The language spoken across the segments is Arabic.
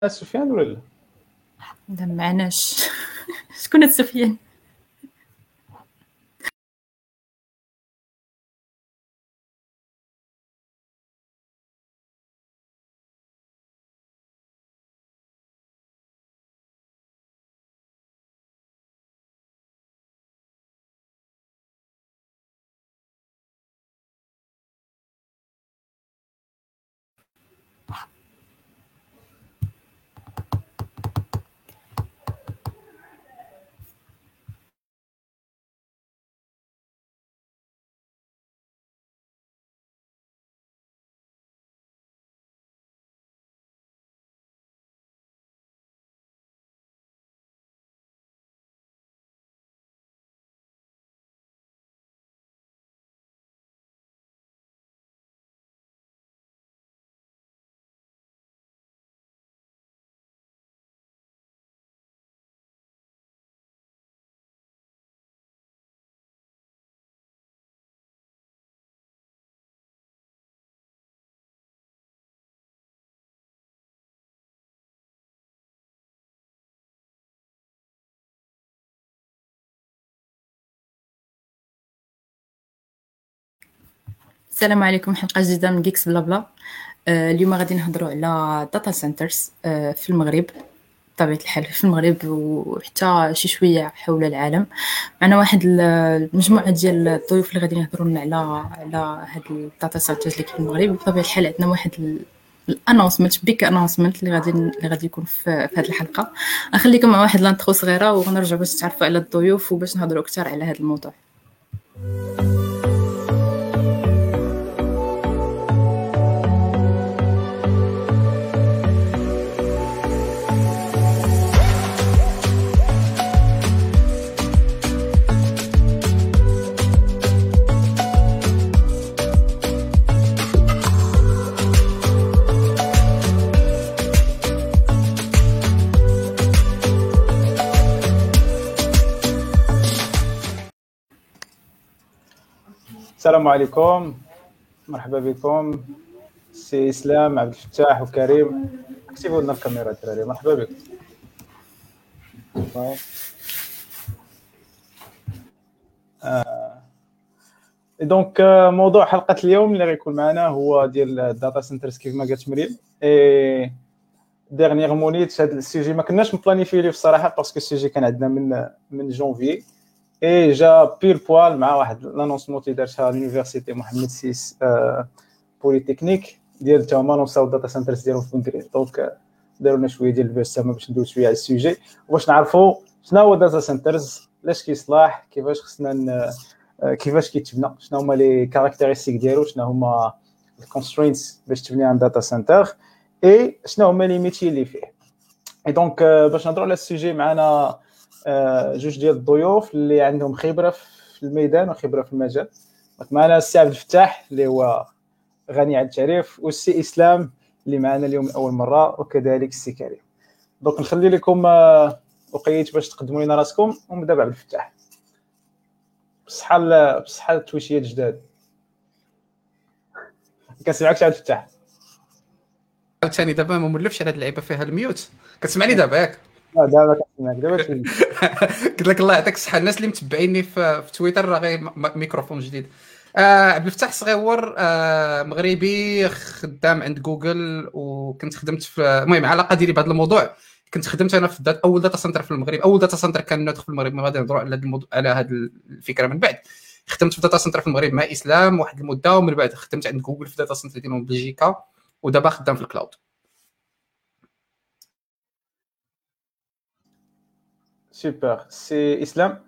سفيان ولا لا؟ لا معناش. شكون هاد سفيان؟ السلام عليكم، حلقة جديدة من جيكس بلا بلا. اليوم غادي نهضروا على داتا سنترز في المغرب، بطبيعة الحال في المغرب وحتى شي شوية حول العالم. معنا واحد المجموعة ديال الضيوف اللي غادي نهضروا لنا على هاد الداتا سنترز اللي كاين في المغرب. بطبيعة الحال عندنا واحد الانونسمنت بيك انونسمنت اللي غادي يكون في هذه الحلقة. نخليكم مع واحد لانترو صغيرة وغنرجعوا باش تعرفوا على الضيوف وباش نهضروا اكثر على هذا الموضوع. السلام عليكم، مرحبا بكم. سي اسلام، عبد الفتاح وكريم. اكتبوا لنا الكاميرا الدراري. مرحبا بكم. دونك موضوع حلقه اليوم اللي غيكون معنا هو ديال الداتا سنترز كيف ما قالت مريم. ديرنيير مونيت هذا السوجي ما كناش مبلانيفي ليه الصراحه، باسكو السوجي كان عندنا من جونفي اي جا بيل بوال مع واحد لانونسمون اللي دارتها لونيفرسيتي محمد سيس بوليتكنيك ديال تا هما نوصاو الداتا سنترز ديالهم في بنكري. دونك داروا لنا شويه ديال البحث تما باش ندوز شويه على السوجي وباش نعرفوا شنو هو داتا سنترز، علاش كيصلاح، كيفاش خصنا كيفاش كيتبنى، شنو هما لي كاركتيرستيك ديالو، شنو هما الكونسترينتس باش تبني عند داتا سنتر، اي شنو هما لي ميتي اللي فيه. اي دونك باش نهضروا على السوجي معنا جوج ديال الضيوف اللي عندهم خبره في الميدان وخبره في المجال. معنا السي عبد الفتاح اللي هو غني عن التعريف، والسي اسلام اللي معنا اليوم لاول مره، وكذلك السي كريم. دونك نخلي لكم وقيت باش تقدموا لنا راسكم ونبدا بعبد الفتاح. بصحه التويشيات جداد. كنسمعك عبد الفتاح. عاوتاني دابا ما مولفش على هاد اللعيبه فيها الميوت. كتسمعني دابا ياك؟ دابا كنسمعك دابا. قلت لك الله يعطيك الصحه. الناس اللي متبعيني في تويتر راه غير ميكروفون جديد. عبد الفتاح صغيور، مغربي، خدام عند جوجل، وكنت خدمت في المهم علاقه ديالي بهذا الموضوع. كنت خدمت انا في اول داتا سنتر في المغرب، اول داتا سنتر كان نادخل في المغرب. ما غادي نهضروا على هذا الموضوع، على هذه الفكره من بعد. خدمت في داتا سنتر في المغرب مع اسلام واحد المده، ومن بعد خدمت عند جوجل في داتا سنتر ديالهم بلجيكا، ودابا خدام في الكلاود. سوبر. سي اسلام.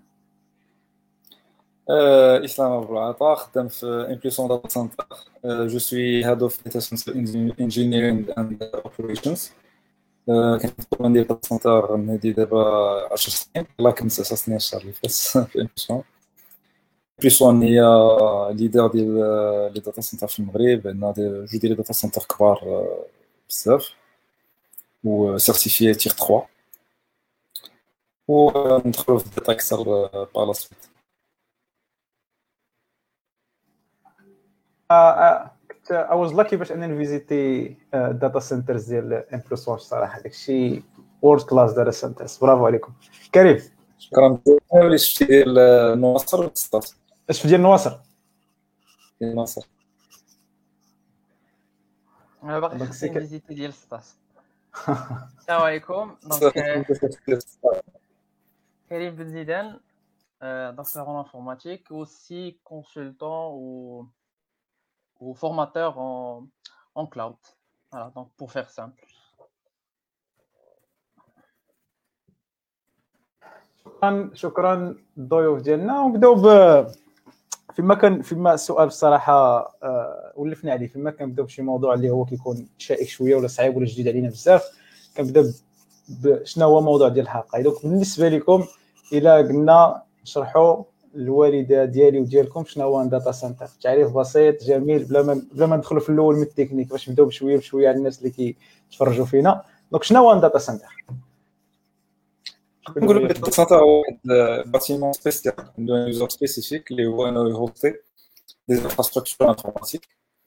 Islam Abouata, خدام في Impulsion Data Center. Je suis Head of Data Center Engineering and Operations. كنت ندير داتا سنتر من هذه دابا 10 سنين. الله كنت 9 سنين الشهر اللي فات في Impulsion هي ليدر ديال لي داتا سنتر في المغرب. عندنا جوج ديال لي داتا سنتر كبار بزاف و سيرتيفيي تير 3، وندخلوا في الداتا اكثر بالا سويت. I was lucky باش انني نفيزيتي داتا سنترز ديال امبلوسون صراحه داكشي وورد كلاس داتا سنترز. برافو عليكم. كريم شكرا بزاف. اللي شفتي ديال نواصر والسطات اش ديال نواصر ديال ناصر انا باقي دونك خاصني سي فيزيتي ديال 16. السلام عليكم. دونك كريم بن زيدان, docteur en informatique, aussi consultant ou formateur en cloud. Voilà, donc pour faire simple. شكرا الضيوف ديالنا. ونبداو فيما السؤال بصراحه ولفنا عليه. فيما كنبداو بشي موضوع اللي هو كيكون شائك شويه ولا صعيب ولا جديد علينا بزاف, كنبدا شنو هو الموضوع ديال الحلقه. دونك بالنسبه لكم الا قلنا نشرحوا الوالده ديالي وديالكم شنو هو داتا سنتر, تعريف بسيط جميل بلا ما ندخلوا في الاول من التكنيك, باش نبداو بشويه بشويه على الناس اللي كيتفرجوا فينا. دونك شنو هو داتا سنتر؟ نقولوا داتا سنتر هو واحد باتيمون سبيسيال عنده يوزر سبيسيفيك اللي هو انه يهوستي دي انفراستركتور انفورماتيك.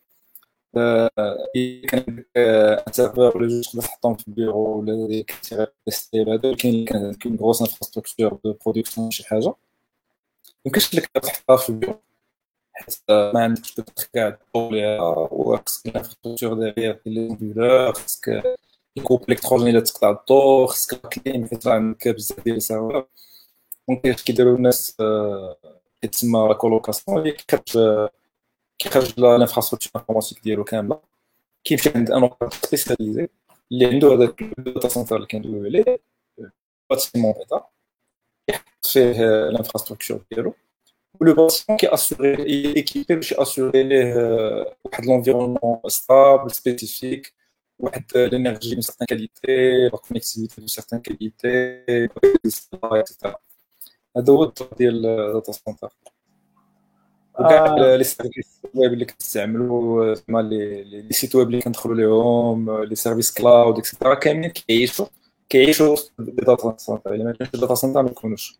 كان عندك ان سيرفر ولا جوج تقدر تحطهم في البيرو ولا ديك تيستي. هذا كاين غروس انفراستركتور دو برودكسيون شي حاجه ممكنش لك تحطها في البيرو حيت ما عندكش كاع طوليها, وخصك الانفراستركتور ديالها لي كومبيوتر, خصك الكوب الكتروني اللي تقطع الضوء, خصك كلين حيت عندك بزاف ديال السيرفر. دونك اش كيديروا الناس كتسمى لا كولوكاسيون اللي كيخرج الانفراستركتور انفورماتيك ديالو كامله, كيمشي عند ان اوبيراتور سبيسياليزي اللي عنده هذاك الداتا سنتر اللي كندويو عليه باتيمون داتا يحط فيه الانفراستركتور ديالو, ولو باتيمون كياسوري ايكيبي باش ياسوري ليه واحد لونفيرونمون ستابل سبيسيفيك, واحد لينيرجي دون سيغتان كاليتي, لا كونيكتيفيتي دون سيغتان كاليتي, اكسيتيرا. هذا هو الدور ديال داتا سنتر. وكاع لي سيرفيس ويب اللي كنستعملوا زعما لي سيت ويب اللي كندخلوا ليهم, لي سيرفيس كلاود اكسيتيرا, كاملين كيعيشوا داتا سنتر. الا ما كانش داتا سنتر ما يكونوش.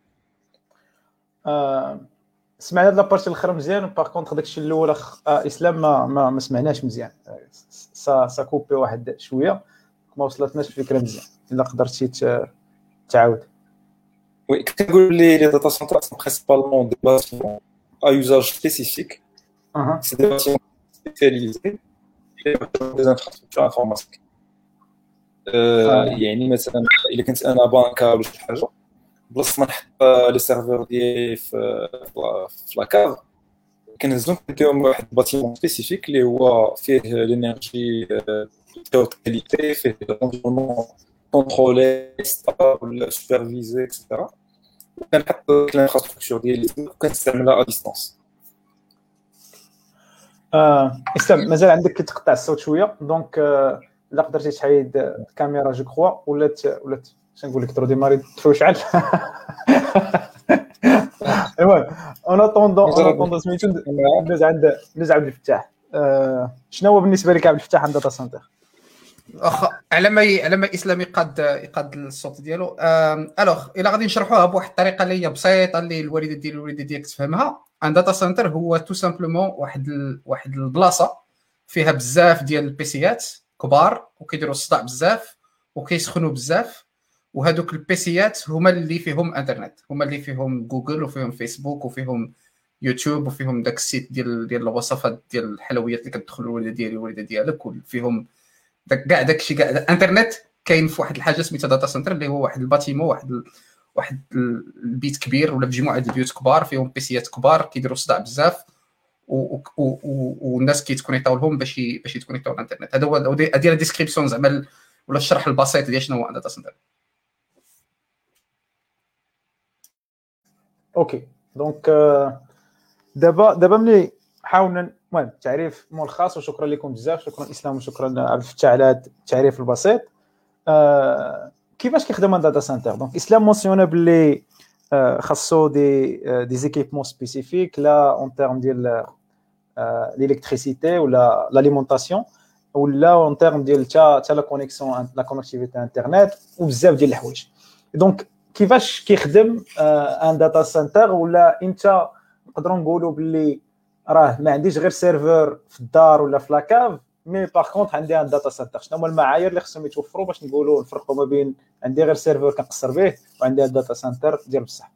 سمعنا هاد لابارتي الاخر مزيان, باغ كونطخ داكشي الاول اسلام ما سمعناش مزيان, سا كوبي واحد شويه ما وصلتناش الفكره مزيان. الا قدرتي تعاود. وي كنقول لي داتا سنتر سون برينسيبالمون دي باتيمون à usage spécifique. C'est des bâtiments spécialisés et des infrastructures informatiques. يعني مثلا الا كنت انا بانكا ولا شي حاجه, بلاصه ما نحط لي سيرفور ديالي في لاكاف, كنهزهم نديهم واحد باتيمون سبيسيفيك اللي هو فيه لينيرجي دو كاليتي, فيه انفيرونمون كونترولي ستابل سوبرفيزي اكسيتيرا. كنحط الانفراستركتور ديالي وكنستعملها ا ديستانس. اسلام مازال عندك كتقطع الصوت شويه, دونك الا قدرتي تحيد الكاميرا جو كخوا ولا شنقول لك ترو ديماري تشعل. المهم اون اتوندون سميتو ندوز عند عبد الفتاح. شنو هو بالنسبه لك عبد الفتاح عند داتا سنتر؟ على ما اسلام يقاد الصوت ديالو. الوغ الا غادي نشرحوها بواحد الطريقه اللي هي بسيطه اللي الوالده ديالك تفهمها. ان داتا سنتر هو تو سامبلومون واحد البلاصه فيها بزاف ديال البيسيات كبار وكيديروا الصداع بزاف وكيسخنوا بزاف, وهذوك البيسيات هما اللي فيهم انترنت, هما اللي فيهم جوجل وفيهم فيسبوك وفيهم يوتيوب وفيهم داك السيت ديال الوصفات ديال الحلويات اللي كتدخل الوالده ديالي والوالده ديالك, وفيهم كاع داكشي كاع الانترنت كاين في واحد الحاجه سميتها داتا سنتر اللي هو واحد الباتيمون, واحد البيت كبير ولا مجموعه ديال البيوت كبار فيهم بيسيات كبار كيديروا صداع بزاف والناس كيتكونيكطاو لهم باش يتكونيكطاو الانترنت. هذا هو هذه ديسكريبسيون زعما ولا الشرح البسيط ديال شنو هو داتا سنتر. اوكي دونك دابا ملي حاولنا المهم تعريف ملخص, وشكرا لكم بزاف, شكرا اسلام وشكرا عبد الفتاح على هذا التعريف البسيط. كيفاش كيخدم داتا سنتر؟ دونك اسلام مونسيونا باللي خاصو دي زيكيبمون سبيسيفيك لا اون تيرم ديال الالكتريسيتي ولا لاليمونطاسيون ولا اون تيرم ديال تا لا كونيكسيون لا كونيكتيفيتي انترنت وبزاف ديال الحوايج. دونك كيفاش كيخدم ان داتا سنتر؟ ولا انت نقدروا نقولوا باللي راه ما عنديش غير سيرفر في الدار ولا في لاكاف، مي باغ كونط عندي ان داتا سنتر. شنو هما المعايير اللي خصهم يتوفروا باش نقولوا نفرقوا ما بين عندي غير سيرفر كنقصر به وعندي ان داتا سنتر ديال بصح؟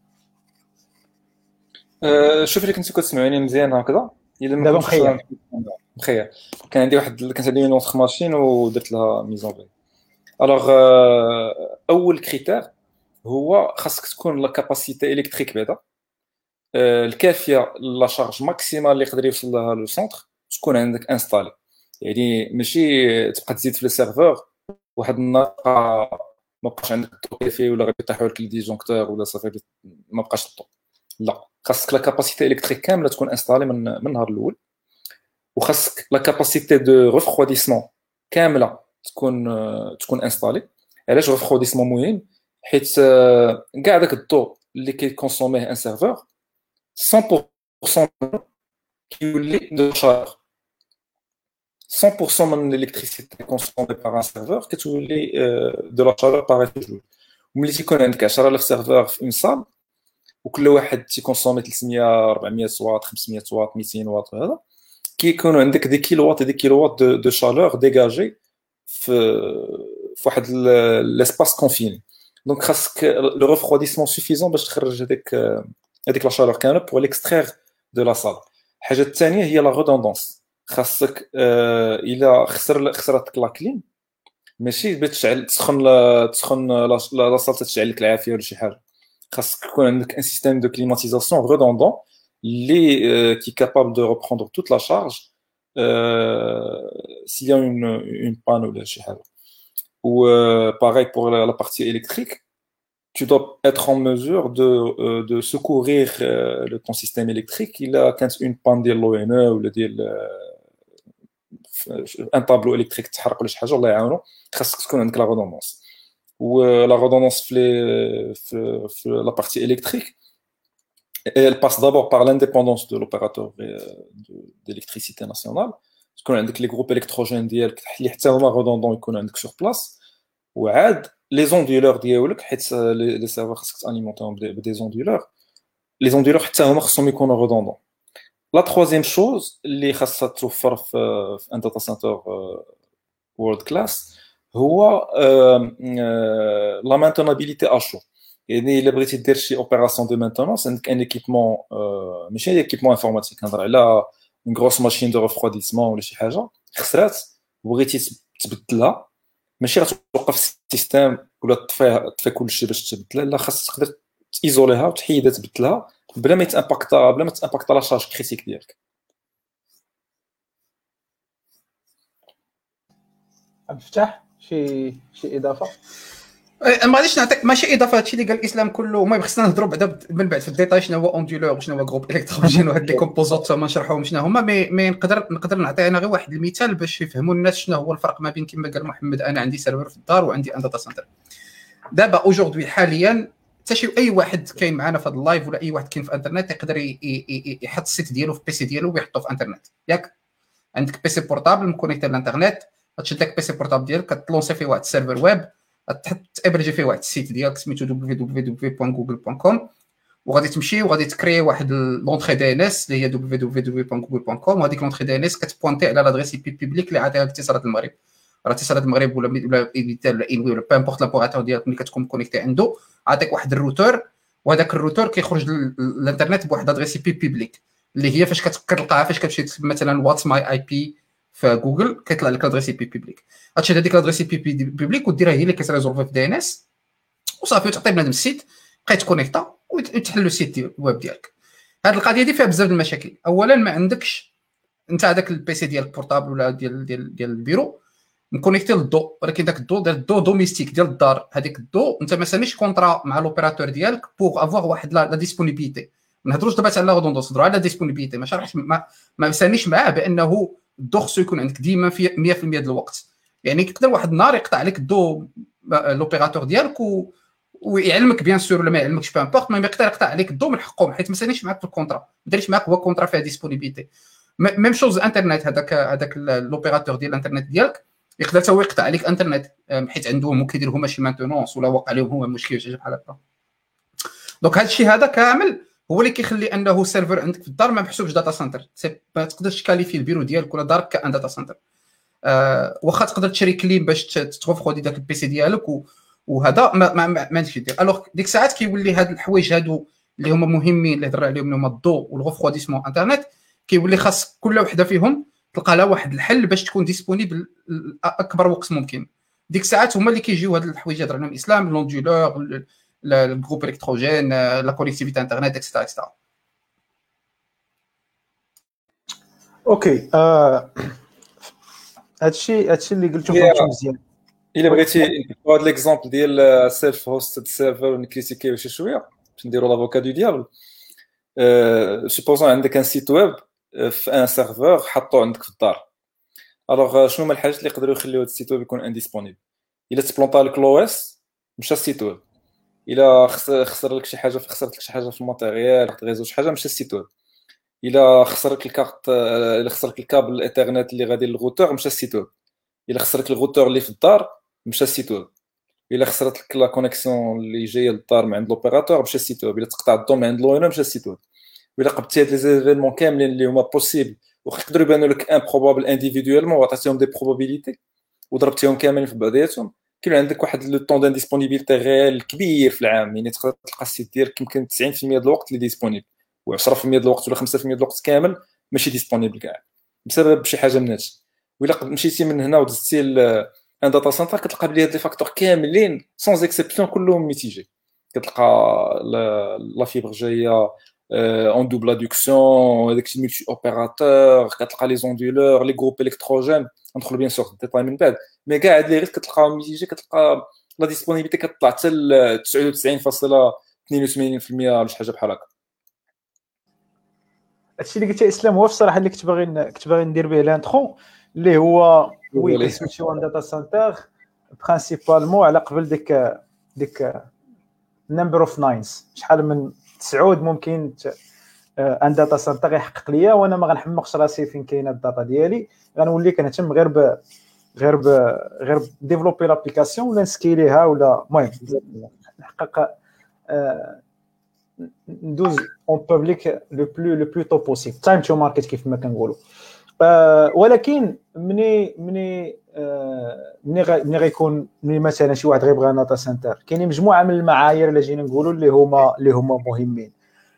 شوف اللي كنتو كتسمعوني مزيان هكذا الا ما دابا كنتش مخير. مخير. كان عندي واحد كانت عندي نوتخ ماشين ودرت لها ميزون في. الوغ اول كريتير هو خاصك تكون لا كاباسيتي الكتريك بعدا الكافيه لا شارج ماكسيمال اللي يقدر يوصل لها لو سونتر تكون عندك انستالي. يعني ماشي تبقى تزيد في السيرفور واحد النهار ما بقاش عندك الضو كافي ولا غير يطيحوا لك الديجونكتور ولا صافي ما بقاش الضو. لا، خاصك لا كاباسيتي الكتريك كامله تكون انستالي من النهار الاول، وخاصك لا كاباسيتي دو ريفخوديسمون كامله تكون انستالي. علاش ريفخوديسمون مهم؟ حيت كاع داك الضوء اللي كيكونسوميه ان سيرفور 100% كيولي دو شارج. 100% من الالكتريسيتي كونسومي بار ان سيرفور كتولي دو لا شارج باغ جوج. وملي تيكون عندك 10000 سيرفور في اون سال وكل واحد تيكونسومي 300 400 واط 500 واط 200 واط هذا كيكونوا عندك دي كيلو واط دي كيلو واط دو شالور ديجاجي في واحد لاسباس كونفيني. دونك خاصك لو ريفخوديسمون سوفيزون باش تخرج هذيك لا شالور كامله بور ليكسترير دو لا سال. الحاجه الثانيه هي لا ريدوندونس. خاصك الا خسرتك لا كليم ماشي بتشعل تسخن لا سال تشعل لك العافيه ولا شي حاجه. خاصك يكون عندك ان سيستيم دو كليماتيزاسيون ريدوندون اللي qui est capable de reprendre toute la charge s'il y a une panne ou شي حاجه. ou pareil pour la partie électrique, tu dois être en mesure de secourir ton système électrique. Il a quand une panne de l'ONE ou un tableau électrique تحرق ولا شي حاجه الله يعاونو خاصك تكون عندك لا redondance. ou la redondance في la partie électrique elle passe d'abord par l'indépendance de l'opérateur d'électricité nationale. تكون عندك les groupes électrogènes ديالك اللي حتى هما redondants يكونوا عندك sur place. وعاد les onduleurs ديالك حيت les serveurs خاصك تاليمونطيهم بدي onduleurs. les onduleurs حتى هما خصهم يكونوا redondants. la troisième chose اللي خاصها توفر في un data center world class هو la maintenabilité à chaud. يعني الا بغيتي دير شي اوبيراسيون دو مينتونونس عندك ان ايكيبمون ماشي ايكيبمون انفورماتيك نهضر على اون غروس ماشين دو ريفروديسمون ولا شي حاجه خسرات وبغيتي تبدلها ماشي غتوقف السيستيم ولا تطفي كلشي باش تبدلها. لا خاصك تقدر تيزوليها وتحيدها تبدلها بلا ما تامباكتا لا شارج كريتيك ديالك. عبد الفتاح شي اضافه؟ ما غاديش نعطيك ماشي اضافه هادشي اللي قال الاسلام كله. ما خصنا نهضروا بعدا من بعد في الديتاي شنو هو اوندولور وشنو هو جروب الكتروجين وهاد لي كومبوزونت ما نشرحوهم شنو هما. مي نقدر نعطي انا غير واحد المثال باش يفهموا الناس شنو هو الفرق ما بين كما قال محمد انا عندي سيرفر في الدار وعندي ان داتا سنتر. دابا اوجوردي حاليا حتى شي اي واحد كاين معنا في هذا اللايف ولا اي واحد كاين في الانترنت يقدر يحط السيت ديالو في بيسي ديالو ويحطو في الانترنت. ياك عندك بيسي بورطابل مكونيكتي للانترنت غتشد لك بيسي بورطابل ديالك كتلونسي فيه واحد السيرفر ويب تابريجي فيه واحد السيت ديالك سميتو www.google.com وغادي تمشي وغادي تكري واحد لونطري دي ان اس اللي هي www.google.com وهذيك لونطري دي ان اس كتبوينتي على لادريس اي بي بوبليك اللي عطيها اتصالات المغرب. راه اتصالات المغرب ولا ايفيتال ولا انوي ولا بامبورت لابوراتور ديالك ملي كتكون كونيكتي عنده عطيك واحد الروتور وهذاك الروتور كيخرج للانترنت بواحد لادريس اي بي بوبليك اللي هي فاش كتلقاها فاش كتمشي مثلا واتس ماي اي بي في جوجل كيطلع لك لادريس اي بي بوبليك. غتشد هذيك لادريس اي بي بوبليك وديرها هي اللي كتريزولف في دي ان اس وصافي وتعطي بنادم السيت بقى يتكونيكتا وتحل السيت ديال الويب ديالك. هذه القضيه دي فيها بزاف د المشاكل. اولا ما عندكش انت هذاك البيسي ديالك بورطابل ولا ديال البيرو مكونيكتي للضوء ولكن داك الضوء ديال الضوء دوميستيك ديال الدار. هذيك الضوء انت ما ساميش كونطرا مع لوبيراتور ديالك بوغ افواغ واحد لا ديسپونيبيليتي. ما نهضروش دابا على غودوندونس نهضروا على ديسپونيبيليتي. ما شرحش ما ساميش معاه بانه الضوء خصو يكون عندك ديما في 100% ديال الوقت. يعني يقدر واحد النهار يقطع عليك الضوء لوبيراتور ديالك ويعلمك بيان سور ولا ما يعلمكش بامبورت ما يقدر يقطع عليك الضوء من حقهم حيت ما ساليش معاك في الكونطرا ما داريش معاك هو كونطرا فيها ديسپونيبيليتي. ميم شوز انترنت هذاك لوبيراتور ديال الانترنت ديالك يقدر حتى هو يقطع عليك انترنت حيت عندهم كيدير هما شي مانتونونس ولا واقع عليهم هما مشكل شي بحال هكا. دونك هذا الشيء هذا كامل هو اللي كيخلي انه سيرفر عندك في الدار ما محسوبش داتا سنتر. ما تقدرش تكاليفي البيرو ديالك ولا دارك كان داتا سنتر. واخا تقدر تشري كليم باش تغوفخودي داك البيسي ديالك وهذا ما عندكش دير. الوغ ديك الساعات كيولي هاد الحوايج هادو اللي هما مهمين اللي هضر عليهم هما الضوء والغوفخوديسمون انترنت، كيولي خاص كل وحده فيهم تلقى لها واحد الحل باش تكون ديسپونيبل اكبر وقت ممكن. ديك الساعات هما اللي كيجيو هاد الحوايج هضر عليهم الاسلام، لوندولور، الجروب الكتروجين، لا كونيكتيفيتي انترنت اكسترا اكسترا. اوكي هادشي اللي قلتو فهمتو مزيان. الا بغيتي نكتبوا هذا ليكزامبل ديال سيلف هوستد سيرفر ونكريتيكيو شي شويه باش نديروا لافوكا دو ديابل. سوبوزون عندك ان سيت ويب في ان سيرفر حطوه عندك في الدار. الوغ شنو هما الحاجات اللي يقدروا يخليو هذا السيت ويب يكون انديسپونيبل؟ الا تبلونطا لك لو اس مشى السيت ويب، الا خسر لك شي حاجه خسرت لك شي حاجه في الماتيريال غيزو شي حاجه مشى السيت ويب، الا خسر لك الكارت الا خسر لك الكابل الانترنت اللي غادي للروتور مشى السيت ويب، الا خسر لك الروتور اللي في الدار مشى السيت ويب، الا خسرت لك لا كونيكسيون اللي جايه للدار من عند لوبيراتور مشى السيت ويب، الا تقطع الضو من عند لوينر مشى السيت ويب. الا قبتي هاد لي زيفينمون كاملين اللي هما بوسيبل ويقدروا يبانوا لك امبروبابل انديفيدويلمون وعطيتيهم دي بروبابيليتي وضربتيهم كاملين في بعضياتهم، كاين عندك واحد لو طون دانديسپونيبيليتي ريال كبير في العام. يعني تقدر تلقى السيت ديالك يمكن 90% ديال الوقت اللي ديسپونيبل و10% ديال الوقت ولا 5% ديال الوقت كامل ماشي ديسپونيبل كاع بسبب شي حاجه من هادشي. وإلا مشيتي من هنا ودزتي ان داتا سنتر كتلقى بلي هاد لي فاكتور كاملين سون اكسبسيون كلهم ميتيجي. كتلقى لا فيبر جايه اون دوبل ادوكسيون، هذاك الشيء ملتي اوبيراتور، كتلقى لي زوندولور لي جروب الكتروجين. ندخلوا بيان سور ديتاي من بعد، مي كاع هاد لي ريت كتلقاهم ميتيجي. كتلقى لا ديسپونيبيليتي كتطلع حتى ل 99.82% ولا شي حاجه بحال هكا. هادشي اللي قلتي اسلام هو في الصراحه اللي كنت باغي ندير به لانترو، اللي هو وي كنسويتشيو ان داتا سنتر برينسيبالمون على قبل ديك نمبر اوف ناينز. شحال من تسعود ممكن ان داتا سنتر يحقق ليا وانا ما غنحمقش راسي فين كاينه الداتا ديالي. غنولي كنهتم غير ديفلوبي لابليكاسيون ولا نسكيليها ولا المهم نحقق ندوز اون بابليك لو بلو تو بوسيبل تايم تو ماركت كيف ما كنقولوا. ولكن مني غيكون مثلا شي واحد غيبغي داتا سنتر، كاينين مجموعه من المعايير اللي جينا نقولوا اللي هما مهمين.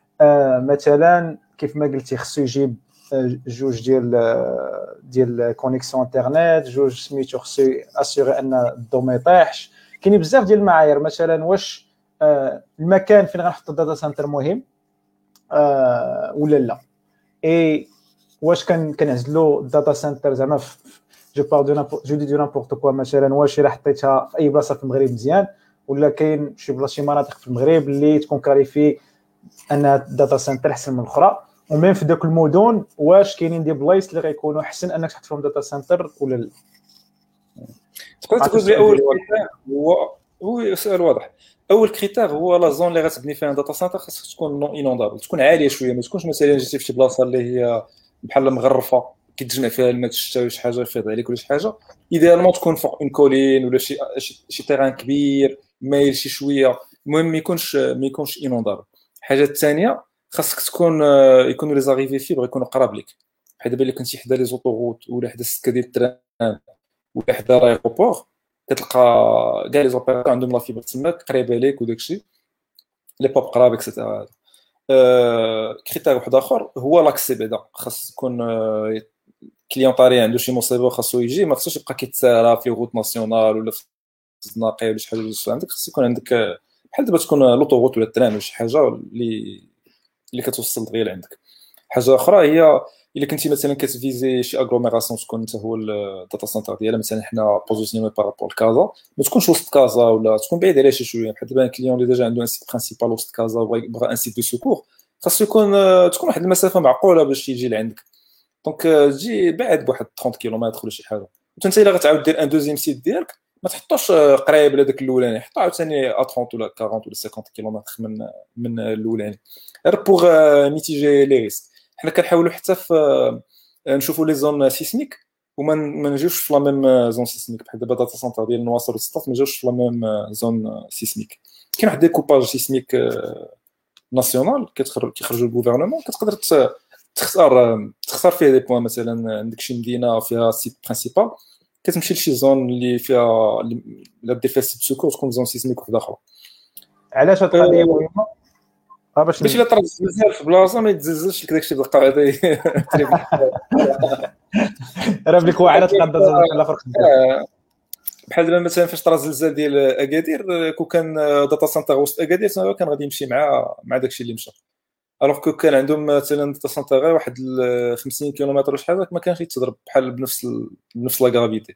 مثلا كيف ما قلتي خصو يجيب جوج ديال كونيكسيون انترنت، جوج سميتو خصو اسيغي ان الضو ما يطيحش. كاينين بزاف ديال المعايير. مثلا واش المكان فين غنحط الداتا سنتر مهم ولا لا، اي واش كنعزلوا الداتا سنتر زعما جو دي نابورت كوا. مثلا واش راه حطيتها في اي بلاصه في المغرب مزيان، ولا كاين شي مناطق في المغرب اللي تكون كاريفي ان الداتا سنتر احسن من الاخرى، ومين في داك المدن واش كاينين دي بلايص اللي غيكونوا احسن انك تحط فيهم داتا سنتر ولا لا. تقدر تقول لي اول كريتير هو سؤال واضح. اول كريتير هو لا زون اللي غتبني فيها داتا سنتر خاصها تكون نون انوندابل، تكون عاليه شويه. ما تكونش مثلا جيتي في شي بلاصه اللي هي بحال مغرفه كيتجمع فيها الماء الشتاء شي حاجه يفيض عليك ولا شي حاجه. ايديالمون تكون فوق اون كولين ولا شي تيران كبير مايل شي شويه. المهم ما يكونش انوندابل. الحاجه الثانيه خاصك تكون يكونوا لي زاريفي فيبر يكونوا قراب لك. بحال دابا الا كنتي حدا لي زوطوغوت ولا حدا السكه ديال التران ولا حدا لايغوبور كتلقى كاع لي زوبيراتور عندهم لا فيبر تماك قريبه ليك وداكشي لي بوب قراب اكسيتيرا. كريتير واحد اخر هو لاكسي. بعدا خاص يكون كليون طاري عنده شي مصيبه خاصو يجي، ما خاصوش يبقى كيتسارى في روت ناسيونال ولا في الزناقي ولا شي حاجه عندك. خاص يكون عندك بحال دابا تكون لوطوغوت ولا التران ولا شي حاجه اللي كتوصل دغيا لعندك. حاجه اخرى هي الا كنتي مثلا كتفيزي شي اغلوميراسيون تكون انت هو الداتا سنتر ديالها. مثلا حنا بوزيسيوني بارابور كازا، ما تكونش وسط كازا ولا تكون بعيد عليها شي شويه. بحال دابا الكليون اللي ديجا عنده ان سيت برينسيبال وسط كازا وبغى ان سيت دو سيكور، خاصو تكون واحد المسافه معقوله باش يجي لعندك. دونك تجي بعد بواحد 30 كيلومتر ولا شي حاجه. وانت الا غتعاود دير ان دوزيام سيت ديالك ما تحطوش قريب لهذاك الاولاني، حطو عاوتاني 30 ولا 40 ولا 50 كيلومتر من الاولاني، غير بوغ ميتيجي لي ريسك. حنا كنحاولوا حتى في نشوفوا لي زون سيسميك وما نجيوش في لا ميم زون سيسميك. بحال دابا داتا سنتر ديال النواصر والسطات ما جاوش في لا ميم زون سيسميك. كاين واحد ديكوباج سيسميك ناسيونال كيخرجوا الغوفرنمون كتقدر تختار فيه دي بوين. مثلا عندك شي مدينه فيها سيت برينسيبال كتمشي لشي زون اللي فيها لا دير فيها سيت سكور تكون زون سيسميك وحده اخرى. علاش هاد القضيه مهمه؟ باش الا طرا الزلزال في بلاصه ما يتزلزلش لك داكشي بالقاعده راه بليك واعره تقدر تزلزل فرق بحال دابا مثلا فاش طرا الزلزال ديال اكادير كون كان داتا سنتر وسط اكادير كان غادي يمشي مع داكشي اللي مشى. الوغ كو كان عندهم مثلا داتا سنتر غير واحد 50 كيلومتر ولا شحال ما كانش يتضرب بحال بنفس لا غرافيتي.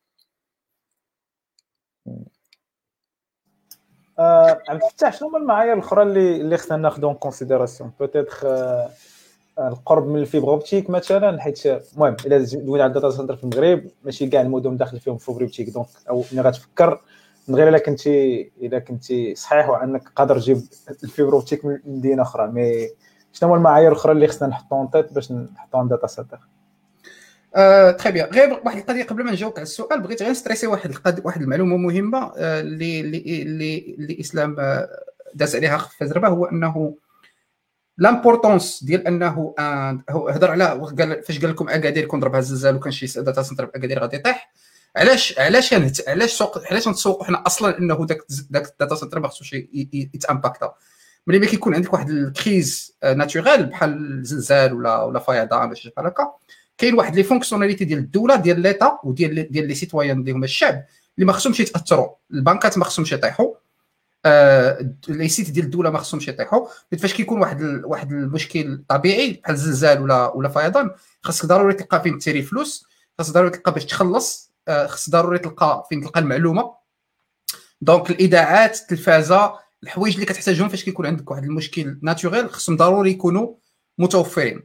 عم تفتح شنو هما المعايير الاخرى اللي خصنا ناخذهم كونسيديراسيون بوتيتر القرب من الفيبر اوبتيك مثلا حيت المهم الا دوينا على الداتا سنتر في المغرب ماشي كاع المدن داخل فيهم فيبر اوبتيك دونك او ملي غتفكر من غير الا كنتي صحيح وانك قادر تجيب الفيبر اوبتيك من مدينه اخرى مي شنو هما المعايير الاخرى اللي خصنا نحطوهم طيط باش نحطوهم داتا سنتر. تري بيان. غير واحد القضيه قبل ما نجاوبك على السؤال بغيت غير نستريسي واحد المعلومه مهمه اللي اسلام داز عليها خفاز ربا، هو انه لامبورطونس ديال انه هضر على قال فاش قال لكم اكادير كون ضربها الزلزال وكان شي داتا سنتر باكادير غادي يطيح. علاش نتسوقوا حنا اصلا انه داك الداتا سنتر ما خصوش يتامباكتا ملي ما كيكون عندك واحد الكريز ناتوريل بحال الزلزال ولا فيضان ولا شي بحال هكا. كاين واحد لي فونكسيوناليتي ديال الدوله ديال ليتا وديال لي سيتويان اللي هما الشعب اللي ما خصهمش يتاثروا. البنكات ما خصهمش يطيحوا، لي سيت ديال الدوله ما خصهمش يطيحوا. فاش كيكون واحد المشكل طبيعي بحال الزلزال ولا فيضان خاصك ضروري تلقى فين تيري فلوس، خاصك ضروري تلقى باش تخلص، خاصك ضروري تلقى فين تلقى المعلومه. دونك الاذاعات التلفازه الحوايج اللي كتحتاجهم فاش كيكون عندك واحد المشكل ناتوريل خصهم ضروري يكونوا متوفرين.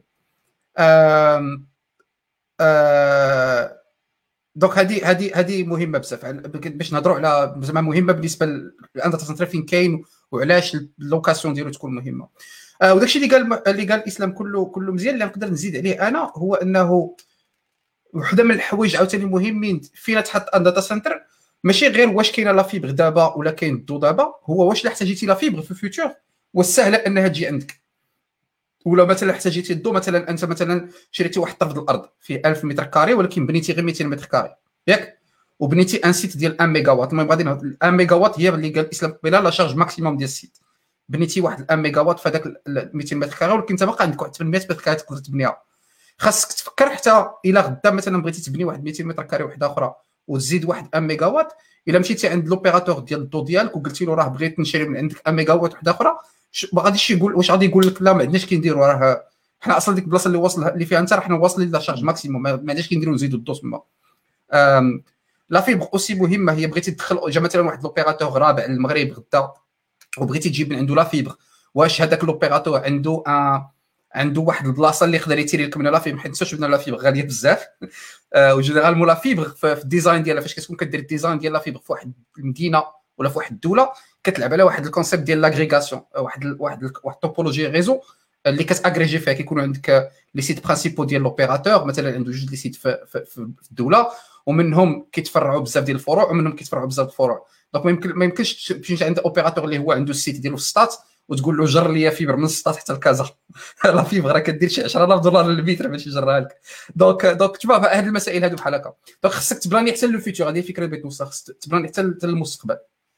دونك هذه مهمه بزاف باش نهضروا على زعما مهمه بالنسبه للداتا سنتر فين كاين وعلاش اللوكاسيون ديالو تكون مهمه. وداكشي اللي قال الاسلام كله مزيان. اللي نقدر نزيد عليه انا هو انه وحده من الحوايج عاوتاني مهمين فين تحط داتا سنتر ماشي غير واش كاينه لا فيبر دابا ولا كاين الضو دابا، هو واش الا احتاجيتي لا فيبر في الفيوتشر والسهله انها تجي عندك، ولا مثلا احتاجيتي الضو مثلا انت مثلا شريتي واحد طرف الارض فيه 1000 متر كاري ولكن بنيتي غير 200 متر كاري ياك، وبنيتي ان سيت ديال 1 ميجا وات. المهم غادي 1 ميجا وات هي اللي قال الاسلام قبيله لا شارج ماكسيموم ديال السيت. بنيتي واحد 1 ميجا وات في هذاك 200 متر كاري ولكن انت باقي عندك واحد 800 متر كاري تقدر تبنيها. خاصك تفكر حتى الا غدا مثلا بغيتي تبني واحد 200 متر كاري وحده اخرى وتزيد واحد 1 ميجا وات، الا مشيتي عند لوبيراتور ديال الضو ديالك وقلتي له راه بغيت نشري من عندك 1 ميجا وات وحده اخرى، ما غاديش يقول واش غادي يقول لك لا ما عندناش كنديروا، راه حنا اصلا ديك البلاصه اللي واصل اللي فيها انت راه حنا واصلين لا شارج ماكسيموم، ما عندناش كنديروا نزيدوا الضو تما. لا فيبر اوسي مهمه. هي بغيتي تدخل جا مثلا واحد لوبيراتور رابع للمغرب غدا وبغيتي تجيب من عنده لا فيبر، واش هذاك لوبيراتور عنده واحد البلاصه اللي يقدر يتيري لك منها لا فيبر، حيت شفنا لا فيبر غاليه بزاف. وجينيرالمون لا فيبر في الديزاين ديالها فاش كتكون كدير الديزاين ديال لا فيبر في واحد المدينه ولا في واحد الدوله كتلعب على واحد الكونسيبت ديال لاغريغاسيون، واحد توبولوجي ريزو اللي كتاغريجي فيها. كيكونوا عندك لي سيت برينسيبو ديال لوبيراتور، مثلا عنده جوج لي سيت في الدوله ومنهم كيتفرعوا بزاف ديال الفروع ومنهم كيتفرعوا بزاف الفروع. دونك ما يمكنش تمشي عند اوبيراتور اللي هو عنده السيت ديالو في السطات وتقول له جر لي فيبر من السطات حتى لكازا. لا فيبر راه كدير شي 10,000 دولار للمتر باش يجرها لك. دونك تشوف هاد المسائل هادو بحال هكا. دونك خصك تبلاني حتى للفيتور، هذه الفكره اللي بغيت نوصل، خصك تبلاني حتى للمستقبل.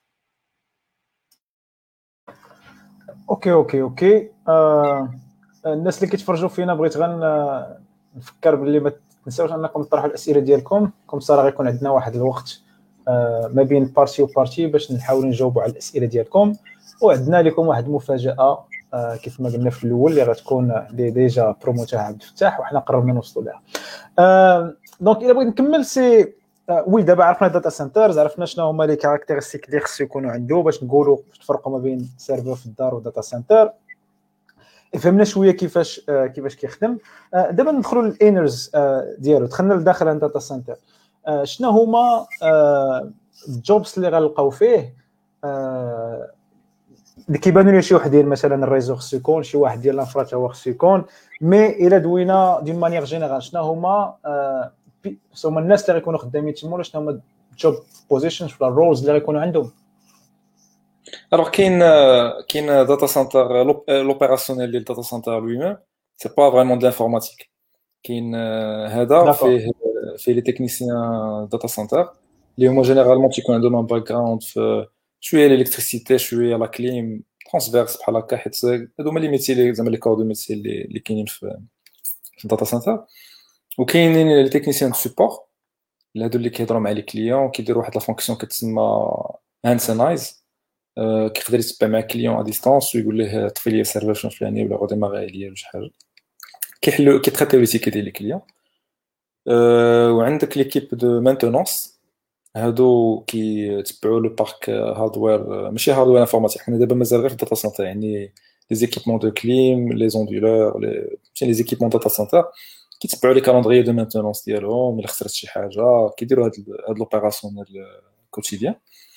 اوكي الناس اللي كيتفرجوا فينا بغيت نفكر باللي ما تنساوش انكم تطرحوا الاسئله ديالكم. كم صار غيكون عندنا واحد الوقت ما بين بارتي وبارتي باش نحاولوا نجاوبوا على الاسئله ديالكم، وعندنا لكم واحد المفاجاه كيف ما قلنا في الاول اللي غتكون ديجا بروموتها عبد الفتاح وحنا قربنا نوصلوا لها. دونك الا بغيت نكمل سي وي دابا عرفنا داتا سنترز، عرفنا شنو هما لي كاركتيرستيك اللي خصو يكونوا عنده باش نقولوا تفرقوا ما بين سيرفر في الدار وداتا سنتر. فهمنا شويه كيفاش كيخدم. دابا ندخلوا للانرز ديالو. دخلنا لداخل الداتا سنتر. شنو هما الجوبس اللي غنلقاو فيه اللي كيبانوا لي شي وحدين مثلا الريزو خصو يكون، شي واحد ديال الانفرا هو خصو يكون. مي الا دوينا دون مانيير جينيرال شنو هما الناس اللي غيكونوا خدامين تما، ولا شنو هما الجوب بوزيشنز ولا الرولز اللي غيكونوا عندهم؟ Alors, qu'il y a un data center, l'opérationnel du data center lui-même, c'est pas vraiment de l'informatique. Qu'il y a D'accord. fait les techniciens data center. Moi, généralement, tu connais de mon background, je suis à l'électricité, je suis à la clim, transverse, par la cahette, c'est les métiers, les corps de métier, les qui في data center. وكاينين les techniciens de support. هادو اللي كيهضروا مع لي كليون كيديروا واحد لا فونكسيون كتسمى هانسنايز كيقدر يتبع مع كليون ا ديستانس ويقول ليه طفي لي السيرفر شنو فلاني ولا غوديماغي عليا ولا شي حاجه كيتريتيو لي تيكي ديال لي كليون وعندك ليكيب دو مانتونونس هادو كيتبعوا لو بارك هاردوير ماشي هاردوير انفورماتيك حنا دابا مازال غير في الداتا سنتر يعني لي زيكيبمون دو كليم لي زوندولور لي زيكيبمون داتا سنتر كيتبعوا لي كالندري دو مانتونونس ديالهم الا خسرت شي حاجه كيديروا هاد لوبيراسيون كوتيديان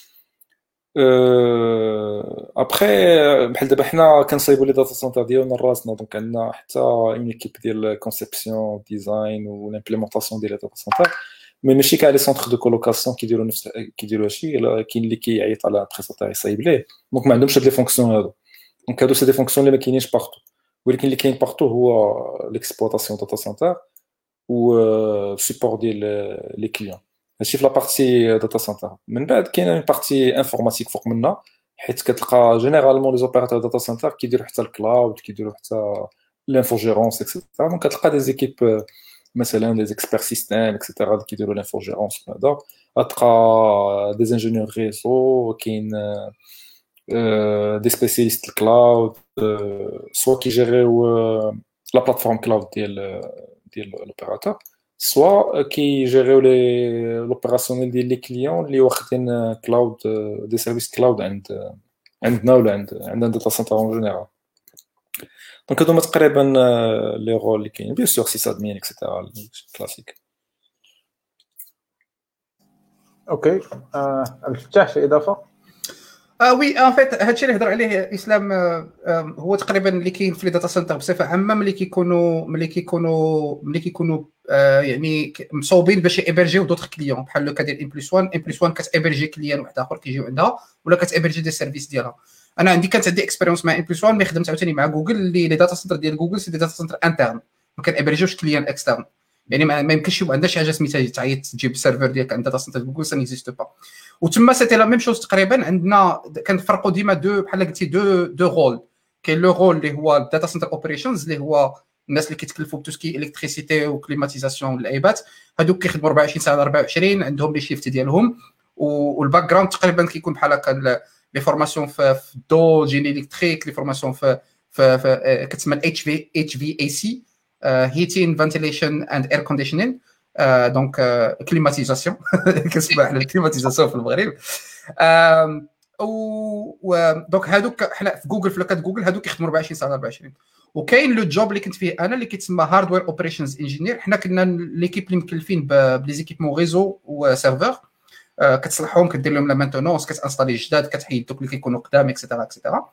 ابخي بحال دابا حنا كنصايبوا لي داتا سنتر ديالنا راسنا دونك عندنا حتى اون ايكيب ديال كونسيبسيون ديزاين والامبليمونطاسيون ديال داتا سنتر مي ماشي كاع لي سونتر دو كولوكاسيون كيديروا هادشي كاين اللي كيعيط على بريستاتير يصايب ليه دونك ما عندهمش هاد لي فونكسيون هادو دونك هادو سي دي فونكسيون اللي ما كاينينش بارتو ولكن اللي كاين بارتو هو ليكسبلوطاسيون داتا سنتر و سيبور ديال لي كليون هادشي في لا بارتي داتا سنتر من بعد كاينه اون بارتي انفورماتيك فوق منها حيت كتلقى جينيرالمون لي زوبيراتور داتا سنتر كيديروا حتى الكلاود كيديروا حتى لانفوجيرونس اكسيتيرا دونك كتلقى دي زيكيب مثلا دي اكسبير سيستيم اكسيتيرا كيديروا لانفوجيرونس هذا تلقى دي انجينيور ريزو كاين دي سبيسياليست الكلاود سوا كيجيريو لا بلاتفورم كلاود ديال لوبيراتور سوا كيجيريو لي لوبيراسيونيل ديال لي كليون اللي واخدين كلاود دي سيرفيس كلاود عندنا ولا عندنا داتا سنتر اون جينيرال دونك هادو تقريبا لي رول اللي كاين بيان سور سي ادمين اكسيتيرا كلاسيك. اوكي الفتاح شي اضافه؟ وي ان فيت هادشي اللي هضر عليه اسلام هو تقريبا اللي كاين في لي داتا سنتر بصفه عامه ملي كيكونوا يعني مصوبين باش يابرجيو دوطخ كليون بحال لو كادير ام بلس 1 كتابرجي كليان واحد اخر كيجيو عندها ولا كتابرجي دي سيرفيس ديالها. انا كانت عندي اكسبيريونس مع ام بلس 1 مي خدمت عاوتاني مع جوجل اللي لي داتا سنتر ديال جوجل سي دي داتا سنتر انترن ما كنابرجيوش كليان اكسترن يعني ما يمكنش يبقى عندها شي حاجه سميتها تعيط تجيب السيرفر ديالك عند داتا سنتر جوجل سا نيزيست با وتما سيتي لا ميم شوز تقريبا عندنا كنفرقوا ديما بحال قلتي دو رول كاين لو رول اللي هو الداتا سنتر اوبريشنز اللي هو الناس اللي كيتكلفوا بتوسكي الكتريسيتي وكليماتيزاسيون والعيبات هذوك كيخدموا 24 ساعه 24 عندهم لي شيفت ديالهم والباك جراوند تقريبا كيكون بحال هكا لي فورماسيون في الدو جيني الكتريك لي فورماسيون في كتسمى اتش في اي سي heating ventilation and air conditioning دونك كليماتيزاسيون كنسمع على الكليماتيزاسيون في المغرب دونك هادوك حنا في جوجل في لوكات جوجل هادوك كيخدموا 24 ساعه 24 وكاين لو جوب اللي كنت فيه انا اللي كيتسمى هاردوير اوبريشنز انجينير حنا كنا ليكيب اللي مكلفين بلي زيكيبمون ريزو وسيرفر كتصلحهم كدير لهم لا مانتونونس كتانستالي جداد كتحيد دوك اللي كيكونوا قدام اكسيتيرا اكسيتيرا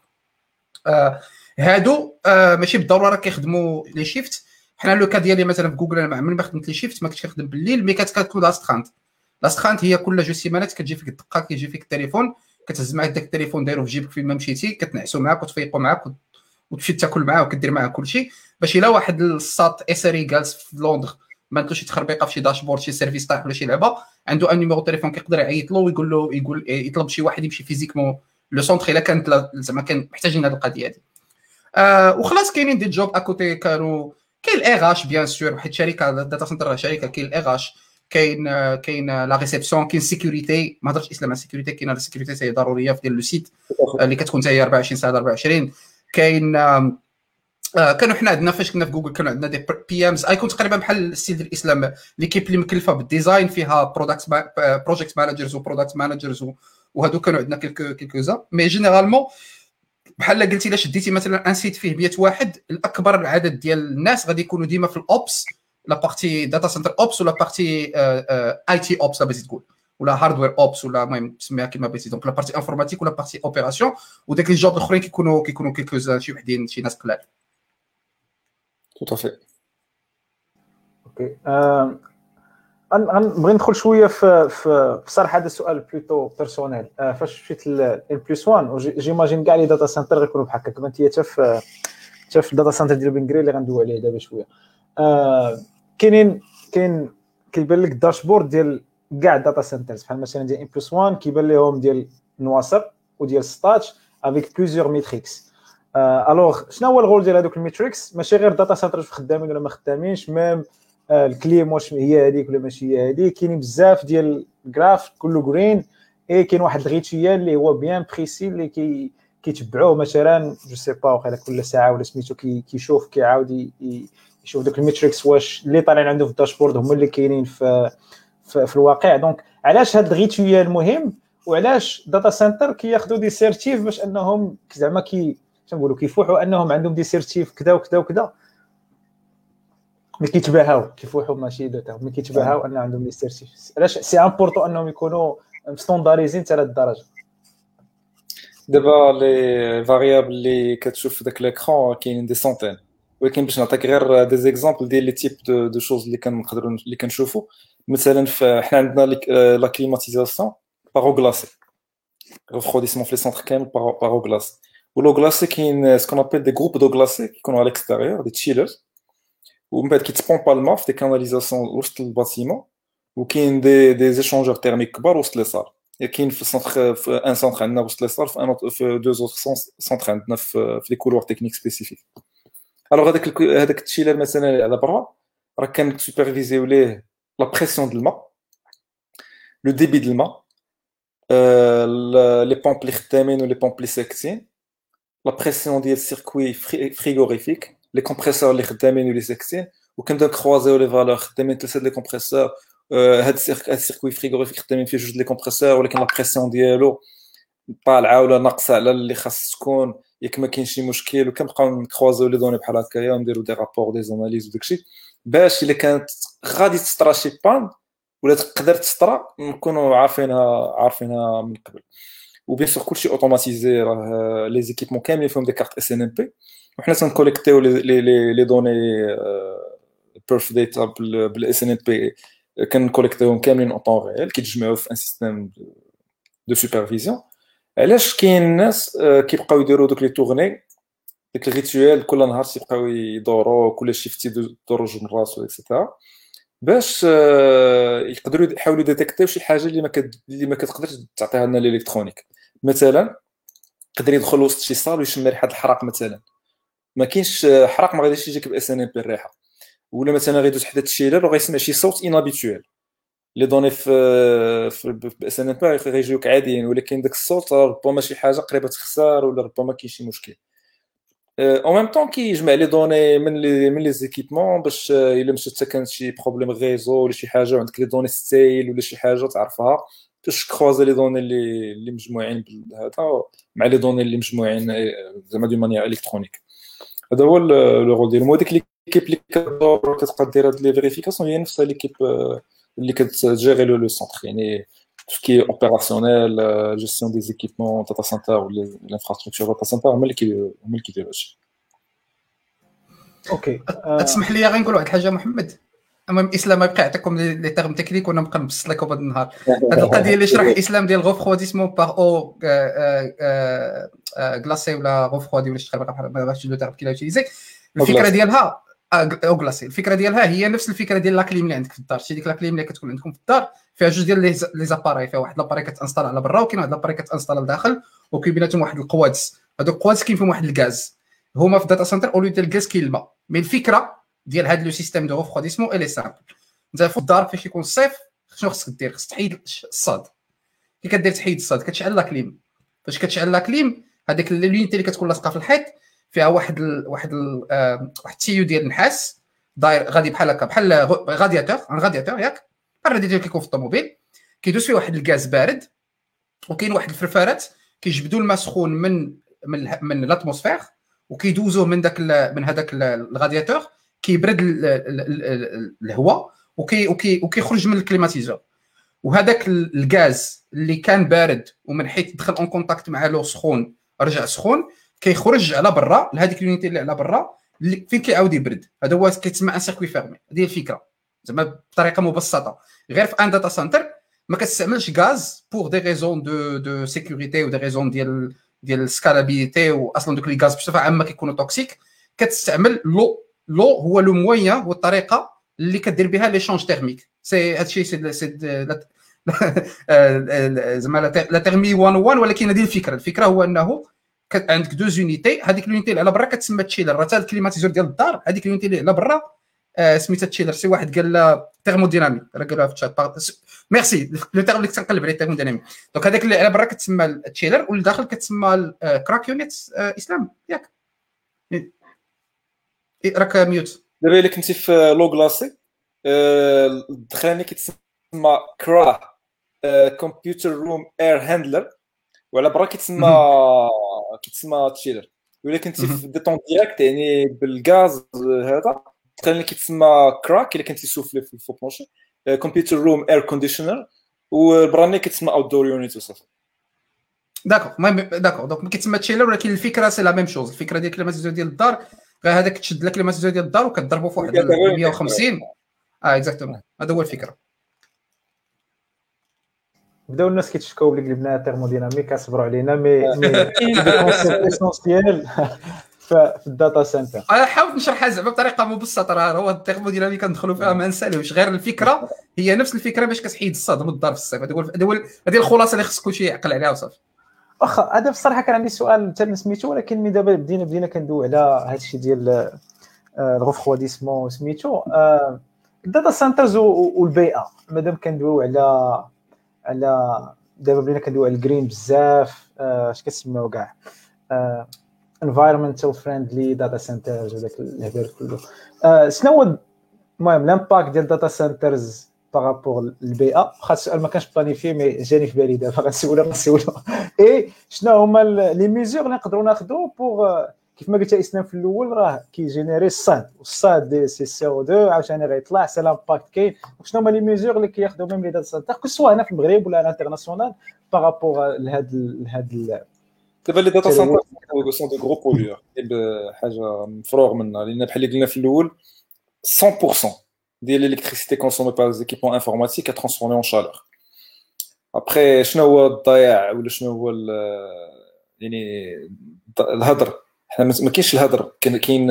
هادو ماشي بالضروره كيخدموا لي شيفت حنا لو كا ديالي مثلا في جوجل انا من ما خدمت لي شيفت ما كنتش كنخدم بالليل مي كتكون لاستخانت هي كل جو سيمانات كتجي فيك الدقه كيجي فيك التليفون كتهز معاك داك التليفون دايرو في جيبك فين ما مشيتي كتنعسوا معاك وتفيقوا معاك وتمشي تاكل معاه وكدير معاه كلشي باش الا واحد الساط اسري جالس في لندن ما عندوش شي تخربيقه في شي داشبورد شي سيرفيس طايح ولا شي لعبه عنده ان نيميرو تليفون كيقدر يعيط له ويقول يطلب شي واحد يمشي فيزيكمون لو سونتر الا كانت زعما كان محتاجين هذه القضيه هذه وخلاص كاينين دي جوب اكوتي كانوا كاين الاغ اش بيان سور حيت شركه داتا سنتر شركه كاين الاغ اش كاين لا ريسبسيون كاين سيكوريتي ما هضرتش اسلام على السيكوريتي كاين لا سيكوريتي هي ضروريه في ديال لو سيت اللي كتكون حتى هي 24 ساعه 24 كاين كانوا حنا عندنا فاش كنا في جوجل كانوا عندنا دي بي امز ايكون تقريبا بحال السيد الاسلام ليكيب اللي مكلفه بالديزاين فيها بروجيكت مانجرز وبرودكت مانجرز وهادو كانوا عندنا كيلكوزا مي جينيرالمون بحال قلتي الا شديتي مثلا ان سيت فيه 100 واحد الاكبر العدد ديال الناس غادي يكونوا ديما في الاوبس لا بارتي داتا سنتر اوبس ولا بارتي اي تي اوبس بغيتي تقول ولا هاردوير اوبس ولا المهم تسميها كيما بغيتي دونك لا بارتي انفورماتيك ولا بارتي اوبيراسيون وداك لي جوب الاخرين كيكونوا كيلكوزا شي وحدين شي ناس قلال tout à fait اوكي غنبغي ندخل شويه في بصراحه هذا السؤال بلوتو بيرسونيل. فاش مشيت ل بلس 1 جيماجين كاع لي داتا سنتر غيكونوا بحال هكا كما انت حتى في الداتا سنتر ديال بنغري اللي غندوي عليه دابا شويه. كيبان لك الداشبورد ديال كاع الداتا سنترز بحال مثلا ديال بلس 1 كيبان لهم ديال نواصر وديال ستاتش افيك بليزيور ميتريكس. الوغ شنو هو الغول ديال هذوك الميتريكس؟ ماشي غير داتا سنترز خدامين ولا ما خدامينش، ميم الكليم واش هي هذيك ولا ماشي هي هذيك. كاينين بزاف ديال الجراف كله جرين، كاين واحد الغيتيال اللي هو بيان بريسي اللي كيتبعوه مثلا جو سي با واخا كل ساعه ولا سميتو كيشوف كيعاود يشوف دوك الميتريكس واش اللي طالعين عنده في الداشبورد هما اللي كاينين في الواقع. دونك علاش هاد الغيتيال مهم وعلاش داتا سنتر كياخذوا دي سيرتيف باش انهم زعما تنقولوا كيفوحوا انهم عندهم دي سيرتيف كذا وكذا وكذا، ملي كيتباهاو كيفوحوا ماشي داتا ملي كيتباهاو ان عندهم دي سيرتيف. علاش سي امبورطون انهم يكونوا ستاندارديزين حتى لهالدرجه؟ دابا لي فاريابل اللي كتشوف في داك ليكرون كاينين دي سونتين، ولكن باش نعطيك غير دي زيكزامبل ديال لي تيب دو شوز اللي كنقدروا اللي كنشوفوا. مثلا حنا عندنا لا كليماتيزاسيون باغو غلاسي، refroidissement في لي سونتر كامل باغو غلاسي. ولو غلاسي كاين سكون ابل دي جروب دو غلاسي كيكونوا على الاكستيريور دي تشيلرز، ومن بعد كيتبومبا الماء في دي كاناليزاسيون وسط الباتيمون، وكاين دي زيشونجور تيرميك كبار وسط لي صال. كاين في السونتر في ان سونتر عندنا وسط لي صال، في دو زوتر سونتر عندنا في لي كولور تكنيك سبيسيفيك. الوغ هذاك التشيلر مثلا على برا راه كان سوبرفيزيو ليه لا بريسيون ديال الماء، لو ديبي ديال الماء، لي بومب اللي خدامين ولي بومب اللي ساكتين، لا بريسيون ديال السيركوي فريغوريفيك، لي كومبريسور اللي خدامين ولي ساكتين. وكنبداو كروازيو لي فالور خدامين ثلاثه لي كومبريسور، هاد السيركوي فريغوريفيك خدامين فيه جوج لي كومبريسور، ولكن لا بريسيون ديالو طالعه ولا ناقصه على اللي خاص تكون، ياك ما كاين شي مشكل. وكنبقاو نكروازيو لي دوني بحال هكايا ونديرو دي رابور دي زاناليز وداكشي، باش الا كانت غادي تسترا شي بان ولا تقدر تسترا نكونوا عارفينها من قبل. وبيان سور كلشي اوتوماتيزي، راه لي زيكيبمون كاملين فيهم دي كارت اس ان ام بي، وحنا تنكوليكتيو لي دوني بيرف داتا بالاس ان ام بي، كنكوليكتيوهم كاملين اون طون ريال، كيتجمعوا في ان سيستيم دو سوبرفيزيون. علاش كاين الناس كيبقاو يديروا دوك لي تورني ديك الريتوال كل نهار تيبقاو يدوروا كل شيفتي يدوروا جوج مرات اكسيتيرا، باش يقدروا يحاولوا ديتيكتيو شي حاجه اللي ما كتقدرش تعطيها لنا الالكترونيك. مثلا يقدر يدخل وسط شي صال ويشم ريحه الحرق، مثلا ما كاينش حرق ما غاديش يجيك باس ان ام بي الريحه، ولا مثلا غيدوز حدا التشيلر وغيسمع شي صوت انابيتوال. لي دوني في باس ان ام بي غيجيوك عاديين، ولكن داك الصوت ربما شي حاجه قريبه تخسر ولا ربما كاين شي مشكل. او ميم طون كيجمع لي دوني من لي زيكيبمون باش الا مشات حتى كانت شي بروبليم غيزو ولا شي حاجه وعندك لي دوني ستايل ولا شي حاجه تعرفها، باش كروازي لي دوني اللي مجموعين بهذا مع لي دوني اللي مجموعين زعما دو مانيير الكترونيك. هذا هو لو رول ديالهم. وديك ليكيب اللي كتبقى دير هاد لي فيريفيكاسيون هي نفس ليكيب اللي كتجيري لو سونتر، يعني tout ce qui est opérationnel, gestion des équipements data center ou l'infrastructure data center هما اللي كيديروا هادشي. اوكي تسمح لي غنقول واحد الحاجه محمد. المهم اسلام يبقى يعطيكم لي تيرم تكنيك وانا نبقى نبسط لكم هذا النهار. هذه القضيه اللي شرح اسلام ديال غوفروديسمون باغ او غلاسي ولا غوفرودي ولا شي حاجه بحال ما بغيتش لو تيرم كي لا يوتيليزي. الفكره ديالها او غلاسي، الفكره ديالها هي نفس الفكره ديال لاكليم اللي عندك في الدار. شي ديك لاكليم اللي كتكون عندكم في الدار فيها جوج ديال لي زاباري، فيها واحد لاباري كتانستال على برا وكاين واحد لاباري كتانستال لداخل، وكاين بيناتهم واحد القوادس. هذوك القوادس كاين فيهم واحد الغاز. هما في الداتا سنتر اولو ديال الغاز كاين الماء. مي الفكره ديال هذا لو سيستيم دو ريفروديسمون الي سامبل. انت في الدار فاش يكون الصيف شنو خصك دير؟ خصك تحيد الصاد. كي كدير تحيد الصاد كتشعل لاكليم. فاش كتشعل لاكليم هذيك اللينيتي اللي كتكون لاصقه في الحيط فيها واحد التيو ديال النحاس داير غادي بحال هكا بحال غادياتور ياك الرادياتور كيكون في الطوموبيل كيدوز فيه واحد الغاز بارد، وكاين واحد الفرفارات كيجبدوا الماء سخون من الاتموسفير وكيدوزوه من هذاك الرادياتور كيبرد الهواء وكيخرج من الكليماتيزور. وهذاك الغاز اللي كان بارد ومن حيث دخل اون كونتاكت مع لو سخون رجع سخون كيخرج على برا لهذيك اليونيتي اللي على برا فين كيعاود يبرد. هذا هو كيتسمى ان سيركوي فيرمي. هذه الفكره. زعما بطريقه مبسطه. غير في ان داتا سنتر ما كتستعملش غاز بور دي ريزون دو سيكوريتي و دي ريزون ديال السكالابيليتي، واصلا دوك لي غاز بصفه عامه كيكونوا توكسيك. كتستعمل لو هو لو موين والطريقه اللي كدير بها ليشونج تيرميك. سي هادشي سي زعما لا تيرمي 101. ولكن هذه الفكره هو انه عندك دو زونيتي. هذيك لونيتي اللي على برا كتسمى تشيلر، راه حتى الكليماتيزور ديال الدار هذيك لونيتي اللي على برا سميتها تشيلر. سي واحد قال لا ثيرموديناميك، راه قالوها في الشات. ميرسي لو تيرم اللي كتنقلب عليه ثيرموديناميك. دونك هذاك اللي على برا كتسمى تشيلر واللي داخل كتسمى كراكيونيت. اسلام ياك راك ميوت دابا الا كنتي في لو كلاسي الدخلاني كيتسمى كرا كمبيوتر روم اير هاندلر، وعلى برا كيتسمى تشيلر. ولا كنتي في ديتون ديريكت يعني بالغاز هذا الدخلاني كيتسمى كراك الا كنتي سوفلي في الفو بلونشي كمبيوتر روم اير كونديشنر، والبراني كيتسمى اوت دور يونيت وصافي. داكور دونك كيتسمى تشيلر، ولكن الفكره سي لا ميم شوز. الفكره ديال الكليماتيزور ديال الدار غير هذاك تشد لك الكليماتيزور ديال الدار وكتضربو في واحد 150. اكزاكتومون هذا هو الفكره. بداو الناس كيتشكاو بلي قلبنا تيرموديناميك، اصبروا علينا مي كونسيبت اسونسيال في الداتا سنتر. انا حاولت نشرحها زعما بطريقه مبسطه. راه هو التيرموديناميك كندخلوا فيها ما نسالوش، غير الفكره هي نفس الفكره باش كتحيد الصدى من الدار في الصيف. هذه الخلاصه اللي خص كلشي يعقل عليها وصافي. واخا هذا بصراحه كان عندي سؤال حتى سميتو، ولكن مي دابا بدينا كندوي على هذا الشيء ديال الغفواديسمون سميتو الداتا سنترز والبيئه. مادام كندويو على دابا بدينا كندويو على الجرين بزاف، اش كتسميو كاع environmental friendly data centers وداك الهبال كله. شنو هو المهم لامباكت ديال داتا سنترز بارابور للبيئه؟ واخا السؤال ما كانش بلانيفي مي جاني في بالي دابا غنسولو. اي شنو هما لي ميزور اللي نقدروا ناخذوا بوغ كيف ما قلت اسلام في الاول راه كيجينيري الصاد، والصاد سي سي او 2 عاوتاني غيطلع سي لامباكت كاين. شنو هما لي ميزور اللي كياخذوا ميم لي داتا سنتر سواء هنا في المغرب ولا انترناسيونال بارابور لهاد دابا لي داتا سنتر سون دو غرو بوليور حاجه مفروغ منها، لان بحال اللي قلنا في الاول 100% ديال الالكتريسيتي كونسومي بار لي زيكيبمون انفورماتيك ترانسفورمي اون شالور. ابري شنو هو الضياع ولا شنو هو يعني الهدر؟ حنا ما كاينش الهدر، كاين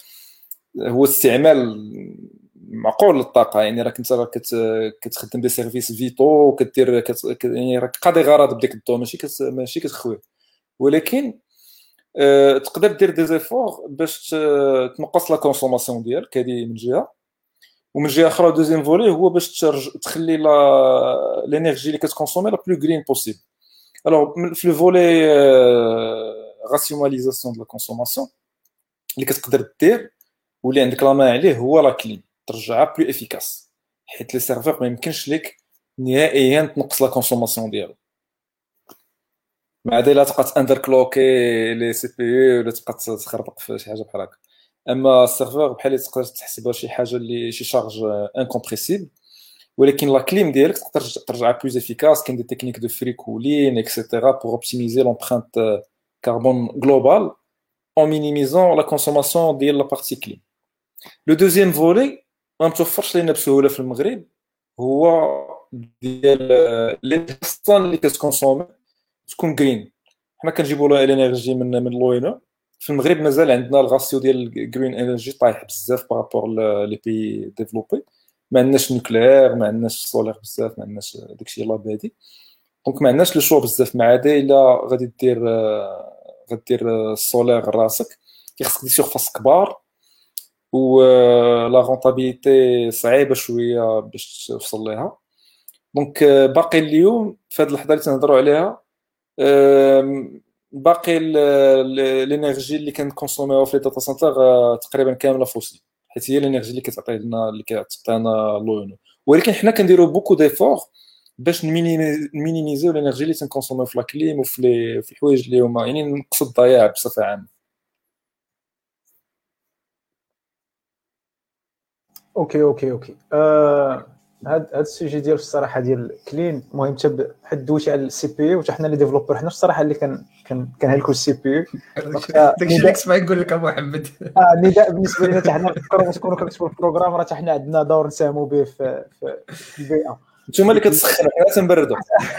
هو استعمال معقول للطاقه. يعني راك انت كتخدم دي سيرفيس فيتو كدير يعني راك قاضي غرض بديك الضو، ماشي كتخوي، ولكن تقدر دير دي زيفور باش تنقص لا كونسوماسيون ديالك. هذه من جهه، ومن جهه اخرى دوزيام فولي هو باش تخلي لينيرجي اللي كتكونسومي لا بلو غرين بوسيبل. الوغ في لو فولي راسيوناليزاسيون دو لا كونسوماسيون اللي كتقدر دير واللي عندك لا مان عليه هو لا كليم، ترجعها بلو افيكاس، حيت لي سيرفور ما يمكنش لك نهائيا تنقص لا كونسوماسيون ديالو. مع ذلك تبقى اندركلوكي لي سي بي يو ولا تبقى تخربق في شي حاجه بحال هكا. اما السيرفور بحال اللي تقدر تحسبها شي حاجه اللي شي شارج انكومبريسيبل، ولكن لا كليم ديالك تقدر ترجعها بلوز افيكاس. كاين دي تكنيك دو فري كولين اكسيتيرا بور اوبتيميزي لومبرانت كاربون جلوبال en minimisant la consommation ديال لا بارتي كليم. لو دوزيام فولي ما متوفرش لينا بسهوله في المغرب، هو ديال لي بيرسون اللي كتكونسومي تكون جرين. حنا كنجيبوا الانرجي من لوينو. في المغرب مازال عندنا الغاسيو ديال جرين انرجي طايح بزاف بارابور لي بي ديفلوبي. ما عندناش نوكليير، ما عندناش سولير بزاف، ما عندناش داكشي لا بادي. دونك ما عندناش لو شو بزاف. مع هذا الا غادي دير السولير راسك كيخصك دير سيرفاس كبار، و لا رونطابيليتي صعيبه شويه باش توصل ليها. دونك باقي اليوم في هذه اللحظه اللي تنهضروا عليها باقي الانرجي اللي كنكونسوميوها في داتا سنتر تقريبا كامله فوسيل، حيت هي الانرجي اللي كتعطي لنا اللي كتعطينا لونو. ولكن حنا كنديروا بوكو ديفور باش نمينيميزيو الانرجي اللي تنكونسوميو في لاكليم وفي الحوايج اللي هما يعني نقصوا الضياع بصفه عامه. اوكي هاد السوجي ديال الصراحه ديال كلين المهم حد دويتي على السي بي يو، حتى حنا لي ديفلوبر حنا الصراحه اللي كنهلكوا السي بي يو. داكشي اللي كنت باغي نقول لك ابو محمد. نداء بالنسبه لنا حتى حنا نفكروا تكونوا كنكتبوا البروغرام، راه حتى حنا عندنا دور نساهموا به في البيئه. نتوما اللي كتسخنوا حنا تنبردوا.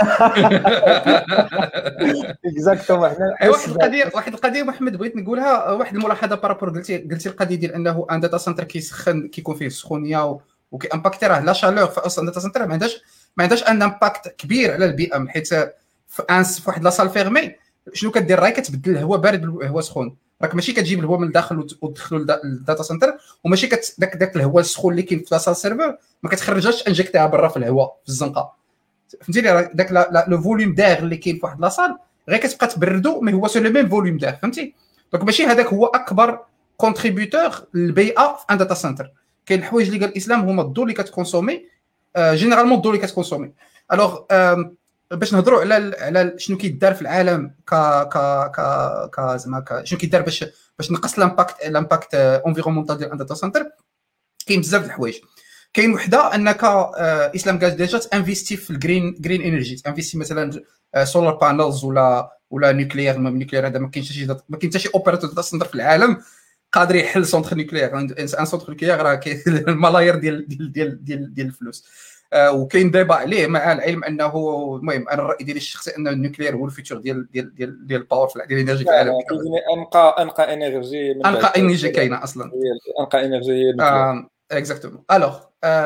اكزاكتومون حنا واحد القضيه محمد بغيت نقولها، واحد الملاحظه بارابور قلتي القضيه ديال انه ان داتا سنتر كيسخن كيكون فيه سخونيه وكي امباكتي، راه لا شالور في اصلا داتا سنتر ما عندهاش ان امباكت كبير على البيئه، حيت في واحد لا سال فيرمي شنو كدير؟ راهي كتبدل الهواء بارد بالهواء سخون، راك ماشي كتجيب الهواء من الداخل وتدخلو للداتا سنتر، وماشي داك الهواء السخون اللي كاين في لاصال سيرفر ما كتخرجهاش انجكتيها برا في الهواء في الزنقه، فهمتيني؟ داك لو فوليوم داغ اللي كاين في واحد لاصال غير كتبقى تبردو، مي هو سو لو ميم فوليوم داغ، فهمتي؟ دونك ماشي هذاك هو اكبر كونتريبيوتور للبيئه في ان داتا سنتر. كاين الحوايج اللي قال الاسلام هما الضوء اللي كتكونسومي، جينيرالمون الضوء اللي كتكونسومي. الوغ باش نهضروا على شنو كيدار في العالم ك ك ك زعما شنو كيدار باش نقص الامباكت انفيرونمونتال ديال داتا سنتر، كاين بزاف د الحوايج. كاين وحده انك اسلام قال ديجا تانفيستي في الجرين انرجي، تانفيستي مثلا سولار بانلز ولا نوكليير. النوكليير هذا ما كاينش حتى شي اوبيراتور داتا سنتر في العالم قادر يحل سونتر نوكليير. ان سونتر نوكليير راه كاين الملايير ديال الفلوس، وكاين دابا عليه، مع العلم انه المهم انا الراي ديالي الشخصي ان النوكليير هو الفيتشر ديال الباور في الانرجي في العالم. انقى انرجي من انقى انرجي كاينه اصلا، انقى انرجي هي النوكليير. اكزاكتومون. الوغ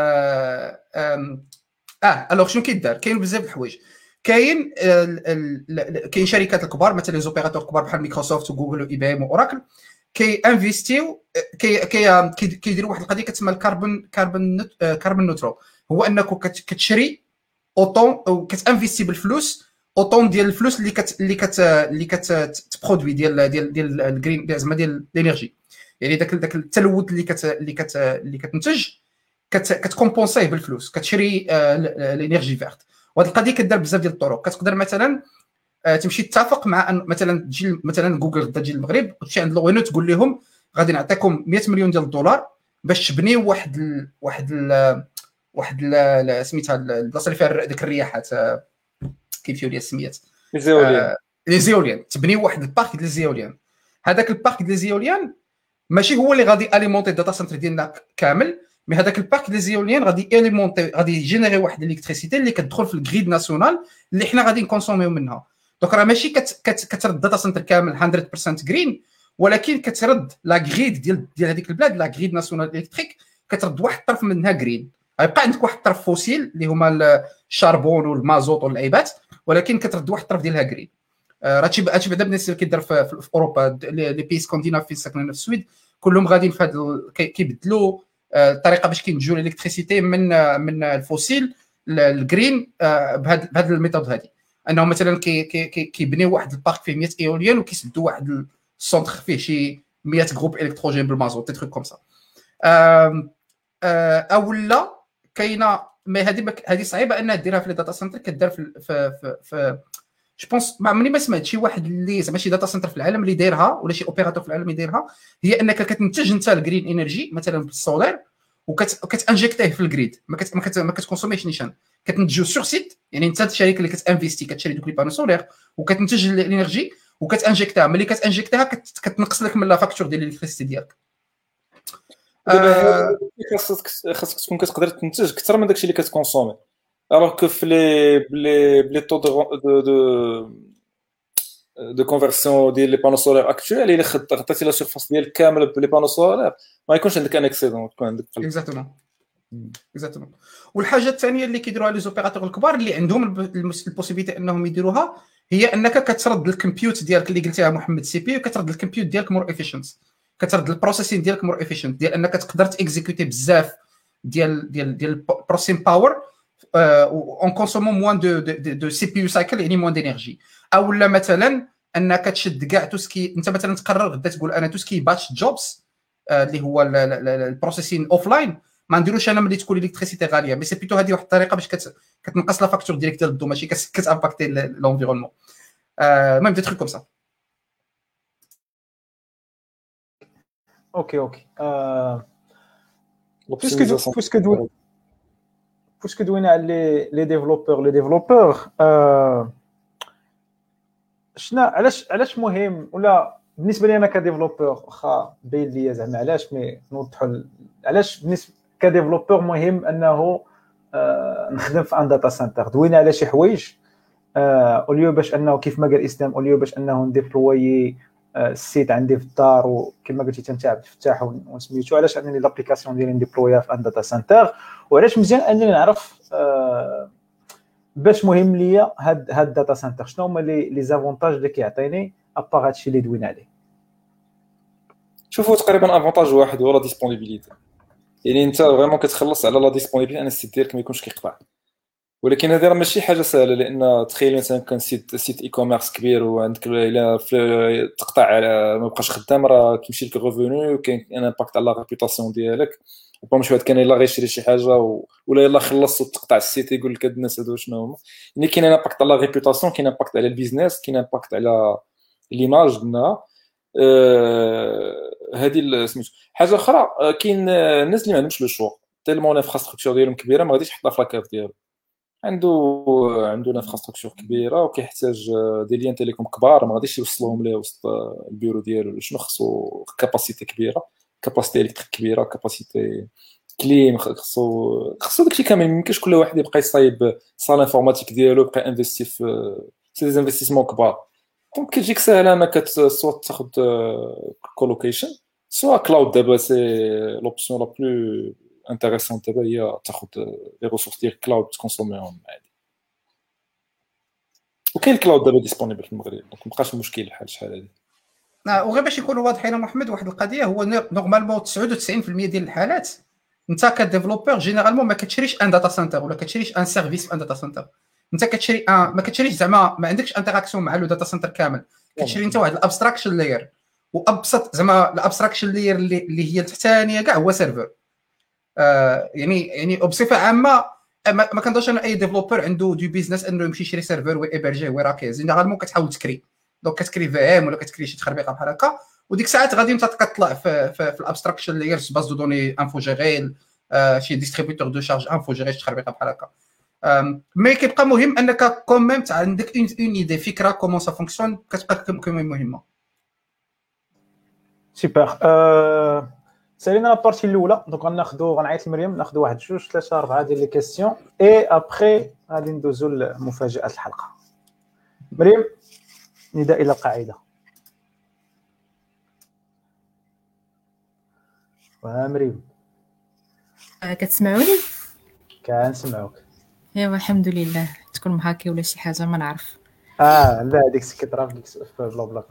الوغ شنو كيدار؟ كاين بزاف د الحوايج. كاين شركات الكبار مثلا لي زوبيراتور كبار بحال مايكروسوفت وجوجل واي بي ام واوراكل كي انفيستيو كيديروا واحد القضيه كتسمى الكاربون نوترال، هو انك كتشري اوطون او كتانفيستي بالفلوس اوطون ديال الفلوس اللي كتبرودوي ديال الجرين زعما ديال الانرجي، يعني داك التلوث اللي كتنتج كتكومبونسيه بالفلوس، كتشري الانرجي فيرت. وهذه القضيه كدار بزاف ديال الطرق. كتقدر مثلا تمشي تتفق مع مثلا تجي مثلا جوجل غدا تجي للمغرب وتمشي عند لوينو تقول لهم غادي نعطيكم 100 مليون ديال الدولار باش تبنيو واحد سميتها البلاصه اللي فيها ديك الرياحات، كيف لي السميات، لي زيوليان. تبنيو واحد البارك ديال الزيوليان. هذاك البارك ديال الزيوليان ماشي هو اللي غادي اليمونتي الداتا سنتر ديالنا كامل، مي هذاك البارك ديال الزيوليان غادي اليمونتي، غادي يجينيري واحد الالكتريسيتي اللي كتدخل في الغريد ناسيونال اللي حنا غادي نكونسوميو منها. دونك راه ماشي كترد الداتا سنتر كامل 100% جرين، ولكن كترد لا غريد ديال هذيك البلاد، لا غريد ناسيونال الكتريك، كترد واحد الطرف منها جرين. غيبقى عندك واحد الطرف فوسيل اللي هما الشاربون والمازوت واللعيبات، ولكن كترد واحد الطرف ديالها جرين. هادشي بعدا بالنسبه اللي كيدار في اوروبا، لي بي سكانديناف فين ساكنين في السويد كلهم غاديين في هذا كيبدلوا الطريقه باش كينتجوا الالكتريسيتي من الفوسيل للجرين بهذا الميثود هذه، انهم مثلا كيبنيو واحد البارك فيه 100 ايوليان وكيسدوا واحد السونتر فيه شي 100 جروب الكتروجين بالمازوت، تي تروك كوم سا. اولا كاينه، مي هذه صعيبه انها ديرها في الداتا سنتر. كدار في جو بونس عمرني ما سمعت شي واحد اللي زعما شي داتا سنتر في العالم اللي دايرها، ولا شي اوبيراتور في العالم اللي دايرها، هي انك كتنتج انت الجرين انرجي مثلا بالسولار وكتانجكتيه في الجريد، ما كتكونسوميش نيشان، كتنتجو سور سيت. يعني انت الشركه اللي كتانفيستي كتشري دوك لي بانو سولار وكتنتج الانرجي وكتانجكتها، ملي كتانجكتها كتنقص لك من لا فاكتور ديال الالكتريسيتي ديالك. خاصك تكون كتقدر تنتج اكثر من داكشي اللي كتكونسومي. alors que في les taux de conversion ديال لي بانو سولار اكطوال الا غطيتي لا سيرفاس ديال كامل بلي بانو سولار ما يكونش عندك ان اكسيدون، تكون عندك اكزاكتومون. والحاجه الثانيه اللي كيديروها لي زوبيراتور الكبار اللي عندهم البوسيبيتي انهم يديروها، هي انك كترد الكمبيوت ديالك اللي قلتيها محمد سي بي، وكترد الكمبيوت ديالك مور افيشنت، كترد البروسيسين ديالك مور افيشنت، ديال انك تقدر تيكزيكوتي بزاف ديال بروسيسين باور اون كونسومون موان دو سي بي يو سايكل، يعني موان دينيرجي. او لا مثلا انك تشد كاع توسكي، انت مثلا تقرر غدا تقول انا توسكي باتش جوبز اللي هو البروسيسين اوف لاين ما نديروش انا ملي تكون الكتريسيتي غاليه، مي سي بيتو هذه واحد الطريقه باش كتنقص لا فاكتور ديالك ديال الضو، ماشي كتامباكتي لونفيرونمون. المهم دي تروك كوم سا. اوكي فاش كدوينا على لي ديفلوبور شنو علاش مهم ولا بالنسبه لي انا كديفلوبور واخا باين ليا زعما علاش مي نوضحوا علاش بالنسبه كديفلوبور مهم انه نخدم في ان داتا سنتر. دوينا على شي حوايج اوليو باش انه كيف ما قال اسلام اوليو باش انه نديبلوي السيت عندي في الدار وكما قلتي انت عبد الفتاح ونسميتو علاش انني لابليكاسيون ديالي نديبلويها في ان داتا سنتر وعلاش مزيان انني نعرف باش مهم ليا هاد الداتا سنتر شنو هما لي زافونتاج اللي كيعطيني ابار هادشي اللي دوينا عليه. شوفوا تقريبا افونتاج واحد هو لا ديسپونيبيليتي يعني انت فريمون كتخلص على لا ديسپونيبيليتي ان السيت ديالك ما يكونش كيقطع ولكن هذه راه ماشي حاجه سهله لان تخيل مثلا كان سيت اي كوميرس كبير وعندك الا تقطع على ما بقاش خدام راه كيمشي لك الريفوني وكاين ان امباكت على لا ريبوتاسيون ديالك وبا مش واحد كان الا غيشري شي حاجه ولا يلا خلص وتقطع السيت يقول لك هاد الناس هادو شنو هما يعني كاين ان امباكت على لا ريبوتاسيون كاين امباكت على البيزنس كاين امباكت على ليماج ديالنا هذه سميتو حاجه اخرى كاين الناس اللي ما عندهمش لو شوا تيلمون انفراستركتور ديالهم كبيره ما غاديش يحطها في لاكاف ديالو عنده انفراستركتور كبيره وكيحتاج دي ليان تيليكوم كبار ما غاديش يوصلهم ليه وسط البيرو ديالو شنو خصو كاباسيتي كبيره كاباسيتي الكتريك كبيره كاباسيتي كليم خصو داكشي كامل ميمكنش كل واحد يبقى يصايب صال انفورماتيك ديالو يبقى انفيستي في سي دي انفستيسمون كبار دونك كتجيك ساهله انك سوا تاخذ كولوكيشن سوا كلاود دابا سي لوبسيون لا بلو انتريسونت دابا هي تاخذ لي ريسورس ديال الكلاود تكونسوميهم عادي وكاين الكلاود دابا ديسپونيبل في المغرب دونك مابقاش مشكل الحال شحال هذه وغير باش يكونوا واضحين محمد واحد القضيه هو نورمالمون 99% ديال الحالات انت كديفلوبور جينيرالمون ما كتشريش ان داتا سنتر ولا كتشريش ان سيرفيس في ان داتا سنتر انت كتشري ما كتشريش زعما ما عندكش انتراكسيون مع لو داتا سنتر كامل كتشري انت واحد الابستراكشن لاير وابسط زعما الابستراكشن لاير اللي هي التحتانيه كاع هو سيرفر يعني بصفه عامه ما كنظنش ان اي ديفلوبر عنده دو بيزنس انه يمشي يشري سيرفر ويبرجيه وراكي جينيرالمون كتحاول تكري دونك كتكري في ام ولا كتكري شي تخربيقه بحال هكا وديك الساعات غادي انت كتطلع في الابستراكشن لاير باز دو دوني انفو جيريل شي ديستريبيوتور دو شارج انفو جيري شي تخربيقه بحال هكا مي كيبقى مهم انك كوميم عندك اون ايدي فكره كومون سا فونكسيون كتبقى مهمه سوبر. سالينا لابارتي الاولى دونك غنعيط لمريم ناخذ 1 2 3 4 ديال لي كيسيون اي ابري غادي ندوزو لمفاجاه الحلقه. مريم نداء الى القاعده. مريم كتسمعوني؟ كنسمعوك. ايوا الحمد لله تكون محاكي ولا شي حاجه ما نعرف. لا هذيك كترا في بلا بلا.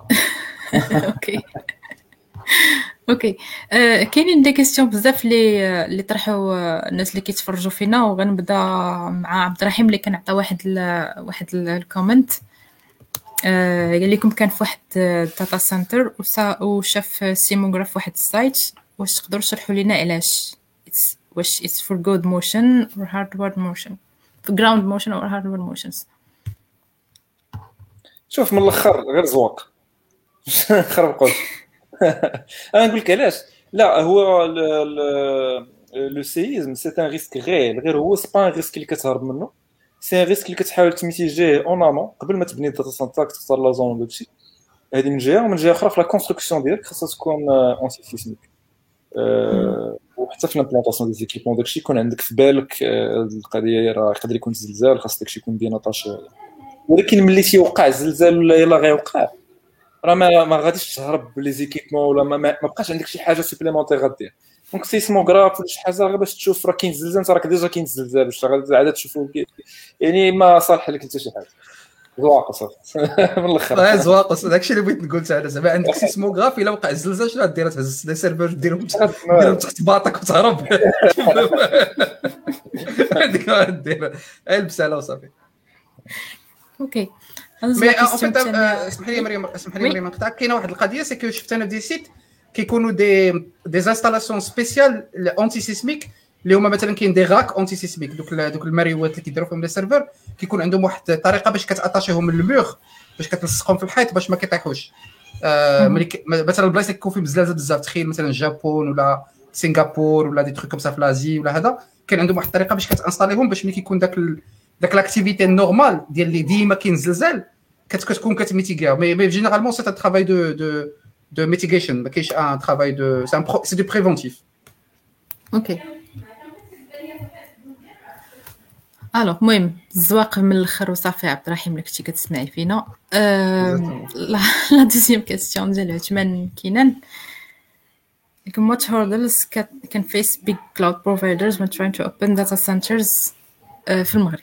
اوكي كاينين دي كيسيون بزاف اللي طرحوا الناس اللي كيتفرجوا فينا وغنبدا مع عبد الرحيم اللي كان عطى واحد الكومنت قال لكم كان في واحد داتا سنتر وشاف سيموغراف في واحد السايت واش تقدروا تشرحوا لنا علاش واش it's for good motion or hardware motion for ground motion or hardware motions. شوف من الاخر غير زواق خربقوش انا نقول لك علاش لا هو لو سيزم سي ان ريسك غير هو سي با ان ريسك اللي كتهرب منه سي ان ريسك اللي كتحاول تميتيجيه اون امون قبل ما تبني الداتا سنتر تختار لا زون داكشي هذه من جهه ومن جهه اخرى في لا كونستركسيون ديالك خاصها تكون اونتي سيسميك وحتى في لامبلانطاسيون دي زيكيبمون داكشي يكون عندك في بالك القضيه راه يقدر يكون زلزال خاص داكشي يكون بيناطاش ولكن ملي تيوقع الزلزال ولا يلا غيوقع راه ما غاديش تهرب لي زيكيبمون ولا ما بقاش عندك شي حاجه سوبليمونتير غدير دونك سيسموغراف ولا شي حاجه غير باش تشوف راه كاين زلزال راك ديجا كاين الزلزال واش غادي عاد تشوفو يعني ما صالح لك حتى شي حاجه زواقص من الاخر زواقص داكشي اللي بغيت نقول انا زعما عندك سيسموغراف الا وقع الزلزال شنو غدير تهز لي سيرفر ديرهم تحت باطك وتهرب هذيك غدير البس على وصافي اوكي مي اسمح لي مريم نقطعك كاينه واحد القضيه سي كو شفت انا في دي سيت كيكونوا دي انستالاسيون سبيسيال اونتي سيسميك اللي هما مثلا كاين دي غاك اونتي سيسميك دوك الماريوات اللي كيديروا فيهم لي سيرفر كيكون عندهم واحد الطريقه باش كتاتاشيهم من المور باش كتلصقهم في الحيط باش ما كيطيحوش مثلا البلايص اللي كيكون فيهم زلازل بزاف تخيل مثلا الجابون ولا سنغافور ولا دي تروك كوم سا في لازي ولا هذا كان عندهم واحد الطريقه باش كتانستاليهم باش ملي كيكون داك لاكتيفيتي نورمال ديال اللي ديما كاين زلزال كتكون كتميتيغيا مي جينيرالمون سي ان ترافاي دو ميتيغيشن ما كاينش ان ترافاي دو سي دو بريفونتيف. اوكي الو المهم الزواق من الاخر وصافي. عبد الرحيم اللي كنتي كتسمعي فينا. لا دوزيام كيسيون ديال عثمان كينان. What hurdles can face big cloud providers when trying to open data centers في المغرب؟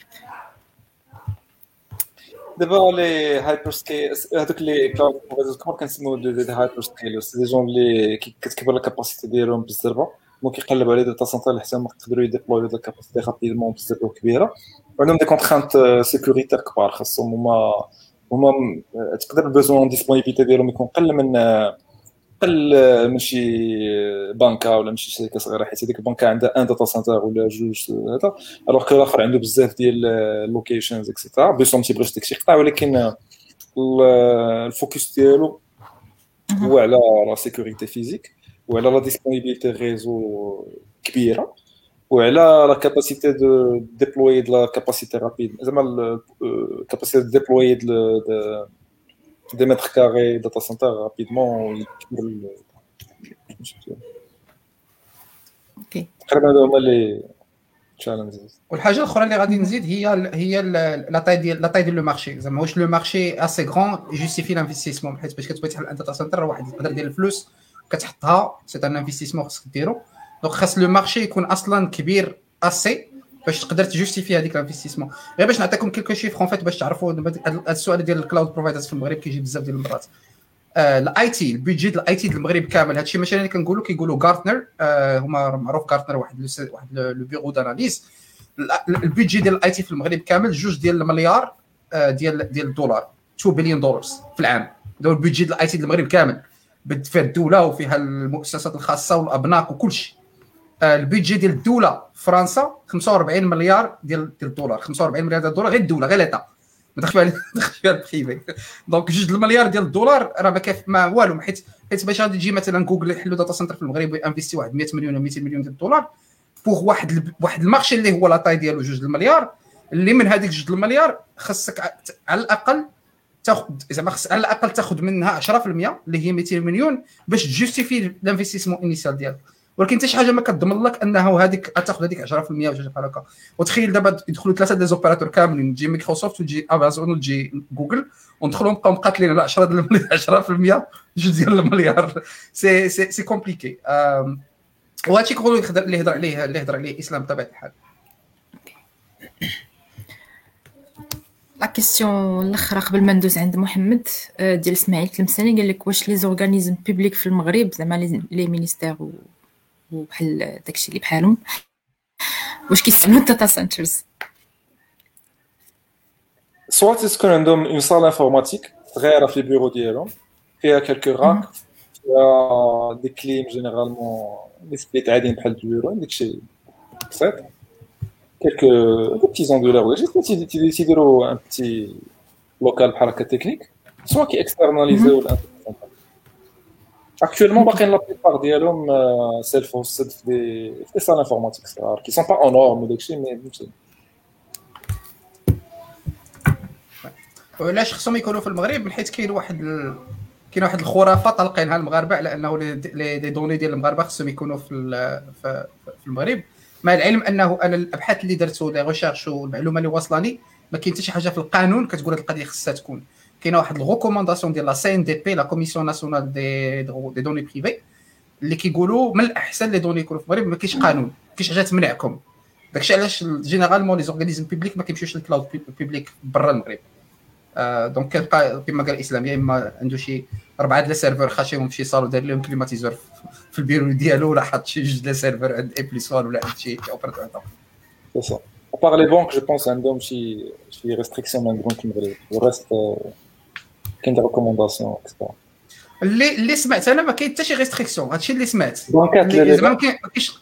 دابا لي هايبر سكيل هذوك لي كلاود بروفايدرز كما كنسميو دي هايبر سكيلرز سي دي جون اللي كتكبر لا كاباسيتي ديالهم بالزربه ممكن يقلبوا على داتا سنتر حتى ما يقدروا يديبلويو لا كاباسيتي رابيدمون بزاف كبيره وعندهم دي كونترانت سيكوريتير كبار خاصهم هما تقدر البوزون ديسپونيبيليتي ديالهم يكون قل من شي بنكه ولا من شي شركه صغيره حيت هذيك البنكه عندها ان داتا سنتر ولا جوج هذا الوغ كو الاخر عنده بزاف ديال اللوكيشنز اكسيتيرا بيسون تيبغيش داكشي يقطع ولكن الفوكس ديالو هو على لا سيكوريتي فيزيك وعلى لا ديسپونيبيليتي ريزو كبيره وعلى لا كاباسيتي دو ديبلوي لا كاباسيتي رابيد زعما كاباسيتي دو ديبلوي des mètres carrés data center rapidement اوكي تقريبا هما لي تشالنجز. والحاجه الاخرى اللي غادي نزيد هي لا تاي ديال لو مارشي زعما واش لو مارشي اسي غران جوستيفي لانفستيسمون حيت باش كتبغي تحل داتا سنتر واحد يقدر ديال الفلوس كتحطها سي ان انفستيسمون خاصك ديرو دونك خاص لو مارشي يكون اصلا كبير اسي باش تقدر تجوستيفي هذيك الانفستيسمون. غير باش نعطيكم كلكو شيفر فيت باش تعرفوا هذا السؤال ديال الكلاود بروفايدرز في المغرب كيجي بزاف ديال المرات. الاي تي البيدجي ديال الاي تي ديال المغرب كامل هادشي ماشي اللي كيقولوا غارتنر هما معروف غارتنر واحد لو بيرو داناليز البيدجي ديال الاي تي في المغرب كامل 2 ديال المليار ديال الدولار 2 بليون دولار في العام. هذا البيدجي ديال الاي تي ديال المغرب كامل فيها الدوله وفيها المؤسسات الخاصه والابناق وكل شيء. البيدجي ديال الدوله فرنسا 45 مليار ديال الدولار 45 مليار ديال الدولار غير الدوله غير ليطا ما دخلش فيها البريفي دونك 2 المليار ديال الدولار راه ما كاف ما والو حيت باش غادي تجي مثلا جوجل يحلوا داتا سنتر في المغرب وانفيستي واحد 100 مليون ولا 200 مليون ديال الدولار بوغ واحد المارشي اللي هو لا طاي ديالو 2 المليار اللي من هذيك 2 المليار خاصك على الاقل تاخذ زعما خاص على الاقل تاخذ منها 10% اللي هي 200 مليون باش تجوستيفي الانفستيسمون انيسيال ديالك. ولكن حتى شي حاجه ما كتضمن لك انه هذيك تاخذ هذيك 10% ولا شي بحال هكا. وتخيل دابا يدخلوا 3 دي زوبيراتور كاملين تجي مايكروسوفت وتجي امازون وتجي جوجل وندخلوا نبقاو مقاتلين على 10% 10% جوج ديال المليار سي كومبليكي. وهادشي كله اللي هضر عليه اسلام بطبيعه الحال. لا كيسيون الاخرى قبل ما ندوز عند محمد ديال اسماعيل تلمساني قال لك واش لي زورغانيزم بوبليك في المغرب زعما لي مينيستير وبحال داكشي اللي بحالهم واش كيستعملوا الداتا سنترز سواء تكون عندهم اون صال انفورماتيك صغيره في البيرو ديالهم فيها كالكو راك فيها دي كليم جينيرالمون لي سبليت عاديين بحال البيرو داكشي بسيط quelques petits angulaires ولا شي تيديروا ان بتي لوكال بحال هكا تكنيك سواء كي اكسترناليزيو ولا actuellement باقيين لا بليبار ديالهم سيلف هوستد في صال انفورماتيك صغار كي سون با اون نورم داكشي مي فهمتي. وعلاش خصهم يكونوا في المغرب حيت كاين واحد الخرافه طالقينها المغاربه على انه لي دوني ديال المغاربه خصهم يكونوا في المغرب مع العلم انه انا الابحاث اللي درتو لي ريشيرش والمعلومه اللي واصلاني ما كاين حتى شي حاجه في القانون كتقول هذه القضيه خصها تكون. كاينه واحد الريكومونداسيون ديال لا سي ان دي بي لا كوميسيون ناسيونال دي دوني بريفي اللي كيقولوا من الاحسن لي دوني يكونوا في المغرب ما كاينش قانون ما كاينش حاجه تمنعكم داكشي علاش جينيرالمون لي زورغانيزم بوبليك ما كيمشيوش للكلاود بوبليك برا المغرب. دونك كيبقى كما قال الاسلام يا اما عنده شي 4 ديال السيرفر خاشيهم في شي صال ودار لهم كليماتيزور في البيرو ديالو ولا حط شي 2 ديال السيرفر عند اي بلس 1 ولا عند شي اوبراتور اخر. C'est ça. À part les banques, je pense عندهم شي restrictions من البنوك المغرب. والرست كاين دي ريكومونداسيون اكسترا. اللي سمعت انا ما كاين حتى شي ريستريكسيون هادشي اللي سمعت. بنكات زعما ما كاينش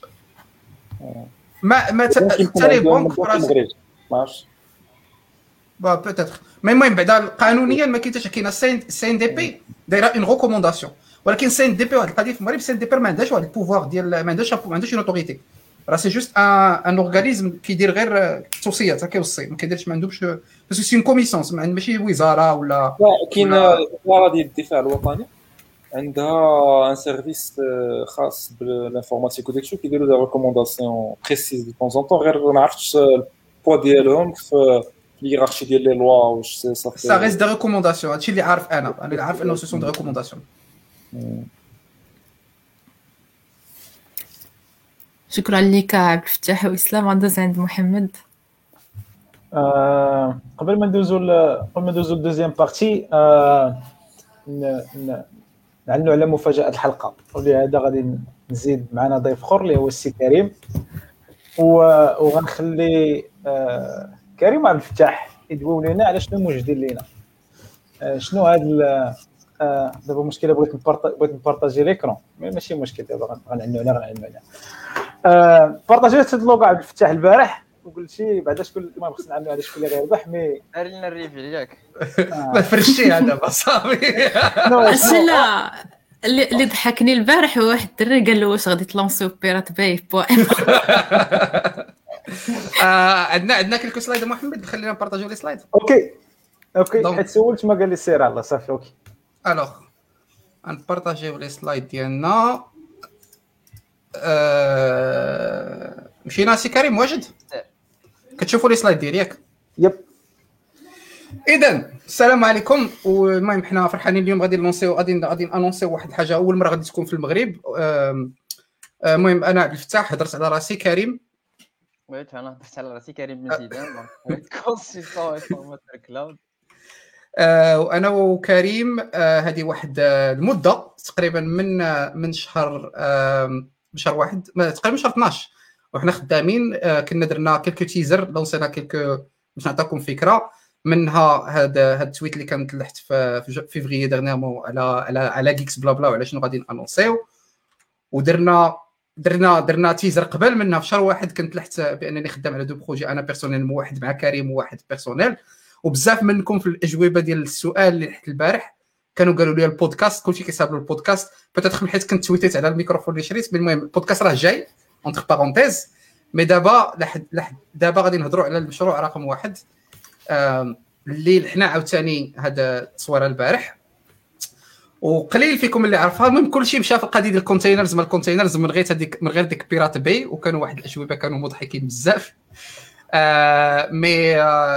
ما حتى لي بنك المغرب ماعرفش. با بوتيتر مي المهم بعدا قانونيا ما كاين حتى كاينه سي ان دي بي دايره اون ريكومونداسيون ولكن سي ان دي بي واحد القضيه في المغرب سي ان دي بي ما عندهاش واحد البوفوار ديال ما عندهاش اون اوتوريتي راه سي جوست ان اورغانيزم كيدير غير توصيات كيوصي ما كيديرش ما عندهمش باسكو سي اون كوميسيونس ماشي وزاره ولا كاين الوزاره ديال الدفاع الوطني عندها ان سيرفيس خاص بالانفورماتيك وداكشي كيديروا دي ريكومونداسيون بريسيز دي طون طون غير ما عرفتش البوا ديالهم في الهيرارشي ديال لي لوا واش صافي سا ريست دي ريكومونداسيون هادشي اللي عارف انا اللي عارف انه سو سون دي ريكومونداسيون. شكرا لك عبد الفتاح واسلام. غندوز عند محمد. قبل ما ندوزو الدوزيام بارتي نعلنوا على مفاجاه الحلقه، ولهذا غادي نزيد معنا ضيف اخر اللي هو السي كريم، وغنخلي كريم عبد الفتاح يدويو لنا على شنو موجدين لينا، شنو هاد دابا المشكله بغيت نبارطاجي ليكرون ماشي مشكل، دابا غنعنوا عليها بارطاجيت هاد اللوغو عبد الفتاح البارح وقلت شي بعدا شكون ما بغيتش نعلموا على شكون اللي غيربح مي دار لنا الريفيل ياك ما فرشتيها دابا صافي. لا اللي ضحكني البارح هو واحد الدري قال له واش غادي تلونسيو بيرات باي بوان. عندنا كلكو سلايد محمد خلينا نبارطاجيو لي سلايد. اوكي حيت سولت ما قال لي سير الله صافي اوكي. الوغ نبارطاجيو لي سلايد ديالنا. مشينا سي كريم واجد كتشوفوا لي سلايد ديالي ياك؟ يب. اذا السلام عليكم. والمهم حنا فرحانين اليوم غادي نلونسيو غادي انونسيو واحد الحاجه اول مره غادي تكون في المغرب. المهم انا عبد الفتاح هضرت على راسي كريم ويت انا هضرت على راسي كريم مزيدان دونك كونسلتون فورماتور كلاود. وانا وكريم هذه واحد المده تقريبا من شهر واحد تقريبا شهر 12 وحنا خدامين. كنا درنا كلكو تيزر لونسينا كلكو باش نعطيكم فكره منها هذا التويت اللي كان تلحت في فيفري ديرنيامون على جيكس بلا بلا وعلى شنو غادي انونسيو. ودرنا تيزر قبل منها في شهر واحد كنت لحت بانني خدام على دو بروجي انا بيرسونيل واحد مع كريم وواحد بيرسونيل. وبزاف منكم في الاجوبه ديال السؤال اللي لحت البارح كانوا قالوا لي البودكاست كلشي كيساب له البودكاست بيتيت حيت كنت تويتيت على الميكروفون اللي شريت. المهم البودكاست راه جاي اونتر بارونتيز مي دابا دابا غادي نهضروا على المشروع رقم 1 اللي حنا عاوتاني هذا التصويره البارح وقليل فيكم اللي عرفها. المهم كلشي مشى في القضيه ديال الكونتينرز ما الكونتينرز من غير ديك بيرات باي وكانوا واحد الاجوبه كانوا مضحكين بزاف. مي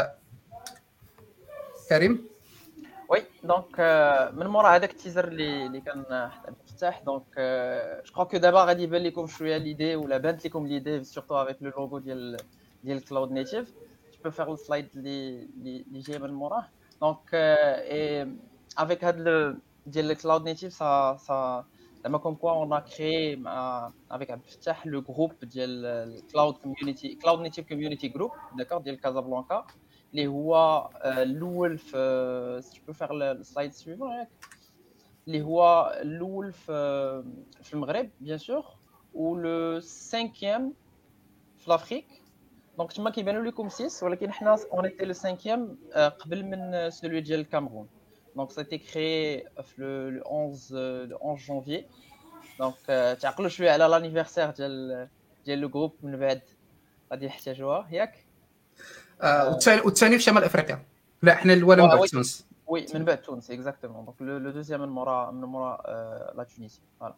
كريم وي دونك من مورا هذاك التيزر اللي كان حتى مفتاح دونك جو كرو كو دابا غادي يبان لكم شويه ليدي ولا بانت لكم ليدي سورتو افيك لو لوغو ديال كلاود نيتيف. جو بو فير السلايد اللي جاي من موراه دونك اي افيك هاد ديال الكلاود نيتيف سا زعما كوم كوا اون ا كريي مع افيك عبد الفتاح لو جروب ديال الكلاود كوميونيتي كلاود نيتيف كوميونيتي جروب داكور ديال كازابلانكا اللي هو الاول في سي بو فير السلايد سويفون ياك اللي هو الاول في المغرب بيان سور و لو 5e في لافريك. دونك تما كيبانوا لكم 6 ولكن حنا اون ايتي لو 5e قبل من سولوي ديال الكامرون. دونك سيتي كريي في لو 11 جانفي. دونك تعقلوا شويه على لانيفرسير ديال لو جروب من بعد غادي يحتاجوها ياك. والثاني في شمال افريقيا. لا احنا الاول من بعد تونس. وي من بعد تونس اكزاكتومون. دونك لو دوزيام من مورا لا تونسي. فوالا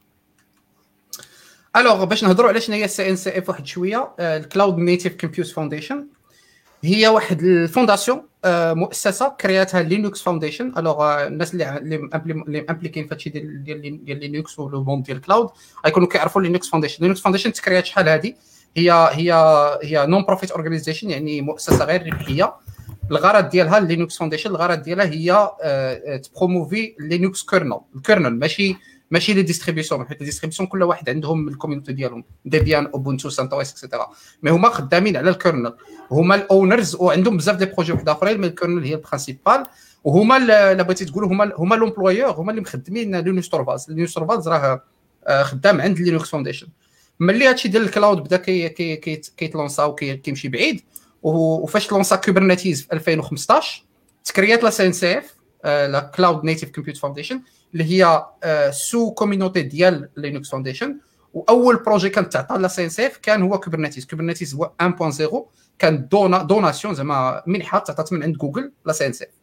الوغ باش نهضروا على شنو هي السي ان سي اف واحد شويه. الكلاود نيتيف كومبيوت فاونديشن هي واحد الفونداسيون مؤسسه كرياتها لينكس فاونديشن. الوغ الناس اللي امبليكين فهادشي ديال لينكس ولو مون ديال الكلاود غيكونوا كيعرفوا لينكس فاونديشن. لينكس فاونديشن تكريات شحال هذه هي نون بروفيت اورغانيزيشن يعني مؤسسه غير ربحيه. الغرض ديالها لينكس فاونديشن الغرض ديالها هي تبروموفي لينكس كيرنل. الكيرنل ماشي لي ديستريبيسيون حيت الديستريبيسيون كل واحد عندهم الكوميونيتي ديالهم ديبيان اوبونتو سانتوس اكسيتيرا مي هما خدامين على الكيرنل هما الاونرز وعندهم بزاف دي بروجي واحد اخرين مي الكيرنل هي البرينسيبال وهما اللي بغيتي تقولوا هما لومبلويور هما اللي مخدمين لينكس تورفالز راه خدام عند لينكس فاونديشن. ملي هادشي ديال الكلاود بدا كيتلونسا وكيمشي بعيد وفاش لونسا كوبرنيتيز في 2015 تكريات لا سي ان سي اف لا كلاود نيتيف كومبيوت فاونديشن اللي هي سو كوميونيتي ديال لينكس فاونديشن واول بروجي كان تعطى لا سي ان سي اف كان هو كوبرنيتيز هو 1.0 كان دوناسيون زعما منحه تعطات من عند جوجل لا سي ان سي اف.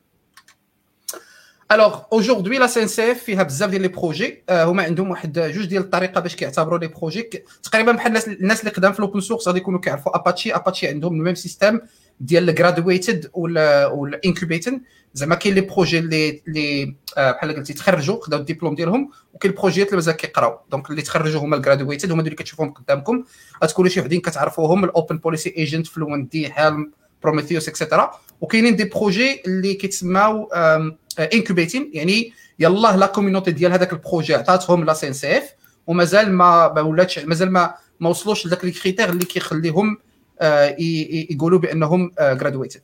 الوغ اوجوردي لا سي ان سي اف فيها بزاف ديال لي بروجي، هما عندهم واحد جوج ديال الطريقه باش كيعتبروا لي بروجي تقريبا بحال الناس اللي قدام في الاوبن سورس غادي يكونوا كيعرفوا اباتشي عندهم الميم سيستيم ديال الجرادويتد ولا انكوبيتد. زعما كاين لي بروجي اللي بحال قلتي تخرجوا خداو الدبلوم ديالهم، وكاين البروجيات اللي مازال كيقراو. دونك اللي تخرجوا هما الجرادويتد هما اللي كتشوفوهم قدامكم، غتكونوا شي وحدين كتعرفوهم الاوبن بوليسي ايجنت فلوينت دي هالم بروميثيوس اكسيتيرا. وكاينين دي بروجي اللي كيتسماو انكوبيتين، يعني يلاه لا كوميونيتي ديال هذاك البروجي عطاتهم لا سي ان سي اف ومازال ما ولاتش مازال ما وصلوش لذاك لي كريتير اللي كيخليهم يقولوا بانهم جرادويتد.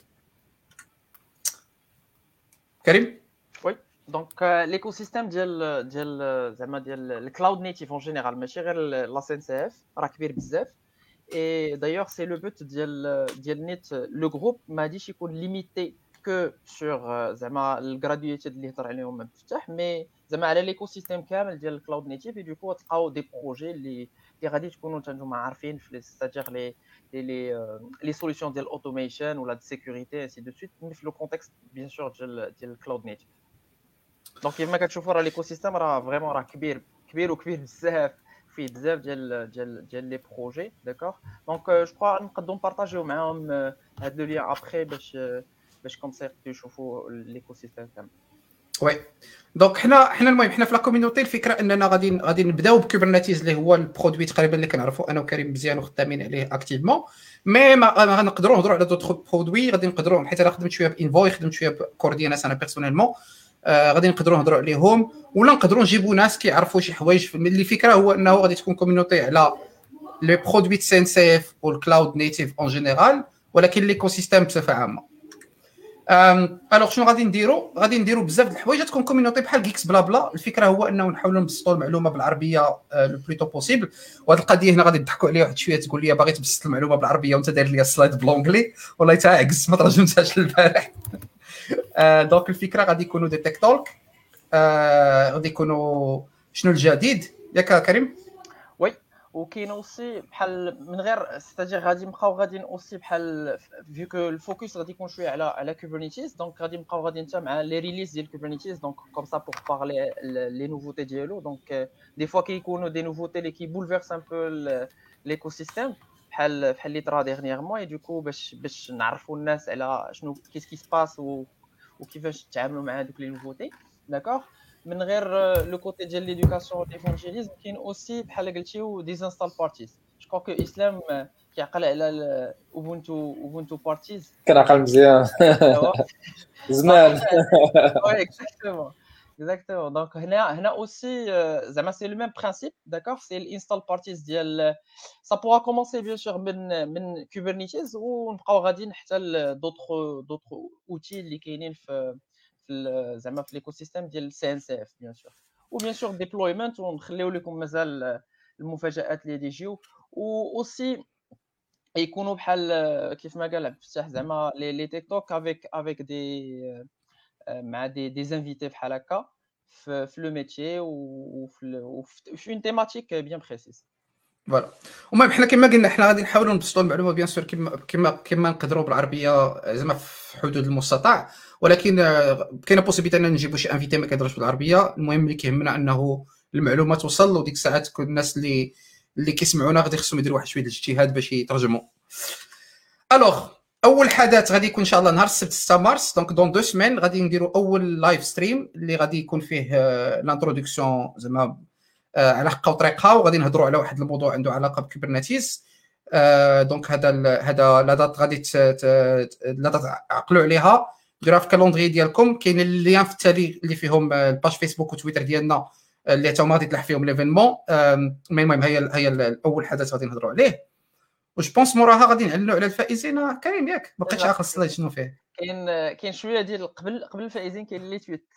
كريم وي دونك ليكو سيستيم ديال زعما ديال الكلاود نيتيف اون جينيرال ماشي غير لا سي ان سي اف راه كبير بزاف. اي دايوغ سي لو بوت ديال نيت لو جروب ما غاديش يكون ليميتي كو سور زعما الجرادويتد اللي هضر عليهم مفتاح، مي زعما على ليكو سيستيم كامل ديال الكلاود نيتيف. دوكو تلقاو دي بروجي اللي غادي تكونوا نتوما عارفين في ستادير لي سوليوشن ديال الاوتوميشن ولا ديال السيكوريتي انسي دو سويت، مي في لو كونتكست بيان سور ديال الكلاود نيتيف. دونك كيما كتشوفوا راه ليكو سيستيم راه فريمون راه كبير وكبير بزاف، فيه بزاف ديال لي بروجي. داكوغ دونك جو كرو نقدروا نبارطاجيو معاهم هاد لو لين ابري باش كوم سا يشوفوا ليكو سيستيم كامل. وي دونك حنا المهم حنا في لا كوميونيتي الفكره اننا غادي نبداو بكوبرنيتيز اللي هو البرودوي تقريبا اللي كنعرفوا انا وكريم مزيان وخدامين عليه اكتيفمون. مي ما غنقدروا نهضروا على دوطخ برودوي غادي نقدروا، حيت انا خدمت شويه بانفوي خدمت شويه بكورديناس انا بيرسونيلمون، غادي نقدروا نهضروا عليهم ولا نقدروا نجيبوا ناس كيعرفوا شي حوايج. اللي الفكره هو انه غادي تكون كوميونيتي على لي برودوي سي ان سي اف والكلاود نيتيف اون جينيرال، ولكن ليكو سيستيم بصفه عامه. الوغ شنو غادي نديروا بزاف د الحوايج تكون كوميونيتي بحال جيكس بلا بلا. الفكره هو انه نحاولوا نبسطوا المعلومه بالعربيه لو بلوتو بوسيبل. وهاد القضيه هنا غادي نضحكوا عليها واحد شويه، تقول لي باغي تبسط المعلومه بالعربيه وانت داير لي السلايد بلونجلي والله تعكس ما ترجمتهاش البارح. دونك الفكره غادي يكونوا دي تيك توك، غادي يكونوا شنو الجديد ياك كريم. وي وكاين اوسي بحال من غير ستاجير غادي نبقاو غاديين اوسي بحال فيو كو الفوكس غادي يكون شويه على كوبرنيتيز. دونك غادي نبقاو غادي نتا مع لي ريليز ديال كوبرنيتيز دونك كوم سا بور بارلي لي نوفوتي ديالو. دونك دي فوا كيكونوا دي نوفوتي اللي كيبولفيرس ان بو ليكو سيستيم بحال اللي طرا ديرنييرمون. اي دوكو باش نعرفوا الناس على شنو كيس كي سباس وكيفاش تعاملوا مع هذوك لي نوفوتي. داكوغ من غير لو كوتي ديال ليدوكاسيون ليفانجيليزم كاين اوسي بحال قلتيو ديزانستال بارتيز. جو كرو كو اسلام كيعقل على اوبونتو بارتيز كنعقل مزيان زمان. وي اكزاكتومون دونك هنا اوسي زعما سي لو ميم برينسيپ. داكوغ سي الانستال بارتيز ديال سا بورا كومونسي بيان سور من كوبرنيتيز ونبقاو غاديين حتى دوطخ اوتي اللي كاينين في زعما في ليكو سيستيم ديال سي ان سي اف بيان سور. وبيان سور ديبلويمنت ونخليو لكم مازال المفاجات اللي يجيو. و اوسي يكونوا بحال كيف ما قال عبد الفتاح زعما لي تيك توك افيك دي مع دي زانفيتي بحال هكا في لو ميتيي وفي اون تيماتيك بيان بريسيس. فوالا المهم حنا كما قلنا حنا غادي نحاولوا نبسطوا المعلومه بيان سور كما نقدروا بالعربيه زعما في حدود المستطاع، ولكن كاينه بوسيبيتي اننا نجيبوا شي انفيتي ما كيهضرش بالعربيه. المهم اللي كيهمنا انه المعلومه توصل، وديك الساعات تكون الناس اللي كيسمعونا غادي خصهم يديروا واحد شويه ديال الاجتهاد باش يترجموا. الوغ اول حدث غادي يكون ان شاء الله نهار السبت 6 مارس، دونك دون 2 سيمين غادي نديروا اول لايف ستريم اللي غادي يكون فيه لانتروداكسيون زعما على حقه وطريقها، وغادي نهضروا على واحد الموضوع عنده علاقه بكوبرنيتيز. دونك هذا لا دات غادي لا دات عقلوا عليها، ديروها في الكالندري ديالكم. كاين اللين في التالي اللي فيهم الباج فيسبوك وتويتر ديالنا اللي حتى هما غادي تلاح فيهم ليفينمون. المهم هي الاول حدث غادي نهضروا عليه، وش بونس موراها غادي نعلنوا على الفائزين. كريم ياك ما بقيتش عاقل السلايد شنو فيه. كاين شويه ديال قبل الفائزين كاين اللي تويت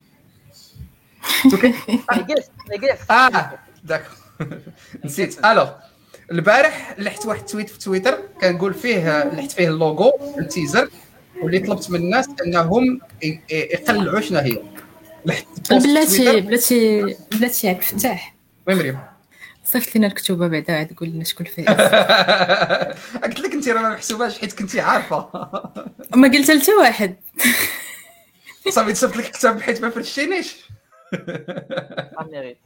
لي داك نسيت. الوغ البارح لحت واحد تويت في تويتر كنقول فيه لحت فيه اللوغو التيزر، واللي طلبت من الناس انهم يقلعوا شنو هي. بلاتي عبد الفتاح وين مريم صيفط لنا الكتوبه بعدا عاد تقول لنا شكون فايز. قلت لك انت راه ما محسوباش حيت كنتي عارفه. ما قلت حتى واحد. صافي تصيفط لك كتاب حيت ما فرشتينيش. ساميريت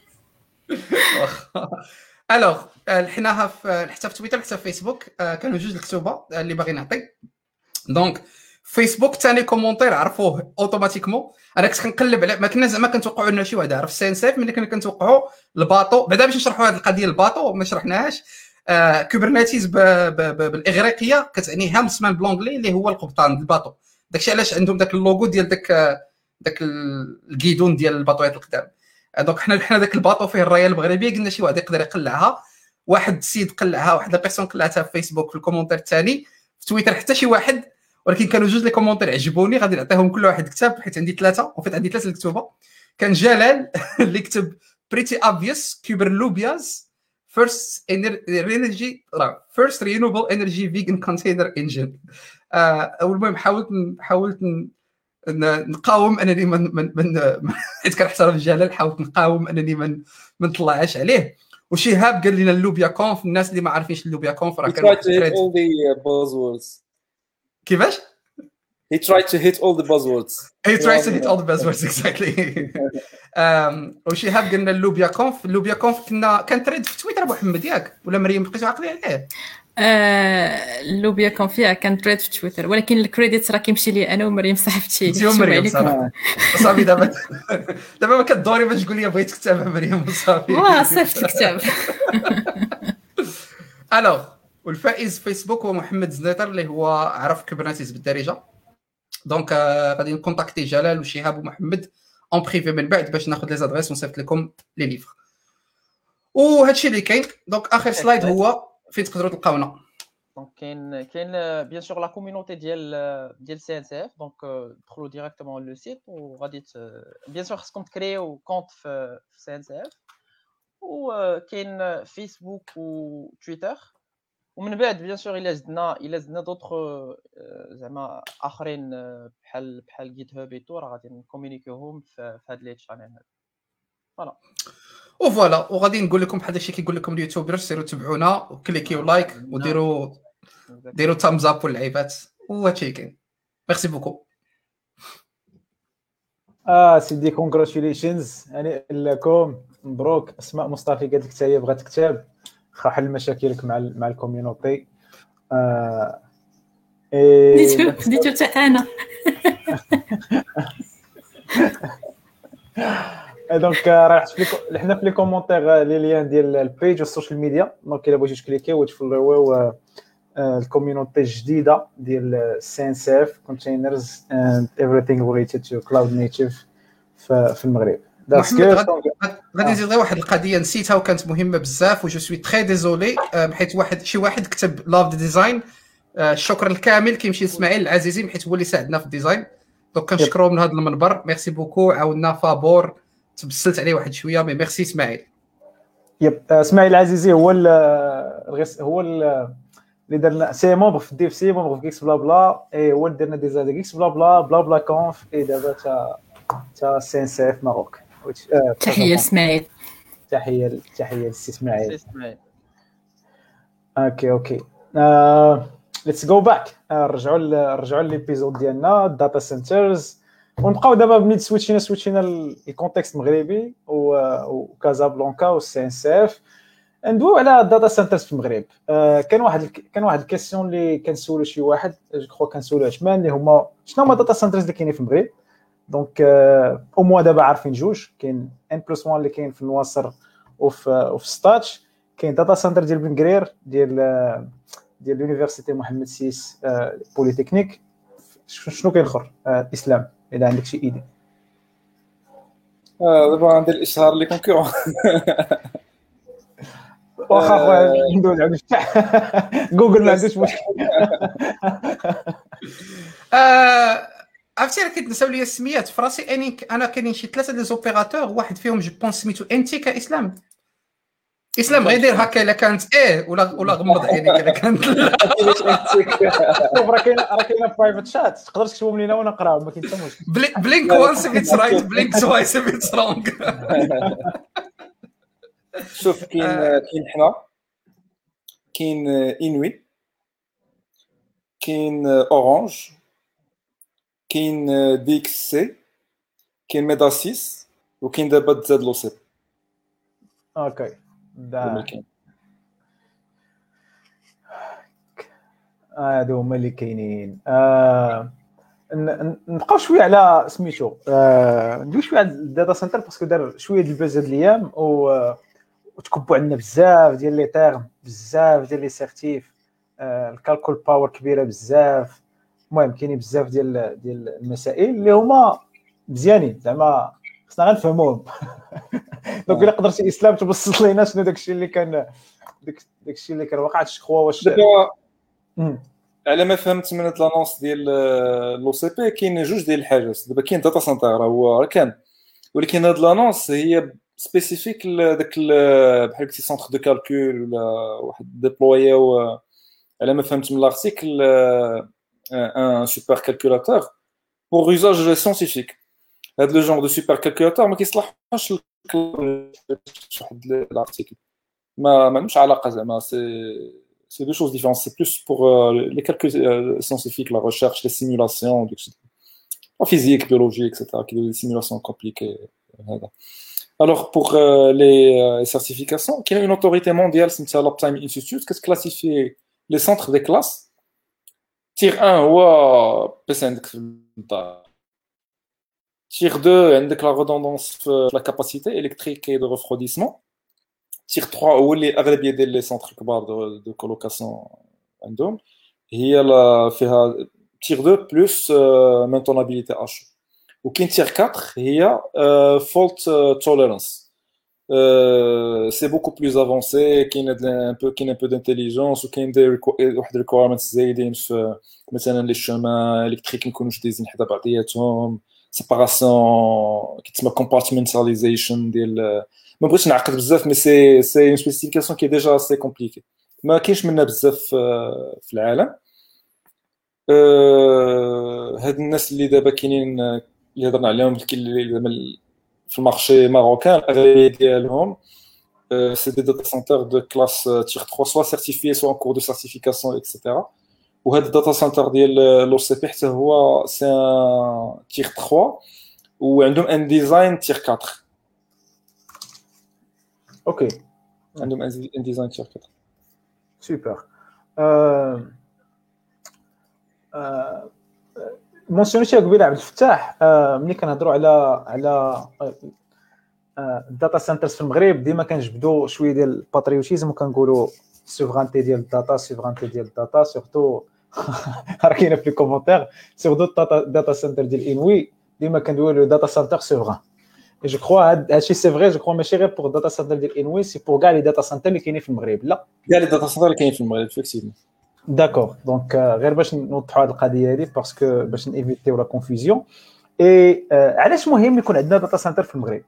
الوغ لحناها حتى في تويتر حتى في فيسبوك. كانوا جوج الكتوبه اللي باغي نعطي. دونك فيسبوك ثاني كومونتير عرفوه اوتوماتيكمون. انا كنت كنقلب على ما كنا زعما كنتوقعوا ان شي واحد عرف سينسيف ملي كنا كنتوقعوا الباطو. بعدا باش نشرحوا هذه القضيه الباطو ما شرحناهاش. كوبرنيتيز بالاغريقيه كتعني هامسمان بلونغلي اللي هو القبطان الباطو. داكشي علاش عندهم داك اللوغو ديال داك الكيدون ديال الباطوات القدام. دونك حنا داك الباطو فيه الرايه المغربيه قلنا شي واحد يقدر يقلعها. واحد السيد قلعها واحد لا بيرسون قلعتها في فيسبوك في الكومونتير الثاني في تويتر حتى شي واحد. ولكن كانوا جوج لي كومونتير عجبوني غادي نعطيهم كل واحد كتاب حيت عندي ثلاثه وفيت عندي ثلاثه الكتوبه. كان جلال اللي كتب بريتي اوبفيوس كوبرلوبياز first renewable energy vegan container engine. المهم حاولت نقاوم انني من حيت كنحترم جلال. حاولت نقاوم انني ما نطلعش عليه. وشهاب قال لنا اللوبيا كونف. الناس اللي ما عارفينش اللوبيا كونف راه كان كيفاش he tried to hit all the buzzwords exactly. وشهاب قلنا اللوبيا كونف كان تريد في تويتر ابو محمد ياك ولا مريم بقيتو عاقلين عليه؟ اللوبيا كان فيها كان تريد في تويتر ولكن الكريديت راه كيمشي لي انا ومريم صاحبتي. مريم صافي دابا ما كدوري باش تقول لي بغيت كتاب مريم صافي صيفط الكتاب. الوغ والفائز فيسبوك هو محمد زنيطر اللي هو عرف كوبرنيتيز بالدارجه. دونك غادي نكونتاكتي جلال وشهاب ومحمد اون بريفي من بعد باش ناخذ لي زادريس ونصيفط لكم لي ليفر. وهادشي اللي كاين. دونك اخر سلايد هو فين تقدروا تلقاونا. دونك كاين بيان سور لا كوميونيتي ديال سي ان سي اف. دونك دخلوا ديريكتومون لو سيت وغادي بيان سور خصكم تكريو كونت في سي ان سي اف. وكاين فيسبوك وتويتر. ومن بعد بيان سور الا زدنا دوطخ زعما اخرين بحال جيت هاب ايتو راه غادي نكومونيكيوهم في هاد لي شانل هذا. فوالا وغادي نقول لكم بحال داكشي كيقول لكم اليوتيوبرز سيروا تبعونا وكليكيو لايك وديروا تامز اب واللعيبات وهادشي كاين. ميرسي بوكو. سيدي كونغراتوليشنز يعني لكم مبروك. اسماء مصطفى قالت لك حتى هي بغات كتاب خا حل مشاكلك مع الكوميونيتي. ديتو حتى انا. دونك راه حنا في لي كومونتير لي ليان ديال البيج والسوشيال ميديا. دونك الا بغيتو تكليكيو وتفولويو الكوميونيتي الجديده ديال سينسيف كونتينرز اند ايفريثينغ ريليتد تو كلاود نيتيف في المغرب. غادي نزيد غير واحد القضيه نسيتها وكانت مهمه بزاف و جو سوي تري ديزولي حيت شي واحد كتب لاف دي ديزاين. الشكر الكامل كيمشي لاسماعيل العزيزي حيت هو اللي ساعدنا في الديزاين. دونك كنشكروه من هذا المنبر. ميرسي بوكو. عاودنا فابور تبسلت عليه واحد شويه مي ميرسي اسماعيل. اسماعيل العزيزي هو اللي درنا سي مومبر في الديف سي مومبر في كيكس بلا بلا هو اللي درنا ديزاين كيكس بلا بلا بلا بلا كونف دابا تا سينسيف ماروك. تحيه اسماعيل. تحيه للسي اسماعيل. اوكي ليتس جو باك. نرجعوا للابيزود ديالنا داتا سنترز ونبقاو دابا ملي سويتشينا الكونتكست المغربي وكازابلانكا والسي ان سي اف ندويو على الداتا سنترز في المغرب. كان واحد الكيسيون اللي كنسولو شي واحد جو كرو كنسولو عثمان اللي هما شنو هما الداتا سنترز اللي كاينين في المغرب. دونك او موا دابا عارفين جوج. كاين N+1 اللي كاين في النواصر وفي ستاتش. كاين داتا سنتر ديال بن قرير ديال اليونيفرسيتي محمد سيس بوليتكنيك. شنو كاين اخر اسلام الا عندك شي ايدي؟ دابا عندي الاشهار اللي كونكورون واخا خويا ندوز على جوجل ما عندوش مشكل. عرفتي راه كيتنساو لي السميات في راسي. انا كاينين شي ثلاثه دي زوبيراتور واحد فيهم جو بونس سميتو انتي كاسلام. اسلام غير دير هكا الا كانت ولا غمض عينيك الا كانت راه كاينه برايفت شات تقدر تكتبهم لينا ونقراهم ما كاين حتى مشكل. بلينك وانس اف اتس رايت بلينك توايس اف اتس رونغ. شوف كاين حنا كاين انوي كاين اورانج كاين دي اكس سي كاين ميداسيس وكاين دابا تزاد لوسيب اوكي دا هادو هما اللي كاينين. نبقاو شويه على سميتو ندوي شويه على الداتا سنتر باسكو دار شويه ديال الباز هاد الايام وتكبوا عندنا بزاف ديال لي تيرم بزاف ديال لي سيرتيف الكالكول باور كبيره بزاف. المهم كاينين بزاف ديال المسائل اللي هما مزيانين زعما خصنا غنفهموهم. دونك الا قدرتي اسلام تبسط لينا شنو داكشي اللي كان داكشي اللي كان واقع الشخوا واش على ما فهمت من لانونس ديال لو سي بي كاين جوج ديال الحاجات. دابا كاين داتا سنتر هو كان، ولكن هاد لانونس هي سبيسيفيك لداك بحال قلتي سونتر دو كالكول ولا واحد ديبلويو على ما فهمت من لارتيكل ان سوبر كالكولاتور بور يوزاج ساينتيفيك. هاد لو جونغ دو سوبر كالكولاتور ما كيصلحش واحد الارتيكل ما مالوش علاقه زعما c'est deux choses différentes. C'est plus pour les calculs scientifiques, la recherche, les simulations, en physique, biologie, etc., qui sont des simulations compliquées. Alors, pour les certifications, il y a une autorité mondiale, c'est l'Uptime Institute, qui classifie les centres des classes. Tier 1, Tier 2, avec la redondance, la capacité électrique et de refroidissement. Tier 3 هو اللي اغلبيه ديال لي سونتر كبار دو كولوكاسيون عندهم هي فيها تير 2 بلس مينتونابيليتي اش. وكاين تير 4 هي فولت توليرانس. سي بوكو بلوس افونسي كاين ان بو دانتيليجونس وكاين واحد ريكويرمنتس زايدين في مثلا لي شومان الكتريك نكونوش دايزين حدا بعضياتهم سيباراسيون كيتسمى كومبارتمنتاليزيشن ديال ما بغيتش نعقد بزاف مي سي اون سبيسيفيكاسيون كي ديجا سي كومبليكي ما كاينش منها بزاف في العالم. هاد الناس اللي دابا كاينين اللي هضرنا عليهم اللي في المارشي ماروكان الاغلبيه ديالهم سي دي داتا سنتر دو كلاس تير 3 سوا سيرتيفيي سوا ان كور دو سيرتيفيكاسيون اكسيتيرا. وهذا الداتا سنتر ديال لو سي بي حتى هو سي تير 3 وعندهم ان ديزاين تير 4. اوكي عندهم ان ديزاين تير 4 سوبر. مونسيونيتي قبيله عبد الفتاح ملي كنهضروا على الداتا سنترز في المغرب ديما كنجبدوا شويه ديال الباتريوتيزم وكنقولوا سوفرانتي ديال الداتا سورتو راه كاينه في لي كومونتير سورتو الداتا سنتر ديال انوي ديما كندويو داتا سنتر سوفران. Et je crois هادشي سي فري جو كرو ماشي غير بور داتا سنتر ديال انوي سي بور كاع لي داتا سنتر اللي كاينين في المغرب. لا كاع لي داتا سنتر اللي كاينين في المغرب فيكسيفمون. داكور دونك غير باش نوضحوا هذه القضيه هذه باسكو باش نيفيتيو لا كونفوزيون. اي علاش مهم يكون عندنا داتا سنتر في المغرب؟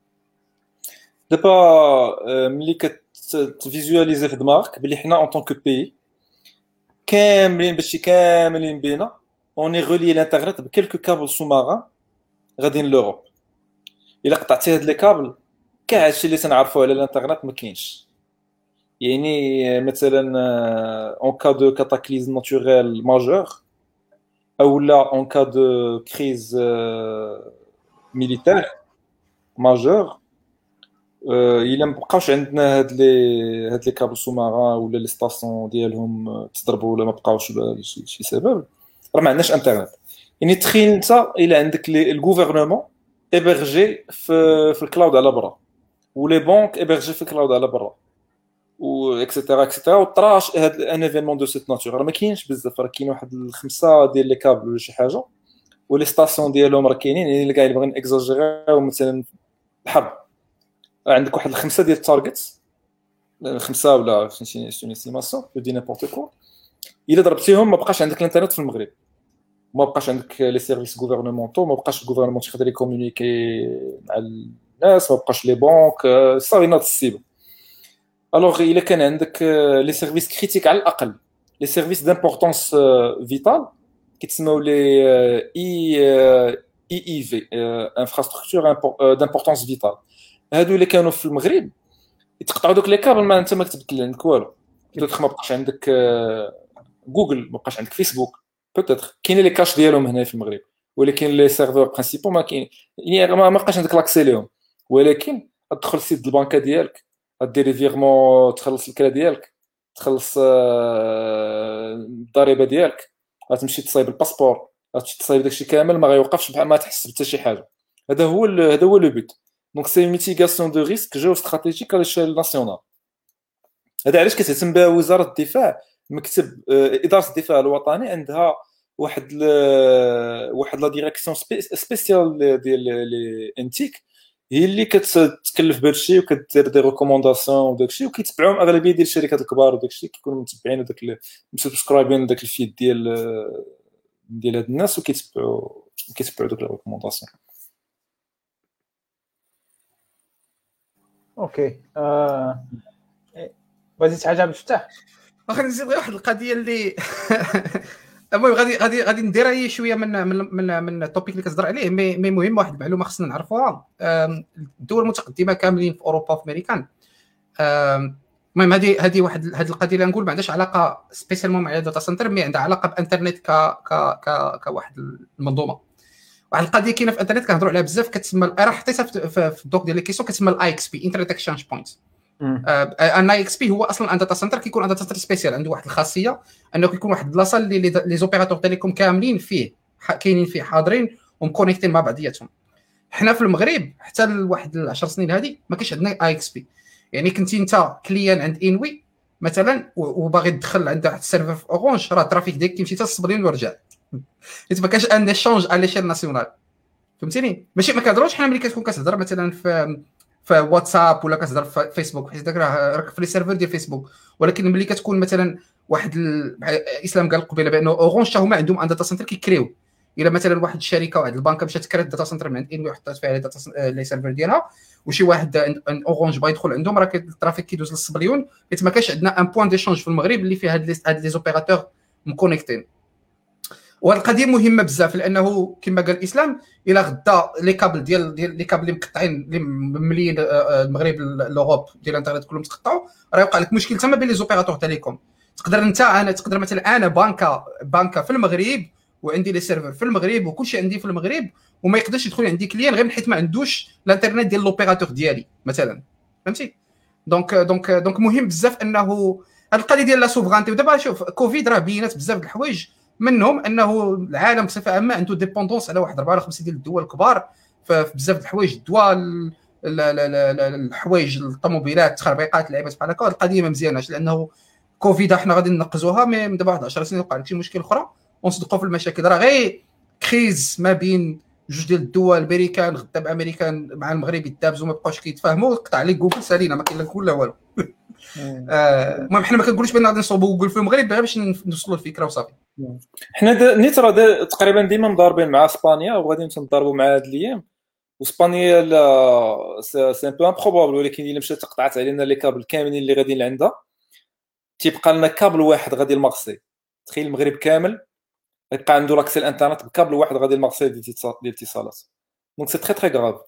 دابا ملي كتفيزواليزي في دماغك بلي حنا اون طونك بي كاملين بشي كاملين بينا اوني غولي الانترنت بكلكو كابل سو ماران غاديين لوروب. الا قطعتي هاد لي كابل كاع هادشي اللي تنعرفوه على الانترنت ما كاينش. يعني مثلا اون كا دو كاتاكليزم ناتوريل ماجور او لا اون كا دو كريز ميليتير ماجور الا مبقاوش عندنا هاد لي كابل سو ماران ولا لي ستاسيون ديالهم تضربوا ولا ما بقاوش شي سبب راه ما عندناش انترنت. يعني تخيل انت الا عندك الغوفرنمون ابرجي في الكلاود على برا ولي بانك ابرجي في الكلاود على برا و اكسيتيرا اكسيتيرا وطراش هاد ان ايفينمون دو سيت ناتور راه ما كاينش بزاف. راه كاين واحد الخمسه ديال لي كابل ولا شي حاجه ولي ستاسيون ديالهم راه كاينين. يعني اللي كاع اللي بغينا اكزاجيريو مثلا الحرب عندك واحد الخمسه ديال التارجتس خمسه ولا فهمتيني سوني استيماسيون دي نيمبورط كو الا ضربتيهم ما بقاش عندك الانترنت في المغرب ما بقاش عندك لي سيرفيس غوفرنمونطو ما بقاش الغوفرنمون يقدر يكومونيكي مع الناس ما بقاش لي بانك صافي ناض السيبو. الوغ الا كان عندك لي سيرفيس كريتيك على الاقل لي سيرفيس دامبورطونس فيتال كيتسموا لي اي في انفراستركتور دامبورطونس فيتال هادو اللي كانوا في المغرب يتقطعوا دوك لي كابل ما انت ما كتبت عندك والو. بوتيتر ما بقاش عندك جوجل، ما بقاش عندك فيسبوك، بوتيتر كاينين لي كاش ديالهم هنا في المغرب، ولكن لي سيرفور برينسيبال ما كاين، يعني ما بقاش عندك لاكسي ليهم. ولكن تدخل السيت البنكه ديالك، ديري فيغمون، تخلص الكرا ديالك، تخلص الضريبه ديالك، غتمشي تصايب الباسبور، غتمشي تصايب داكشي كامل، ما غيوقفش بحال ما تحس حتى شي حاجه. هذا هو لو بوت. دونك سي ميتيغاسيون دو ريسك جيو استراتيجيك على الشيل ناسيونال. هذا علاش كتهتم بها وزاره الدفاع. مكتب اداره الدفاع الوطني عندها واحد لا ديريكسيون سبيسيال ديال لي انتيك، هي اللي كتكلف بهذا الشيء وكدير دي ريكومونداسيون وداك الشيء، وكيتبعوهم اغلبيه ديال الشركات الكبار وداك الشيء، كيكونوا متبعين وداك مسبسكرايبين داك الفيد ديال هاد الناس، وكيتبعوا دوك لي ريكومونداسيون. اوكي. بغيتي تعجب الفتاح؟ واخا نزيد غير واحد القضيه اللي المهم غادي ندير شويه من التوبيك اللي كتهضر عليه، مي مهم واحد المعلومه خصنا نعرفوها. الدول المتقدمه كاملين في اوروبا وفي امريكان، المهم هذه القضيه اللي نقول ما عندهاش علاقه سبيسيالمون مع داتا سنتر، مي عندها علاقه بانترنت كواحد المنظومه. واحد القضيه كاينه في الانترنت كنهضروا عليها بزاف، كتسمى راه حطيتها في الدوك ديال لي كيسيون، كتسمى الاي اكس بي، انترنت اكسشينج بوينت. ان اي اكس بي هو اصلا ان داتا سنتر، كيكون ان داتا سنتر سبيسيال، عنده واحد الخاصيه انه كيكون واحد البلاصه اللي لي زوبيراتور تيليكوم كاملين فيه كاينين فيه حاضرين ومكونيكتين مع بعضياتهم. حنا في المغرب حتى لواحد 10 سنين هذه ما كاينش عندنا اي اكس بي. يعني كنتي انت كليان عند انوي مثلا وباغي تدخل عند واحد السيرفر في اورانج، راه الترافيك ديالك كيمشي حتى الصبلين ورجع، حيت ما كاينش ان ايشونج على ليشيل ناسيونال. فهمتيني؟ ماشي ما كنهضروش حنا ملي كتكون كتهضر مثلا في واتساب ولا كتهضر في فيسبوك، حيت داك راك في لي سيرفر ديال فيسبوك، ولكن ملي كتكون مثلا واحد الاسلام قال قبيله بانه اورانج حتى هما عندهم ان داتا سنتر كيكريو. الا مثلا واحد الشركه واحد البنكه مشات كرات داتا سنتر من عند انوي وحطات فيها لي سيرفر ديالها، وشي واحد اورانج باغي يدخل عندهم، راه الترافيك كيدوز للصبليون، حيت ما كاينش عندنا ان بوين ديشونج في المغرب اللي فيه هاد لي زوبيراتور مكونيكتين. والقضيه مهمه بزاف، لانه كما قال الاسلام الا غدا لي كابل ديال لي كابل اللي مقطعين اللي ممليين المغرب لوروب ديال الانترنت كلهم تقطعوا، راه يوقع لك مشكل تما بين لي زوبيراتور تيليكوم. تقدر مثلا انا بانكا في المغرب وعندي لي سيرفر في المغرب وكلشي عندي في المغرب، وما يقدرش يدخل عندي كليان غير حيت ما عندوش الانترنت ديال لوبيراتور ديالي مثلا. فهمتي؟ دونك مهم بزاف انه هاد القضيه ديال لا سوفرانتي. ودابا شوف كوفيد راه بينات بزاف د الحوايج، منهم انه العالم بصفه عامه عنده ديبوندونس على واحد 4 ولا 5 ديال الدول الكبار في بزاف د الحوايج، الدواء، الحوايج، الطوموبيلات، التخربيقات، اللعيبات بحال هكا. القضيه ما مزياناش، لانه كوفيد حنا غادي ننقزوها، مي دابا واحد 10 سنين وقع لك شي مشكل اخرى ونصدقوا في المشاكل. راه غير كريز ما بين جوج ديال الدول، الامريكان غدا بامريكان مع المغرب يتدابزوا ما بقاوش كيتفاهموا، قطع عليك جوجل سالينا، ما كاين لا كل لا والو. المهم حنا ما كنقولوش بان غادي نصوبوا جوجل في المغرب غير باش نوصلوا الفكره وصافي. حنا نيت راه تقريبا ديما مضاربين مع اسبانيا وغادي نتضاربوا مع هاد الايام. واسبانيا سي ان بو امبروبابل، ولكن الا مشات تقطعت علينا لي كابل كاملين اللي غاديين لعندها، تيبقى لنا كابل واحد غادي لمارسي. تخيل المغرب كامل يبقى عنده لاكسي الانترنت بكابل واحد غادي لمارسي ديال الاتصالات. دونك سي تري تري غراف.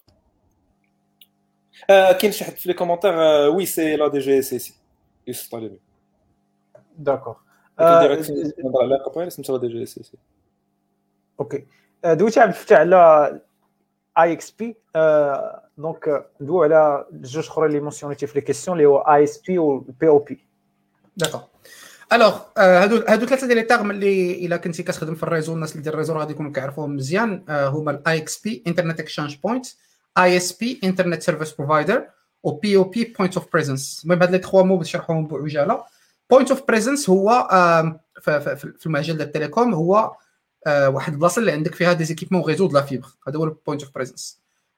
كاين شي حد في لي كومونتير وي سي لا دي جي اس سي يوسف طالبي. داكور. نهضر على قبيله سميتها لا دي جي اس سي. اوكي. دويتي عبد الفتاح على اي اكس بي، دونك ندوي على جوج اخرين اللي مونسيونيتي في لي كيسيون اللي هو اي اس بي و بي او بي. داكور. الوغ هادو ثلاثه ديال لي تيرم اللي الا كنتي كتخدم في الريزو، الناس اللي ديال الريزو غادي يكونوا كيعرفوهم مزيان. هما الاي اكس بي انترنت اكسشينج بوينت، اي اس بي انترنت سيرفيس بروفايدر، و بي او بي بوينت اوف بريزنس. المهم هاد لي 3 مو بنشرحوهم بعجاله. بوينت اوف بريزنس هو في المجال ديال التليكوم هو واحد البلاصه اللي عندك فيها دي زيكيبمون ريزو د لا فيبر، هذا هو البوينت اوف بريزنس.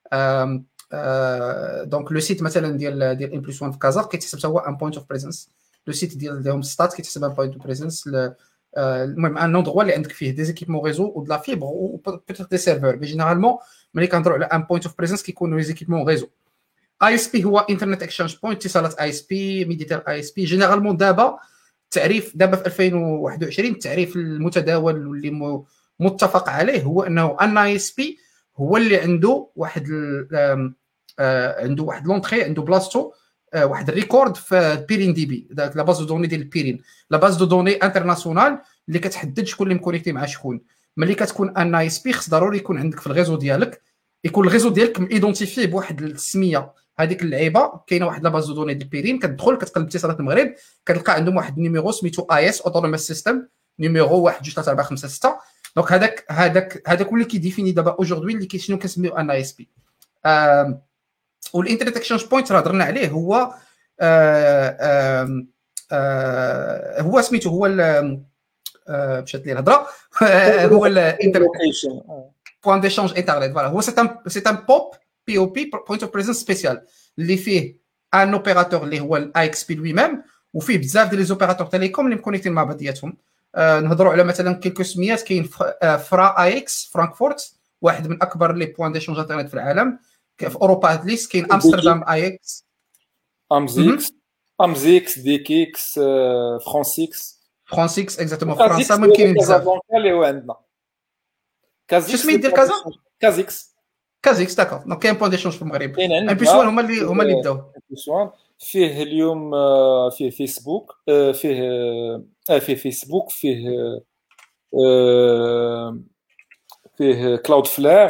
دونك لو سيت مثلا ديال ام بلس 1 في كازا كيتحسب هو ان بوينت اوف بريزنس. لو سيت ديال هوم ستات كيتحسب ان بوينت اوف بريزنس. المهم ان اندروا اللي عندك فيه دي زيكيبمون ريزو و د لا فيبر و بوتيت دي سيرفور. مي جينيرالمون ملي كنهضروا على ان بوينت اوف بريزنس كيكونوا لي زيكيبمون ريزو. اي اس بي هو انترنت اكسشينج بوينت، اتصالات اي اس بي، ميديتال اي اس بي. جينيرالمون دابا التعريف دابا في 2021 التعريف المتداول واللي متفق عليه هو انه ان اي اس بي هو اللي عنده واحد عنده واحد لونطري، عنده بلاصتو واحد الريكورد في بيرين دي بي، داك لا باز دو دوني ديال البيرين، لا باز دو دوني انترناسيونال اللي كتحدد شكون اللي مكونيكتي مع شكون. ملي كتكون ان اي اس بي خص ضروري يكون عندك في الريزو ديالك، يكون الريزو ديالك ميدونتيفي بواحد السميه. هذيك اللعيبه كاينه واحد لا باز دو دوني ديال بيرين، كتدخل كتقلب اتصالات المغرب كتلقى عندهم واحد النيميرو سميتو اي اس اوتونوموس سيستم نيميرو 1 2 3 4 5 6. دونك هذاك هو اللي كيديفيني دابا اوجوردي اللي شنو كنسميو ان اي اس بي. والانترنت اكسشينج بوينت راه هضرنا عليه، هو هو سميتو هو مشات لي الهضره هو الانترنت بوين ديشانج انترنت. فوالا هو سي ان بوب بي او بي بوينت اوف بريزنس سبيسيال اللي فيه ان اوبيراتور اللي هو الاي اكس بي لوي ميم، وفيه بزاف ديال لي زوبيراتور تيليكوم اللي مكونيكتين مع بعضياتهم. نهضروا على مثلا كيلكو سميات، كاين فرا اي اكس فرانكفورت، واحد من اكبر لي بوين ديشانج انترنت في العالم في اوروبا اتليست. كاين امستردام اي اكس، امزيكس ديكيكس فرانسيكس اكزاكتومون فرنسا. ما كاينين بزاف اللي هو عندنا شو سميت ديال كازيكس داكور. دونك كاين بوين ديشونج في المغرب. ان بلس وان هما اللي بداو. ان بلس وان فيه اليوم فيه فيسبوك، فيه فيسبوك، فيه كلاود فلير،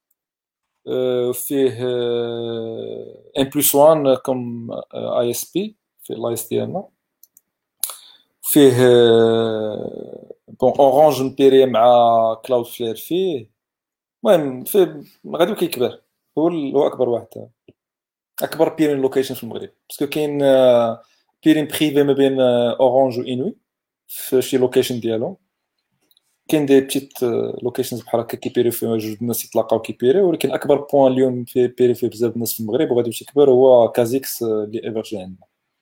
فيه ان بلس وان كوم اي اس بي في الاي اس ديالنا، فيه بون اورانج مبيري مع كلاود فلير. فيه المهم فيه غادي كيكبر، هو اكبر واحد، اكبر بيرين لوكيشن في المغرب، باسكو كاين بيرين بريفي ما بين اورانج و انوي في شي لوكيشن ديالهم. كاين دي بتيت لوكيشنز بحال هكا كيبيريو فيهم جوج الناس يتلاقاو كيبيريو، ولكن اكبر بوين اليوم في بيري فيه بزاف الناس في المغرب وغادي يمشي يكبر هو كازيكس اللي ايفرجي عندنا.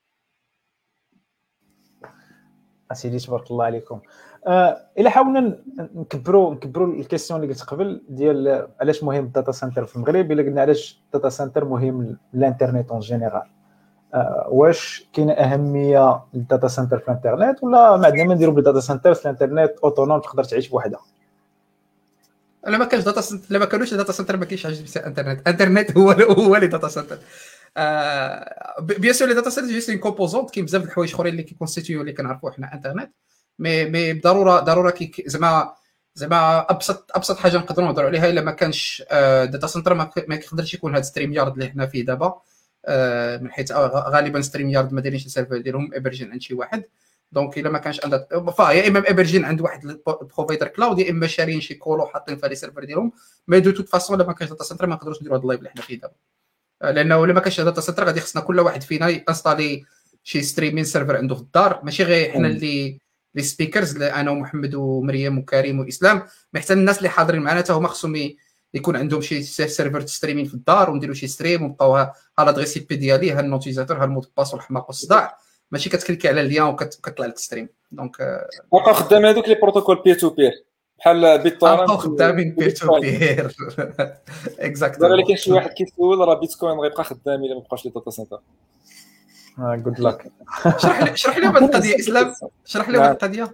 اسيدي تبارك الله عليكم. الا حاولنا نكبروا الكيسيون اللي قلت قبل ديال علاش مهم الداتا سنتر في المغرب، الا قلنا علاش الداتا سنتر مهم للانترنت اون جينيرال، واش كاينه اهميه للداتا سنتر في الانترنت، ولا ما عندنا ما نديروا بالداتا سنتر في الانترنت اوتونوم تقدر تعيش بوحدها؟ الا ما كانش داتا سنتر، الا ما كانوش داتا سنتر ما كاينش انترنت هو لي داتا سنتر. بيان سور لي داتا سنتر جيست ان كومبوزونت، كاين بزاف د الحوايج اخرين اللي كيكونستيتيو اللي كنعرفوا حنا انترنت، مي ضروره زعما ابسط حاجه نقدروا نهضروا عليها. الا ما كانش داتا سنتر ما كيقدرش يكون هذا ستريم يارد اللي حنا فيه دابا، من حيث غالبا ستريم يارد ما دايرينش السيرفر ديالهم ايبرجين عند شي واحد. دونك الا ما كانش يا اما ايبرجين عند واحد البروفايدر كلاود، يا اما شارين شي كولو حاطين في لي سيرفر ديالهم. مي دو توت فاسون الا ما كانش داتا سنتر ما نقدروش نديروا هذا اللايف اللي حنا فيه دابا، لانه الا ما كانش داتا سنتر غادي خصنا كل واحد فينا يانستالي شي ستريمين سيرفر عنده في الدار، ماشي غير حنا اللي لي سبيكرز، انا ومحمد ومريم وكريم واسلام، مي حتى الناس اللي حاضرين معنا حتى هما خصهم يكون عندهم شي سيرفر ستريمين في الدار، ونديروا شي ستريم ونبقاوها ها لادريس اي بي ديالي، ها النوتيزاتور، ها المود باس والحماق والصداع، ماشي كتكليكي على اللين وكتطلع لك ستريم. دونك بقى خدام هذوك لي بروتوكول بير تو بير بحال بيتورنت، بقاو خدامين بير تو بير اكزاكتلي. دابا كاين شي واحد كيسول راه بيتكوين غيبقى خدام الا ما بقاش لي داتا سنتر. جود لاك. شرح لهم هذه القضيه اسلام، شرح لهم هذه القضيه.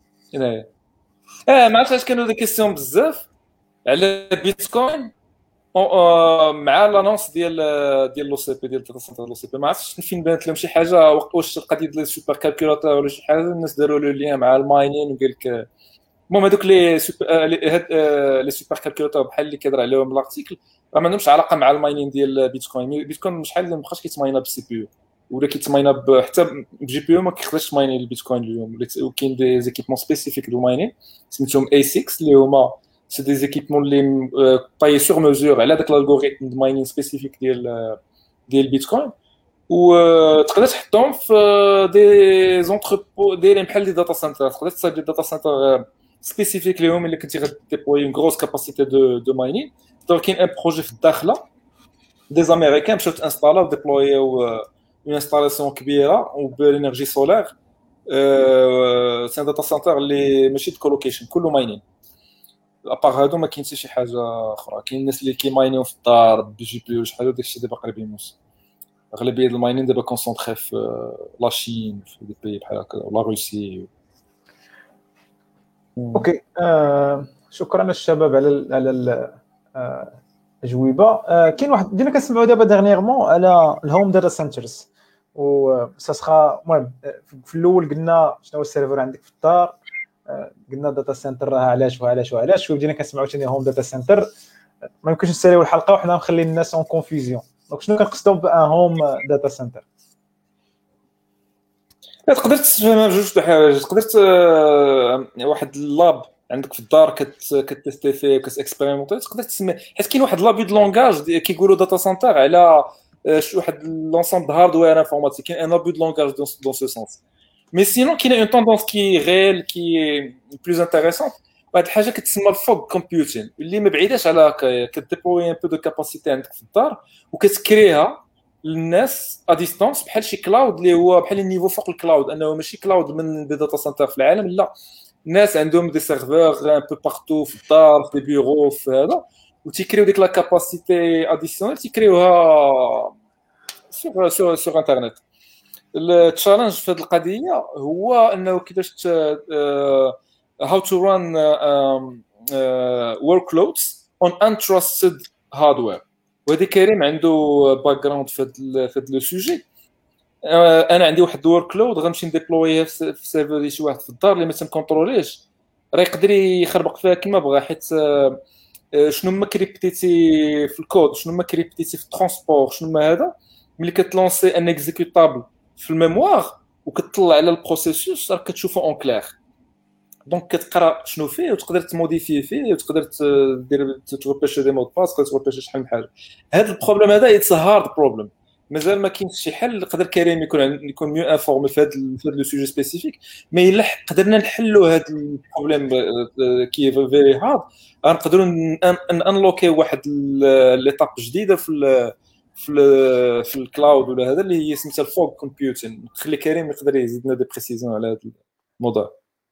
ما عرفتش كانوا دي كيسيون بزاف على بيتكوين مع لانونس ديال لو سي بي، ديال الداتا سنتر لو سي بي. ما عرفتش فين بانت لهم شي حاجه، واش القضيه ديال السوبر كالكولاتور ولا شي حاجه، الناس داروا له ليان مع الماينين وقال لك المهم هذوك لي سوبر كالكولاتور بحال اللي كيهضر عليهم الارتيكل راه ما عندهمش علاقه مع الماينين ديال بيتكوين. بيتكوين شحال ما بقاش كيتماينا بالسي بي يو، ولا كيتماينا حتى بجي بي يو ما كيقدرش تمايني البيتكوين اليوم. وكاين دي زيكيبمون سبيسيفيك دو ماينين سميتهم اي 6 اللي هما سي دي زيكيبمون اللي طاي سور ميزور على داك الالغوريثم دو ماينين سبيسيفيك ديال البيتكوين، وتقدر تحطهم في دي زونتربو دايرين بحال دي داتا سنتر. تقدر تصايب دي داتا سنتر سبيسيفيك ليهم اللي كنتي غديبلوي اون غروس كاباسيتي دو ماينين. دونك كاين ان بروجي في الداخله دي زاميريكان مشاو تانستالاو ديبلويو اون انستالاسيون كبيره وبالانرجي سولار. سي داتا سنتر اللي ماشي د كولوكيشن كله ماينين. ابار هادو ما كاين حتى شي حاجه اخرى. كاين الناس اللي كيماينيو في الدار بجي بي يو شحال داكشي دابا قريب يموت. اغلبيه الماينين دابا كونسونطري في لاشين في دي بي بحال هكا ولا روسي. اوكي شكرا للشباب على الاجوبه. كاين واحد ديما كنسمعوا دابا ديرنييرمون على الهوم داتا سنترز، و سا سخا المهم في الاول قلنا شنو هو السيرفر عندك في الدار، قلنا داتا سنتر راه علاش وعلاش وعلاش، وبدينا كنسمعوا ثاني هوم داتا سنتر. ما يمكنش نساليو الحلقه وحنا مخلين الناس اون كونفيزيون. دونك شنو كنقصدوا بان هوم داتا سنتر؟ تقدر تفهم بجوج د الحوايج. تقدر واحد اللاب عندك في الدار كتستي فيه وكتاكسبيريمونتي، تقدر تسمي حيت كاين واحد لابي د لونغاج كيقولوا داتا سنتر على واحد لونسومبل هاردوير انفورماتيك. كاين ان ابو د لونغاج دون سو سونس. مي سينون كاين اون توندونس كي ريل كي بلوز انتريسونت، واحد الحاجه كتسمى الفوغ كومبيوتين اللي ما بعيداش على كديبلوي ان بو دو كاباسيتي عندك في الدار وكتكريها للناس ا ديستانس بحال شي كلاود اللي هو بحال النيفو فوق الكلاود، انه ماشي كلاود من دي داتا سنتر في العالم، لا الناس عندهم دي سيرفور ان بو بارتو في الدار في بيرو في هذا، وتيكريو ديك لا كاباسيتي اديسيونيل تيكريوها سور انترنت. التشالنج في هذه القضيه هو انه كيفاش how to run workloads on untrusted hardware. وهذا كريم عنده باك جراوند في هذا لو سوجي. انا عندي واحد الورك لود غنمشي نديبلويه في سيرفر ديال شي واحد في الدار اللي ما تنكونتروليش، راه يقدر يخربق فيها كما بغا، حيت شنو ما كريبتيتي في الكود، شنو ما كريبتيتي في الترونسبور، شنو ما هذا ملي كتلونسي ان اكزيكوتابل في الميموار وكتطلع على البروسيسوس راه كتشوفو اون كلير. دونك كتقرا شنو فيه وتقدر تموديفي فيه وتقدر دير تروبيشي دي مود باس، تروبيشي شحال من حاجه. هذا البروبليم هذا اتس هارد بروبليم، مازال ما كاينش شي حل. يقدر كريم يكون ميو انفورمي في هذا لو سوجي سبيسيفيك، مي الا قدرنا نحلوا هذا البروبليم كي فيري هارد غنقدروا انلوكي واحد ليتاب جديده في الكلاود ولا هذا اللي هي سميتها الفوغ كومبيوتين. نخلي كريم يقدر يزيدنا دي بريسيزون على هذا الموضوع.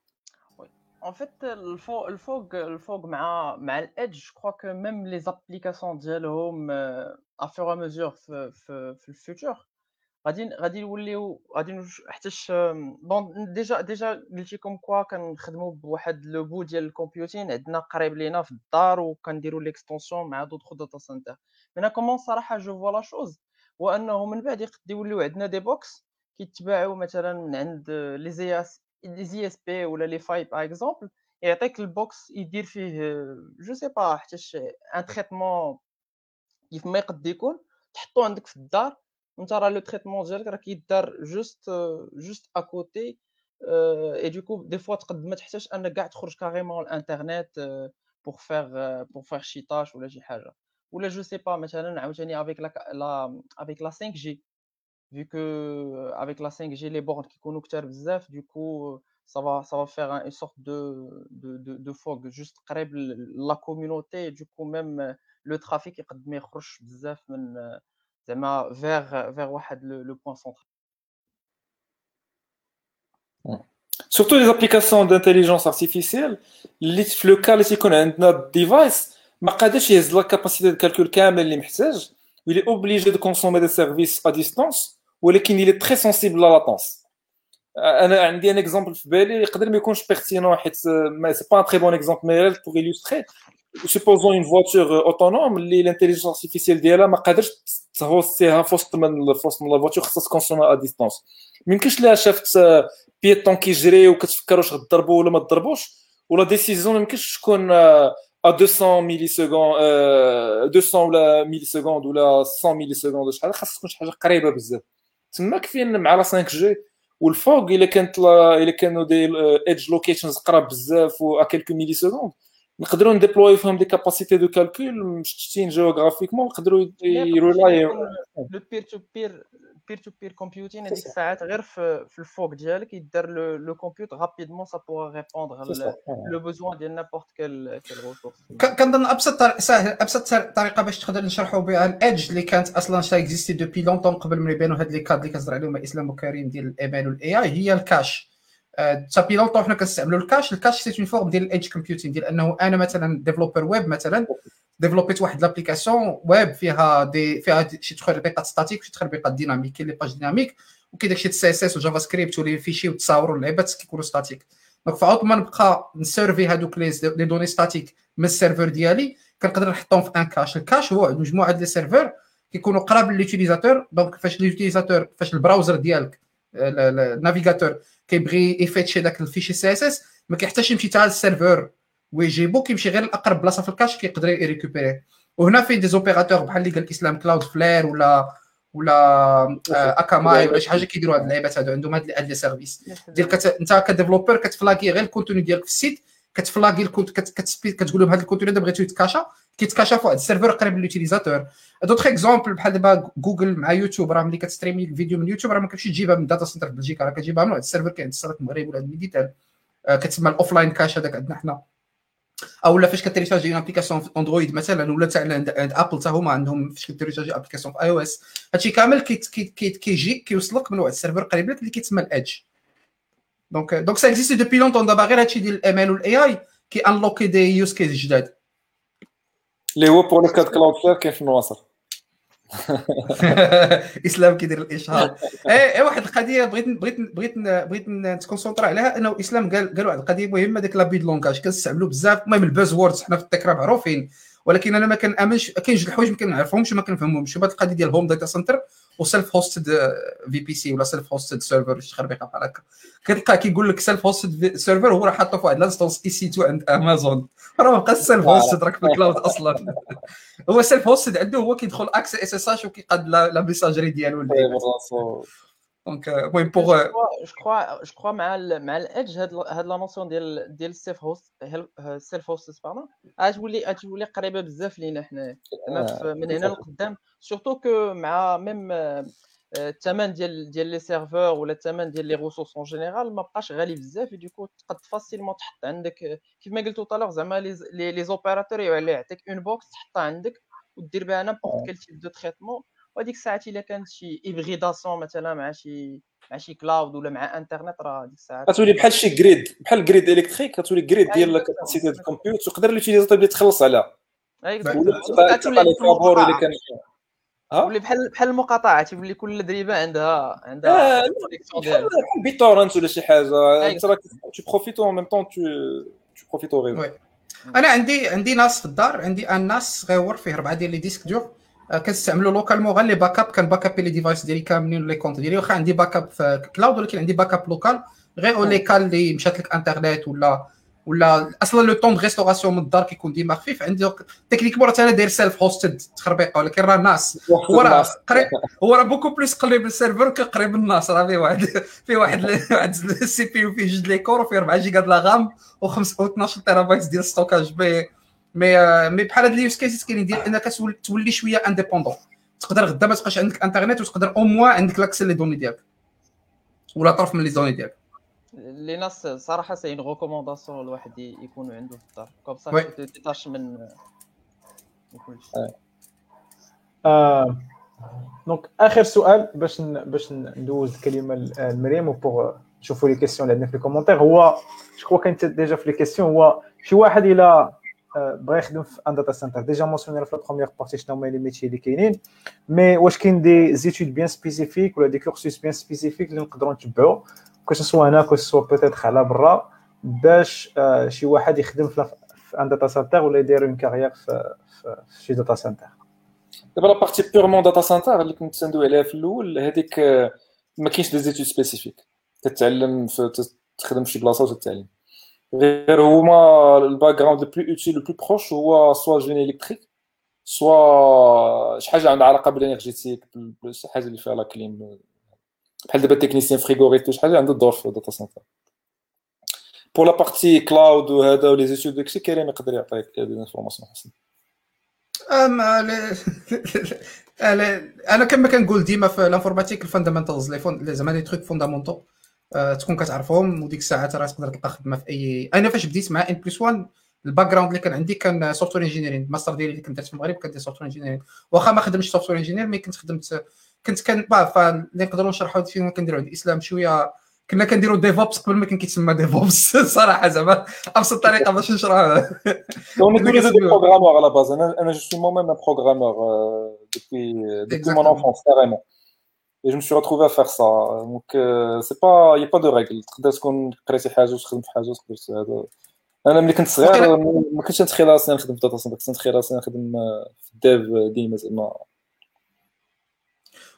En fait, الفوق مع الإدج، je crois que même les applications ديالهم à fur et à mesure في الفيوتشر غادي يوليو حتىش بون. ديجا قلتي كوم كوا كنخدموا بواحد لو بو ديال الكمبيوتين عندنا قريب لينا في الدار وكنديروا ليكستونسيون مع دوطخ داتا سنتر. منا كومون صراحه جو فوا لا شوز هو انه من بعد يقد يوليو عندنا دي بوكس كيتباعوا مثلا من عند لي زي اس بي ولا لي فاي باغ اكزومبل، يعطيك البوكس يدير فيه جو سي با حتىش ان تريتمون كيف ما يقد يكون تحطو عندك في الدار وانت راه لو تريتمون ديالك راه كيدار جوست اكوتي. اي دوكو دي فوا تقد ما تحتاج انك كاع تخرج كاريمون الانترنت بور فيغ شي طاش ولا شي حاجه، ولا جو سي با مثلا عاوتاني افيك لا 5G vu que avec la 5G les bornes qui كيكونوا كتار بزاف du coup ça va faire une sorte de fog juste قريب la communauté. du coup même le trafic يقد ما يخرجش بزاف من زعما vers واحد le point central. Surtout les applications d'intelligence artificielle اللي في لو كا اللي تيكون عندنا ديفايس ما قادرش يهز لا كاباسيتي ديال الكالكول كامل اللي محتاج، ويلي اوبليجي دو كونسومي دي سيرفيس ا ديستانس، ولكن il est très sensible à la latence. انا عندي ان اكزامبل في بالي يقدر ما يكونش بيرتينون حيت ما سي با ان تري بون اكزامبل، مي pour illustrer supposons une voiture autonome اللي الانتيليجنس ارتيفيسيال ديالها ما قادرش تهوستيها في وسط من لا فواتور، خاصها تكونسومي ا ديستانس. ما يمكنش لها شافت بيتون كيجري وكتفكر واش غضربوا ولا ما تضربوش، ولا ديسيزيون ما يمكنش تكون ا 200 ملي سكوند 200 ولا ملي سكوند ولا 100 ملي سكوند شحال، خاص تكون شي حاجه قريبه بزاف. تما كاين مع لا 5G والفوق الا كانوا دي ايدج لوكيشنز قراب بزاف و ا كيلكو ملي سكوند نقدروا نديبلوي فيهم دي كاباسيتي دو كالكول مشتتين جيوغرافيكمون، نقدروا يرولاي لو بير تو بير كومبيوتين هذيك الساعات غير في الفوق ديالك يدار لو كومبيوت رابيدمون سا بوغ ريبوندر لو بوزوان ديال نابورت كال ريسورس. كنظن ابسط طريقه باش تقدر نشرحوا بها الايدج اللي كانت اصلا شا اكزيستي دوبي لونطون قبل ما يبانوا هاد لي كاد اللي كنهضر عليهم اسلام وكريم ديال الايميل والاي اي، هي الكاش. تابي لونطون حنا كنستعملوا الكاش سي اون فورم ديال الايدج كومبيوتين، ديال انه انا مثلا ديفلوبر ويب مثلا ديفلوبيت واحد لابليكاسيون ويب فيها شي تخربيقات ستاتيك وشي تخربيقات ديناميك. كاين لي باج ديناميك وكاين داكشي سي اس اس وجافا سكريبت ولي فيشي وتصاوروا اللعيبات كيكونوا ستاتيك. دونك فعوض ما نبقى نسيرفي هذوك لي دوني ستاتيك من السيرفر ديالي كنقدر نحطهم في ان كاش. الكاش هو مجموعه ديال لي سيرفر كيكونوا قراب لليوتيليزاتور. دونك فاش اليوتيليزاتور فاش البراوزر ديالك النافيغاتور كيبغي يفيتشي داك الفيشي سي اس اس ما كيحتاجش يمشي حتى للسيرفر ويجيبو، كيمشي غير لاقرب بلاصه في الكاش كيقدر يريكوبيري. وهنا فين دي زوبيراتور بحال اللي قال الاسلام كلاود فلير ولا اكاماي ولا شي حاجه كيديروا هاد اللعيبات هادو، عندهم هاد لي سيرفيس ديال انت كديفلوبر كتفلاكي غير الكونتوني ديالك في السيت، كتفلاكي كتقول لهم هذا الكونتوني هذا بغيتو يتكاشا، كيتكاشا في واحد السيرفر قريب لليوتيليزاتور. دوطخ اكزومبل بحال دابا جوجل مع يوتيوب، راه ملي كتستريمي الفيديو من يوتيوب راه ما كتمشيش تجيبها من داتا سنتر في بلجيكا، راه كتجيبها من واحد السيرفر كاين في المغرب ولا ميديتال، كتسمى الاوفلاين كاش هذاك عندنا حنا. او لا فاش كتريشارجي اون ابليكاسيون في اندرويد مثلا ولا تاع عند ابل حتى هما عندهم فاش كتريشارجي ابليكاسيون في اي او اس، هادشي كامل كيجي كيوصلك من واحد السيرفر قريب لك اللي كيتسمى الادج. دونك سا اكزيست دوبي لونطون دابا، غير هادشي ديال الام ال والاي اي كي انلوكي دي يوز كيس جداد اللي هو بور لو كاد كلاود فلير كاين في النواصر. اسلام كيدير الاشهار. اي واحد القضيه بغيت نتكونسونطرا عليها، انه اسلام قال واحد القضيه مهمه، ديك لابي دو لونغاج كنستعملوا بزاف. المهم الباز ووردز حنا في التكرار معروفين، ولكن انا ما كنامنش كاين جوج الحوايج ما كنعرفهمش وما كنفهمهمش. هاد القضيه ديال هوم داتا سنتر وسيلف هوستد في بي سي ولا سيلف هوستد سيرفر، شي خربيقه بحال هكا. كتلقى كيقول لك سيلف هوستد سيرفر هو راه حاطه في واحد لانستونس اي سي 2 عند امازون، راه ما بقاش سيلف هوستد، راك في الكلاود اصلا. هو سيلف هوستد عنده هو كيدخل اكس اس اس اش وكيقاد لا ميساجري ديالو. دونك المهم بوغ جو كخوا مع الادج هاد لا نوسيون ديال السيلف هوست باردون غتولي قريبه بزاف لينا حنا من هنا لقدام، سورتو كو مع ميم الثمن ديال لي سيرفور ولا الثمن ديال لي ريسورس اون جينيرال ما بقاش غالي بزاف، ديكو تقد فاسيلمون تحط عندك كيف ما قلتو طالور زعما لي زوبيراتور يعطيك اون بوكس تحطها عندك ودير بها نيمبورط كيل تيب دو تريتمون، وهذيك الساعات الا كانت شي هيبريداسيون مثلا مع شي كلاود ولا مع انترنت، راه ديك الساعات كتولي بحال شي جريد، بحال الجريد الكتريك، كتولي جريد ديال الكاباسيتي ديال الكمبيوتر ويقدر اليوتيليزاتور يتخلص عليها. ولي بحال المقاطعه تيولي كل دريبه عندها كونيكسيون ديالها بحال بيتورنت ولا شي حاجه، انت راك تو بروفيتو ان ميم طون تو بروفيتو غير. انا عندي ناس في الدار، عندي ان ناس غيور فيه 4 ديال لي ديسك دور، كنستعملوا لوكالمون غير لي باك اب، كان باك اب لي ديفايس ديالي كاملين لي كونت ديالي، واخا عندي باك اب في كلاود ولكن عندي باك اب لوكال غير لي كال اللي مشات لك انترنت ولا اصلا لو طون دو ريستوراسيون من الدار كيكون ديما خفيف. عندي تكنيكمون راه انا داير سيلف هوستد تخربيقه، ولكن راه الناس هو راه بوكو بليس قريب من السيرفر كقريب الناس، راه فيه واحد السي بي يو فيه 2 لي كور وفيه 4 جيجا د لا غام و12 تيرابايت ديال ستوكاج. مي بحال هاد لي يوز كيسز كاينين ديال انك تولي شويه انديبوندون، تقدر غدا ما تبقاش عندك انترنت وتقدر او موان عندك لاكسي لي دوني ديالك ولا طرف من لي دوني ديالك. لي ناس صراحه سي اون ريكومونداسيون الواحد يكون عنده في الدار كوم صا تيتاش من كلشي. دونك اخر سؤال باش ندوز الكلمه لمريم وبوغ نشوفوا لي كيسيون اللي عندنا في الكومونتير. هو جو كوا كاين ديجا في لي كيسيون، هو شي واحد الى بغى يخدم في ان داتا سنتر، ديجا مونسيونير في لا بروميير بارتي شنو هما لي ميتي اللي كاينين، مي واش كاين دي زيتود بيان سبيسيفيك ولا دي كورسوس بيان سبيسيفيك اللي نقدروا نتبعوا كو سوا هنا كو سوا بوتيتر على برا باش شي واحد يخدم في ان داتا سنتر ولا يدير اون كارير في شي داتا سنتر؟ دابا لا بارتي بيورمون داتا سنتر اللي كنت تندوي عليها في الاول، هذيك ما كاينش دي زيتود سبيسيفيك، تتعلم تخدم في شي بلاصه وتتعلم غير. هما الباك جراوند لو بلو اوتيل لو بلو بروش هو سوا جيني الكتريك سوا شي حاجه عندها علاقه بالانرجيتيك، شي حاجه اللي فيها لا كليم، بحال دابا تكنيسيان فريغوريك شي حاجه عنده الدور في الداتا سنتر. بور لا بارتي كلاود وهذا ولي زيتود داكشي كريم يقدر يعطيك دي انفورماسيون حسن. انا كما كنقول ديما في الانفورماتيك الفاندامنتالز لي زعما لي تروك فوندامونتو تكون كتعرفهم، وديك الساعات راه تقدر تلقى خدمه في اي. انا فاش بديت مع ان بلس 1 الباك جراوند اللي كان عندي كان سوفتوير انجينيرين، الماستر ديالي اللي كنت درت في المغرب كان ديال سوفتوير انجينيرين، واخا ما خدمتش سوفتوير انجينير مي كنت فاللي نقدروا نشرحوا فين كنديروا عند الاسلام شويه. كنا كنديروا ديفوبس قبل ما كان كيتسمى ديفوبس صراحه، زعما ابسط طريقه باش نشرح. On est tous les deux des programmeurs à la base. Moi, je suis moi-même un programmeur depuis mon enfance, carrément. Et je me suis retrouvé à faire ça. Donc, c'est pas, il n'y a pas de règle. تقدر تكون قريتي شي حاجه وتخدم في حاجه وتقدر هذا. انا ملي كنت صغير ما كنتش نتخيل راسي نخدم في داتا سنتر، كنت نتخيل راسي نخدم في الديف ديما زعما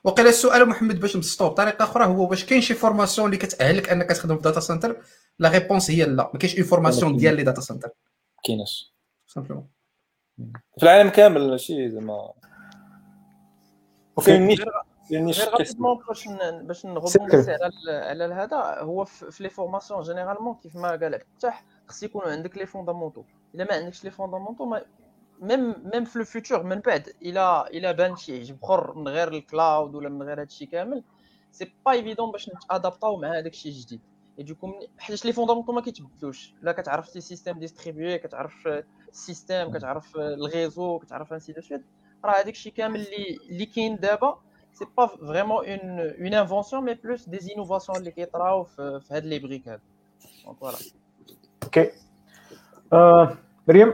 وقيل السؤال محمد باش نبسطوه بطريقه اخرى هو واش كاين شي فورماسيون اللي كتاهلك انك تخدم في داتا سنتر؟ لا ريبونس هي لا، ما كاينش اون فورماسيون ديال لي داتا سنتر كايناش سامبلومون في العالم كامل، ماشي زعما كاين نيش غير غابيدمون باش نغوبوندي على هذا. هو في لي فورماسيون جينيرالمون كيف ما قال فتح خص يكونوا عندك لي فوندامونتو. الا ما عندكش لي فوندامونتو ميم في لو فيتور من بعد الى بان شي عجب اخر من غير الكلاود ولا من غير هادشي كامل، سي با ايفيدون باش نتادابطاو مع هذاك الشيء الجديد. يجيكم حيت لي فوندامونتو ما كيتبدلوش. لا كتعرف سي سيستيم ديستريبيوي، كتعرف السيستيم، كتعرف الغيزو، كتعرف انسي دو سويت، راه هذاك الشيء كامل اللي كاين دابا سي با فريمون اون انفونسيون مي بلوس دي انوفاسيون اللي كيطراو في هاد لي بريك هاد. دونك فوالا. اوكي مريم،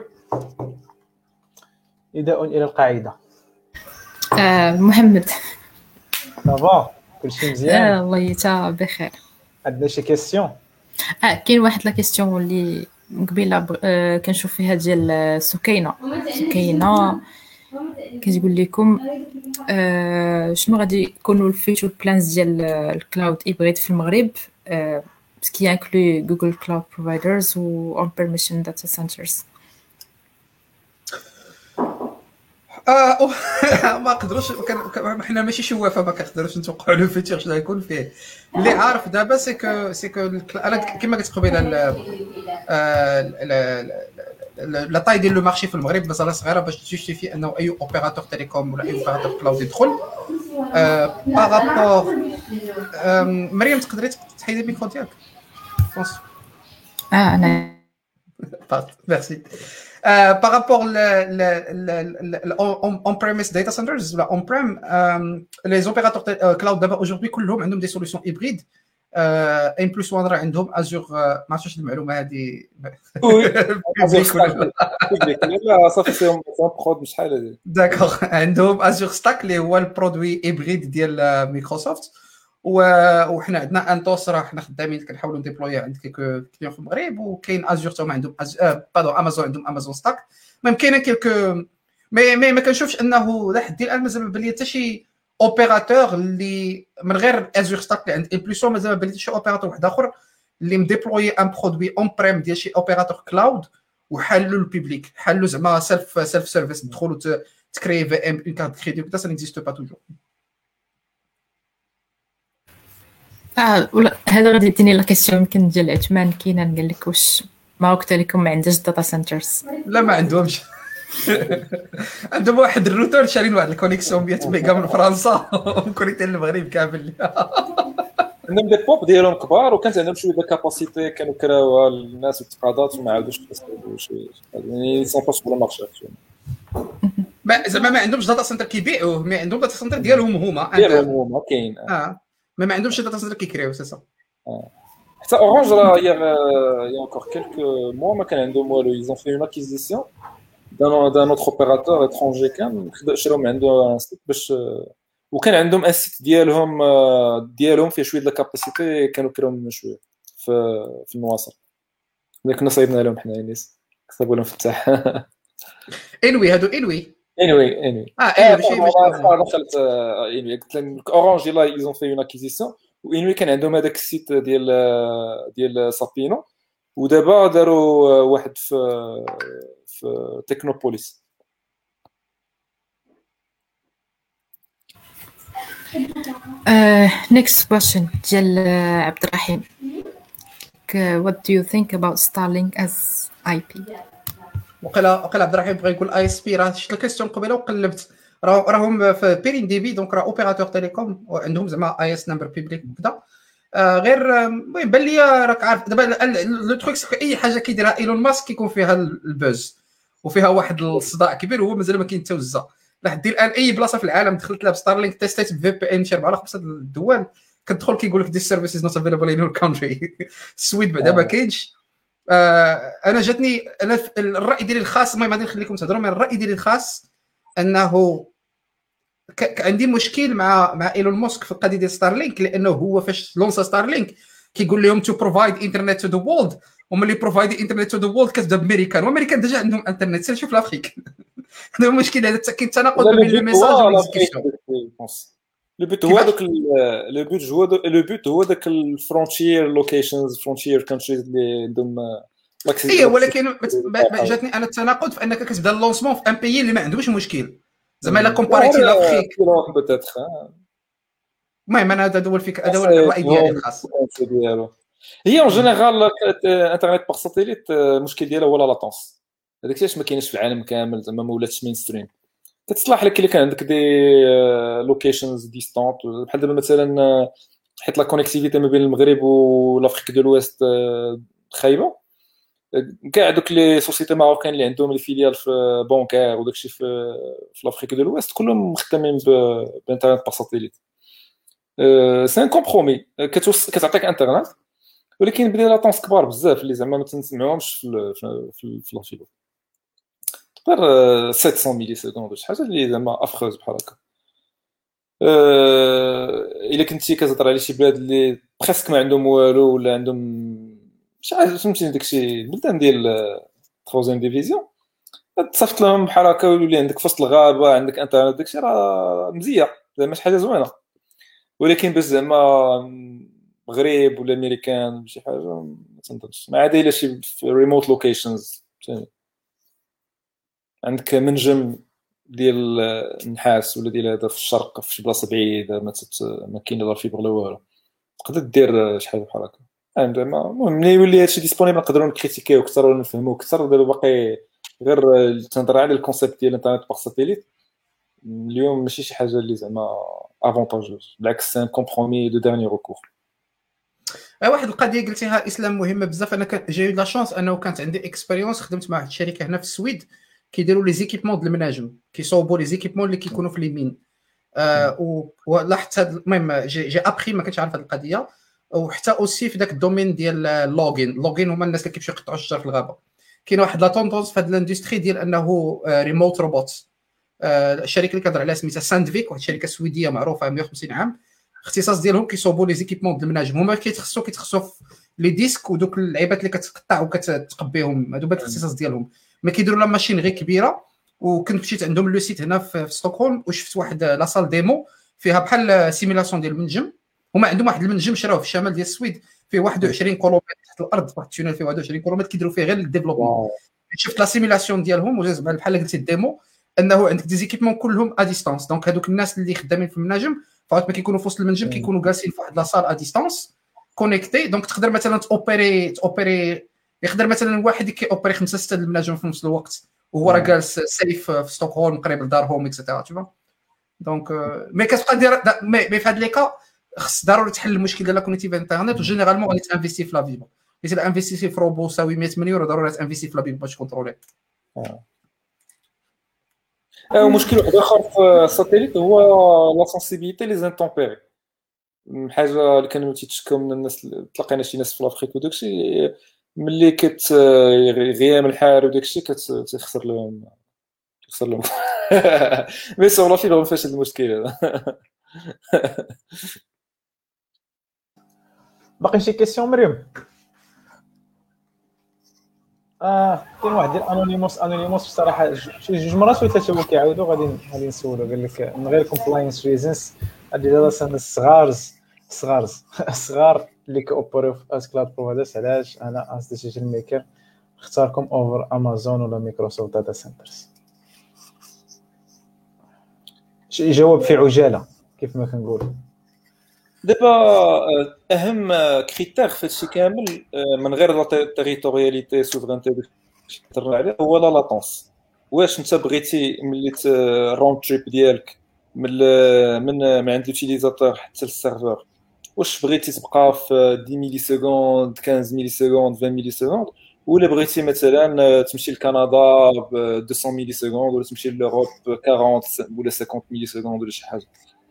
نداء الى القاعده. محمد صافا كلشي مزيان؟ الله يتا بخير. عندنا شي كيسيون؟ كاين واحد لا كيسيون اللي قبيله كنشوف فيها ديال سكينه كتقول لكم شنو غادي يكونوا الفيتشر بلانز ديال الكلاود هيبريد في المغرب، سكي انكلو جوجل كلاود بروفايدرز و اون بيرميشن داتا سنترز. ما قدروش حنا ماشي شوافه، ما كنقدروش نتوقعوا له فيتشر شنو غيكون فيه. اللي عارف دابا سيكو انا كما قلت قبيله لا طاي ديال لو مارشي في المغرب مازال صغيره باش تجوستيفي انه اي اوبيراتور تيليكوم ولا اي اوبيراتور كلاود يدخل. بارابور مريم تقدري تحيدي الميكرو ديالك فرونس؟ انا ميرسي. par rapport on-premise data centers ou on-prem, les opérateurs cloud d'abord aujourd'hui كلهم عندهم des solutions hybrides. ان بلس 1 راه عندهم ازور، ما عرفتش المعلومه هذه لا صافي سي برود شحال هذه داكوغ. عندهم ازور ستاك اللي هو البرودوي هيبريد ديال مايكروسوفت، وحنا عندنا انتوس راه حنا خدامين كنحاولوا نديبلوي عند كليك كليون في المغرب، وكاين ازور حتى عندهم امازون عندهم امازون ستاك. ميم كاينه كلك ما كنشوفش انه لحد الان مازال ما بان لي حتى شي اوبيراتور اللي من غير ازور ستاك اللي عند امبليسو مازال ما بان لي شي اوبيراتور واحد اخر اللي مديبلوي ان برودوي اون بريم ديال شي اوبيراتور كلاود وحلوا البيبليك، حلوا زعما سيلف سيرفيس، تدخلوا تكري في ام اون كارت كريدي وكذا. سا نيكزيست با توجور. هذا غادي يديني لا كيسيون يمكن ديال عثمان كاينه. قال لك واش ماروك تيليكوم ما عندهاش داتا سنترز؟ لا ما عندهمش. عندهم واحد الروتر شارين واحد الكونيكسيون 100 ميجا من فرنسا وكونيكتي المغرب كامل. عندهم دي بوب ديالهم كبار وكانت عندهم شويه د كاباسيتي كانوا كراوها الناس وتقاضات وما عاودوش يستافدوا شي يعني سون باس بلا مارشي. زعما ما عندهمش داتا سنتر كيبيعوه، ما عندهم داتا سنتر ديالهم هما كاين ما عندهمش داتا سنتر كيكريو سي سا. حتى اورانج راه يا encore quelques mois ما كان عندهم والو. ils ont fait une acquisition d'un autre opérateur étranger كان شراو من عنده سيت باش وكان عندهم اسيت ديالهم فيه شويه د الكاباسيتي كانوا كراو شويه في النواصر اللي كنا صايبنا لهم حنا الناس كتبوا لهم فتح انوي هادو انوي ماشي دخلت انوي قلت لهم اورانج لا ils ont fait une acquisition وانوي كان عندهم هذاك السيت ديال سابينو ودابا داروا واحد في تكنوبوليس. next question ديال عبد الرحيم. what do you think about Starlink as IP؟ وقال عبد الرحيم بغى يقول اي اس بي. راه شفت الكيستيون قبيله وقلبت راهم في بيرين دي بي دونك راه اوبيراتور تيليكوم وعندهم زعما اي اس نمبر بيبليك وكذا. غير المهم بان لي راك عارف دابا لو تروك اي حاجه كيديرها ايلون ماسك كيكون فيها البوز وفيها واحد الصداع كبير وهو مازال ما كيتوزع لحد الان. اي بلاصه في العالم دخلت لها بستارلينك تيستيت في بي ان شي 4 5 الدول كتدخل كيقول لك this service is not available in your country. السويد بعدا ما كاينش. انا جاتني انا الراي ديالي الخاص، المهم غادي نخليكم تهضروا، من الراي ديالي الخاص انه عندي مشكل مع ايلون ماسك في القضيه ديال ستارلينك، لانه هو فاش لونسا ستارلينك كيقول لهم تو بروفايد انترنت تو ذا وورلد، وملي بروفايد انترنت تو ذا وورلد كتبدا بامريكان، وامريكان ديجا عندهم انترنت. سير شوف لافريك. هذا هو المشكل، هذا كاين تناقض بين الميساج والديسكريبسيون. لو بوت هو داك لو بوت هو داك الفرونتير لوكيشنز فرونتير كونتريز اللي عندهم اي ولكن جاتني انا التناقض في انك كتبدا اللونسمون في ان بيي اللي ما عندوش مشكل زعما لا كومباريتي لافريك بوتيتر. المهم انا هذا هو الفكره، هذا هو الراي ديالي الخاص. هي اون جينيرال انترنت باغ ساتيليت المشكل ديالها هو لا لاتونس. هذاك الشيء ما كاينش في العالم كامل زعما ما ولاتش مين ستريم. كتصلح لك اللي كان عندك دي لوكيشنز ديستانت بحال دابا مثلا حيت لا كونيكتيفيتي ما بين المغرب ولافريك دو لويست خايبه. كاع دوك لي سوسيتي ماروكان اللي عندهم لي فيليال في بونكار وداكشي في لافريك دو لويست كلهم مخدمين بانترنت باغ ساتيليت. سي ان كومبرومي كتعطيك انترنت ولكن بدي لاتونس كبار بزاف اللي زعما ما تنسمعوهمش في لافيلو تقدر 700 ملي سكوند شي حاجه اللي زعما افخوز بحال هكا. الا كنتي كتهضر على شي بلاد اللي بريسك ما عندهم والو ولا عندهم شي حاجه فهمتي داكشي البلدان ديال 3 ديفيزيون تصيفط لهم بحال هكا ويولي عندك في وسط الغابه عندك انترنت داكشي راه مزيان زعما شي حاجه زوينه. ولكن باش زعما مغرب ولا امريكان شي حاجه ما تنظنش ما عاد الا شي ريموت لوكيشنز عندك منجم ديال النحاس ولا ديال هذا في الشرق في شي بلاصه بعيده ما كاين لا فيبر لا والو تقدر دير شي حاجه بحال هكا. زعما المهم ملي يولي هادشي ديسپونيبل نقدروا نكريتيكيو اكثر ونفهموا اكثر. دابا باقي غير تنهضر على الكونسيبت ديال الانترنت باغ ساتيليت اليوم ماشي شي حاجه اللي زعما افونتاجوز بالعكس سان كومبرومي دو ديرني ريكور. واحد القضيه قلتيها اسلام مهمه بزاف. انا جاي لا شانس انه كانت عندي اكسبيريونس خدمت مع واحد الشركه هنا في السويد كيديروا لي زيكيبمون د المناجم كيصوبوا لي زيكيبمون اللي كيكونوا في اليمين. ولاحظت هذا المهم جي ابخي ما كنتش عارف هذه القضيه. وحتى اوسي في ذاك الدومين ديال اللوغين هما الناس اللي كيمشيو يقطعوا الشجر في الغابه. كاين واحد لا توندونس في هذه الاندستري ديال انه ريموت روبوت. الشركه اللي كنهضر عليها سميتها ساندفيك واحد الشركه سويديه معروفه 150 عام. الاختصاص ديالهم كيصوبوا لي زيكيبمون د المناجم. هما كيتخصصوا في لي ديسك ودوك اللعيبات اللي كتقطع وكتقبيهم. هادو الاختصاص ديالهم ما كيديروا لا ماشين غير كبيره. وكنت مشيت عندهم لو سيت هنا في ستوكهولم وشفت واحد لا سال ديمو فيها بحال سيميلاسيون ديال المنجم. هما عندهم واحد المنجم شراوه في الشمال ديال السويد فيه 21 كيلومتر تحت الارض. واحد التونيل فيه 21 كيلومتر كيديروا فيه غير الديفلوبمون. شفت لا سيميلاسيون ديالهم وجا بحال قلتي الديمو انه عندك دي زيكيبمون كلهم ا ديستانس. دونك هذوك الناس اللي خدامين في المناجم فاوت ما كيكونوا في وسط المنجم كيكونوا جالسين في واحد لا سال ا ديستانس كونيكتي. دونك تقدر مثلا اوبيري يقدر مثلا واحد كيوبري 5 6 المناجم في نفس الوقت وهو راه جالس سيف في ستوكهولم قريب لدارهم اكسيتيرا تشوف. دونك مي كتبقى دير مي في هاد لي كا خص ضروري تحل المشكل ديال لا كونيكتيف انترنت. وجينيرالمون غادي تانفيستي في لا فيبر. الا انفيستي في روبو ساوي 100 مليون ضروري تانفيستي في لا فيبر باش كونترولي. ومشكل واحد اخر في الساتيليت هو لا سنسيبيليتي لي زانتومبيري. حاجه اللي كانوا تيتشكاو من الناس تلقينا شي ناس في لافريك وداكشي ملي غيام الحار وداكشي كتخسر لهم مي سور لا فيبر ما فيهاش هذا المشكل هذا. باقي شي كيسيون مريم؟ كاين واحد ديال انونيموس بصراحه شي جوج مرات ولا ثلاثه هو كيعاودوا غادي نسولو قال لك من غير كومبلاينس ريزنز هادي دابا الصغار اللي كيوبريو في اس كلاود بروفايدرز علاش انا اس ديسيجن ميكر اختاركم اوفر امازون ولا مايكروسوفت داتا سنترز. شي جواب في عجاله كيف ما كنقول. دابا اهم كريتير في هادشي كامل من غير لا تيريتورياليتي سوفرانتي تهضر عليه هو لا لاتونس. واش انت بغيتي ملي الراوند تريب ديالك من عند اليوتيليزاتور حتى للسيرفر واش بغيتي تبقى في 10 ملي سكوند 15 ملي سكوند 20 ملي سكوند ولا بغيتي مثلا تمشي لكندا ب 200 ملي سكوند ولا تمشي لأوروب 40 ولا 50 ملي سكوند ولا شي حاجه.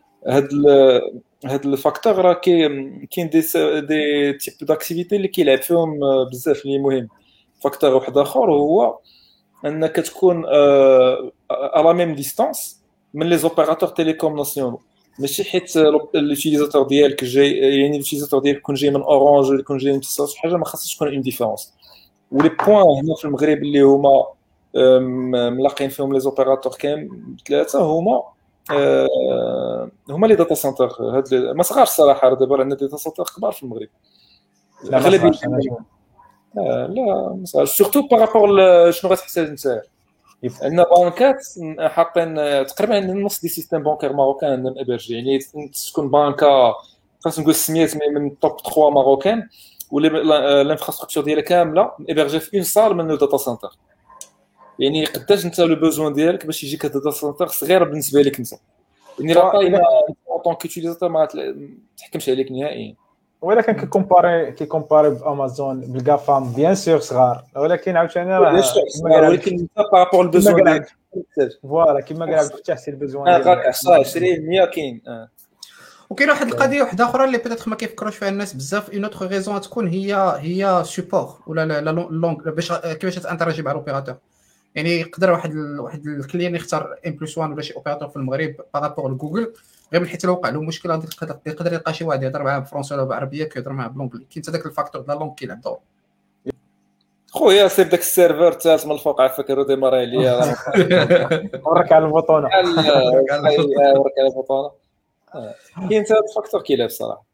هاد الفاكتور راه كاين دي تيب داكتيفيتي اللي كيلعب فيهم بزاف اللي مهم. فاكتور واحد اخر هو انك تكون على ميم ديستانس من لي زوبيراتور تيليكوم ناسيونال. ماشي حيت اليوتيليزاتور ديالك جاي يعني اليوتيليزاتور ديالك يكون جاي من اورانج ولا يكون جاي من اتصال شي حاجه ما خاصش تكون اون ديفيرونس. ولي بوين هنا في المغرب اللي هما ملاقين فيهم لي زوبيراتور كامل ثلاثه هما هما لي داتا سنتر هاد ما صغارش الصراحه، دابا عندنا داتا سنتر كبار في المغرب. لا ما اغلبيه صغارش، أنا لا ما صغارش، سورتو بارابور شنو غتحتاج انت. عندنا بانكات حاطين تقريبا عندنا نص دي سيستيم بانكير ماروكان عندنا ابرجي، يعني تكون بانكا خاص نقول سميات من توب 3 ماروكان، واللي الانفراستركتور ديالها كامله ابرجي في اون صال من الداتا سنتر. يعني قداش انت لو بوزوان ديالك باش يجيك داتا سنتر صغيره بالنسبه لك انت، يعني راه طايمه اون كيوتيليزاتور ما تحكمش عليك نهائيا. ولكن كيكومباري بامازون بالكافام بيان سور صغار، ولكن عاوتاني راه ولكن انت بارابور البوزوان ديالك فوالا كما قال عبد الفتاح سي البوزوان غاك 10 20 كاين. وكاين واحد القضيه واحده اخرى اللي بيتيت ما كيفكروش فيها الناس بزاف، اون اوتر ريزون تكون هي سوبور ولا لا لونغ باش كيفاش تانتراجي مع الاوبيراتور. يعني يقدر واحد الكليان يختار ام بلس 1 ولا شي اوبيراتور في المغرب بارابور لجوجل، غير من حيت لو وقع له مشكل غادي يقدر يلقى شي واحد يهضر معاه بالفرنسي ولا بالعربيه كيهضر معاه بالونجلي. كاين حتى داك الفاكتور ديال اللونغ كيلعب دور. خويا سير داك السيرفر الثالث من الفوق عافاك روديماري عليا ورك على البطونه ورك على البطونه. كاين حتى الفاكتور كيلعب الصراحه.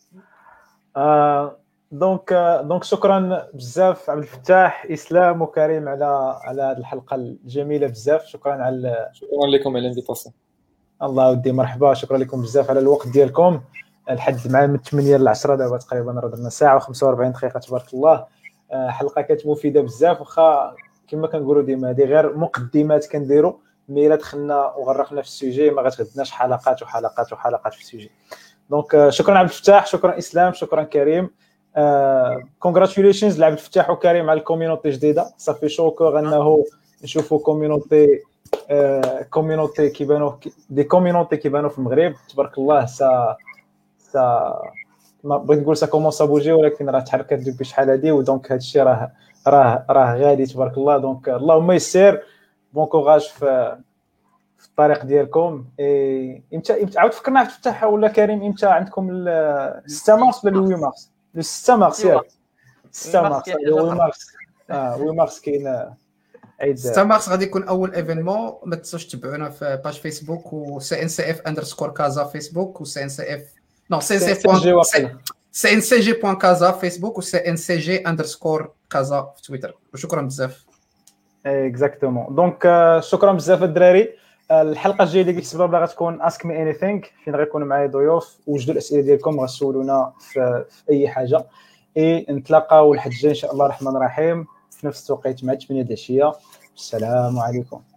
دونك شكرا بزاف عبد الفتاح، اسلام وكريم على هذه الحلقه الجميله بزاف. شكرا لكم على الانفيتاسيون. الله ودي مرحبا، شكرا لكم بزاف على الوقت ديالكم لحد مع من 8 ل 10 دابا تقريبا راه درنا ساعه و45 دقيقه تبارك الله. حلقه كانت مفيده بزاف، واخا كما كنقولوا ديما هذه غير مقدمات كنديروا، مي الا دخلنا وغرقنا في السوجي ما غتغدناش حلقات وحلقات وحلقات في السوجي. دونك شكرا عبد الفتاح، شكرا اسلام، شكرا كريم. كونغراتوليشنز لعبد الفتاح وكريم على الكوميونيتي جديده. صافي شكرا انه نشوفوا كوميونيتي كيبانوا دي كوميونيتي كيبانوا في المغرب تبارك الله. ما بغيت نقول سا كومونس بوجي، ولكن راه تحركت دوبي شحال هادي، ودونك هذا الشيء راه غادي تبارك الله. دونك اللهم يسر، بون كوراج في الطريق ديالكم. امتى عاود فكرنا في الفتح ولا كريم؟ امتى عندكم 6 مارس ولا 8 مارس؟ 6 مارس ياك 6 مارس 8 مارس كاين عيد 6 مارس غادي يكون اول ايفينمون. ما تنساوش تتبعونا في باج فيسبوك و CNCF_كازا فيسبوك و CNCF نو CNCG.كازا فيسبوك و CNCG_كازا في تويتر. وشكرا بزاف. اكزاكتومون. دونك شكرا بزاف الدراري. الحلقه الجايه اللي كيكتب بلا غتكون اسك مي اني ثينك، فين غيكون معايا ضيوف. وجدوا الاسئله ديالكم غتسولونا في اي حاجه. نتلاقاو الحد الجاي ان شاء الله الرحمن الرحيم في نفس التوقيت مع 8 د العشيه. السلام عليكم.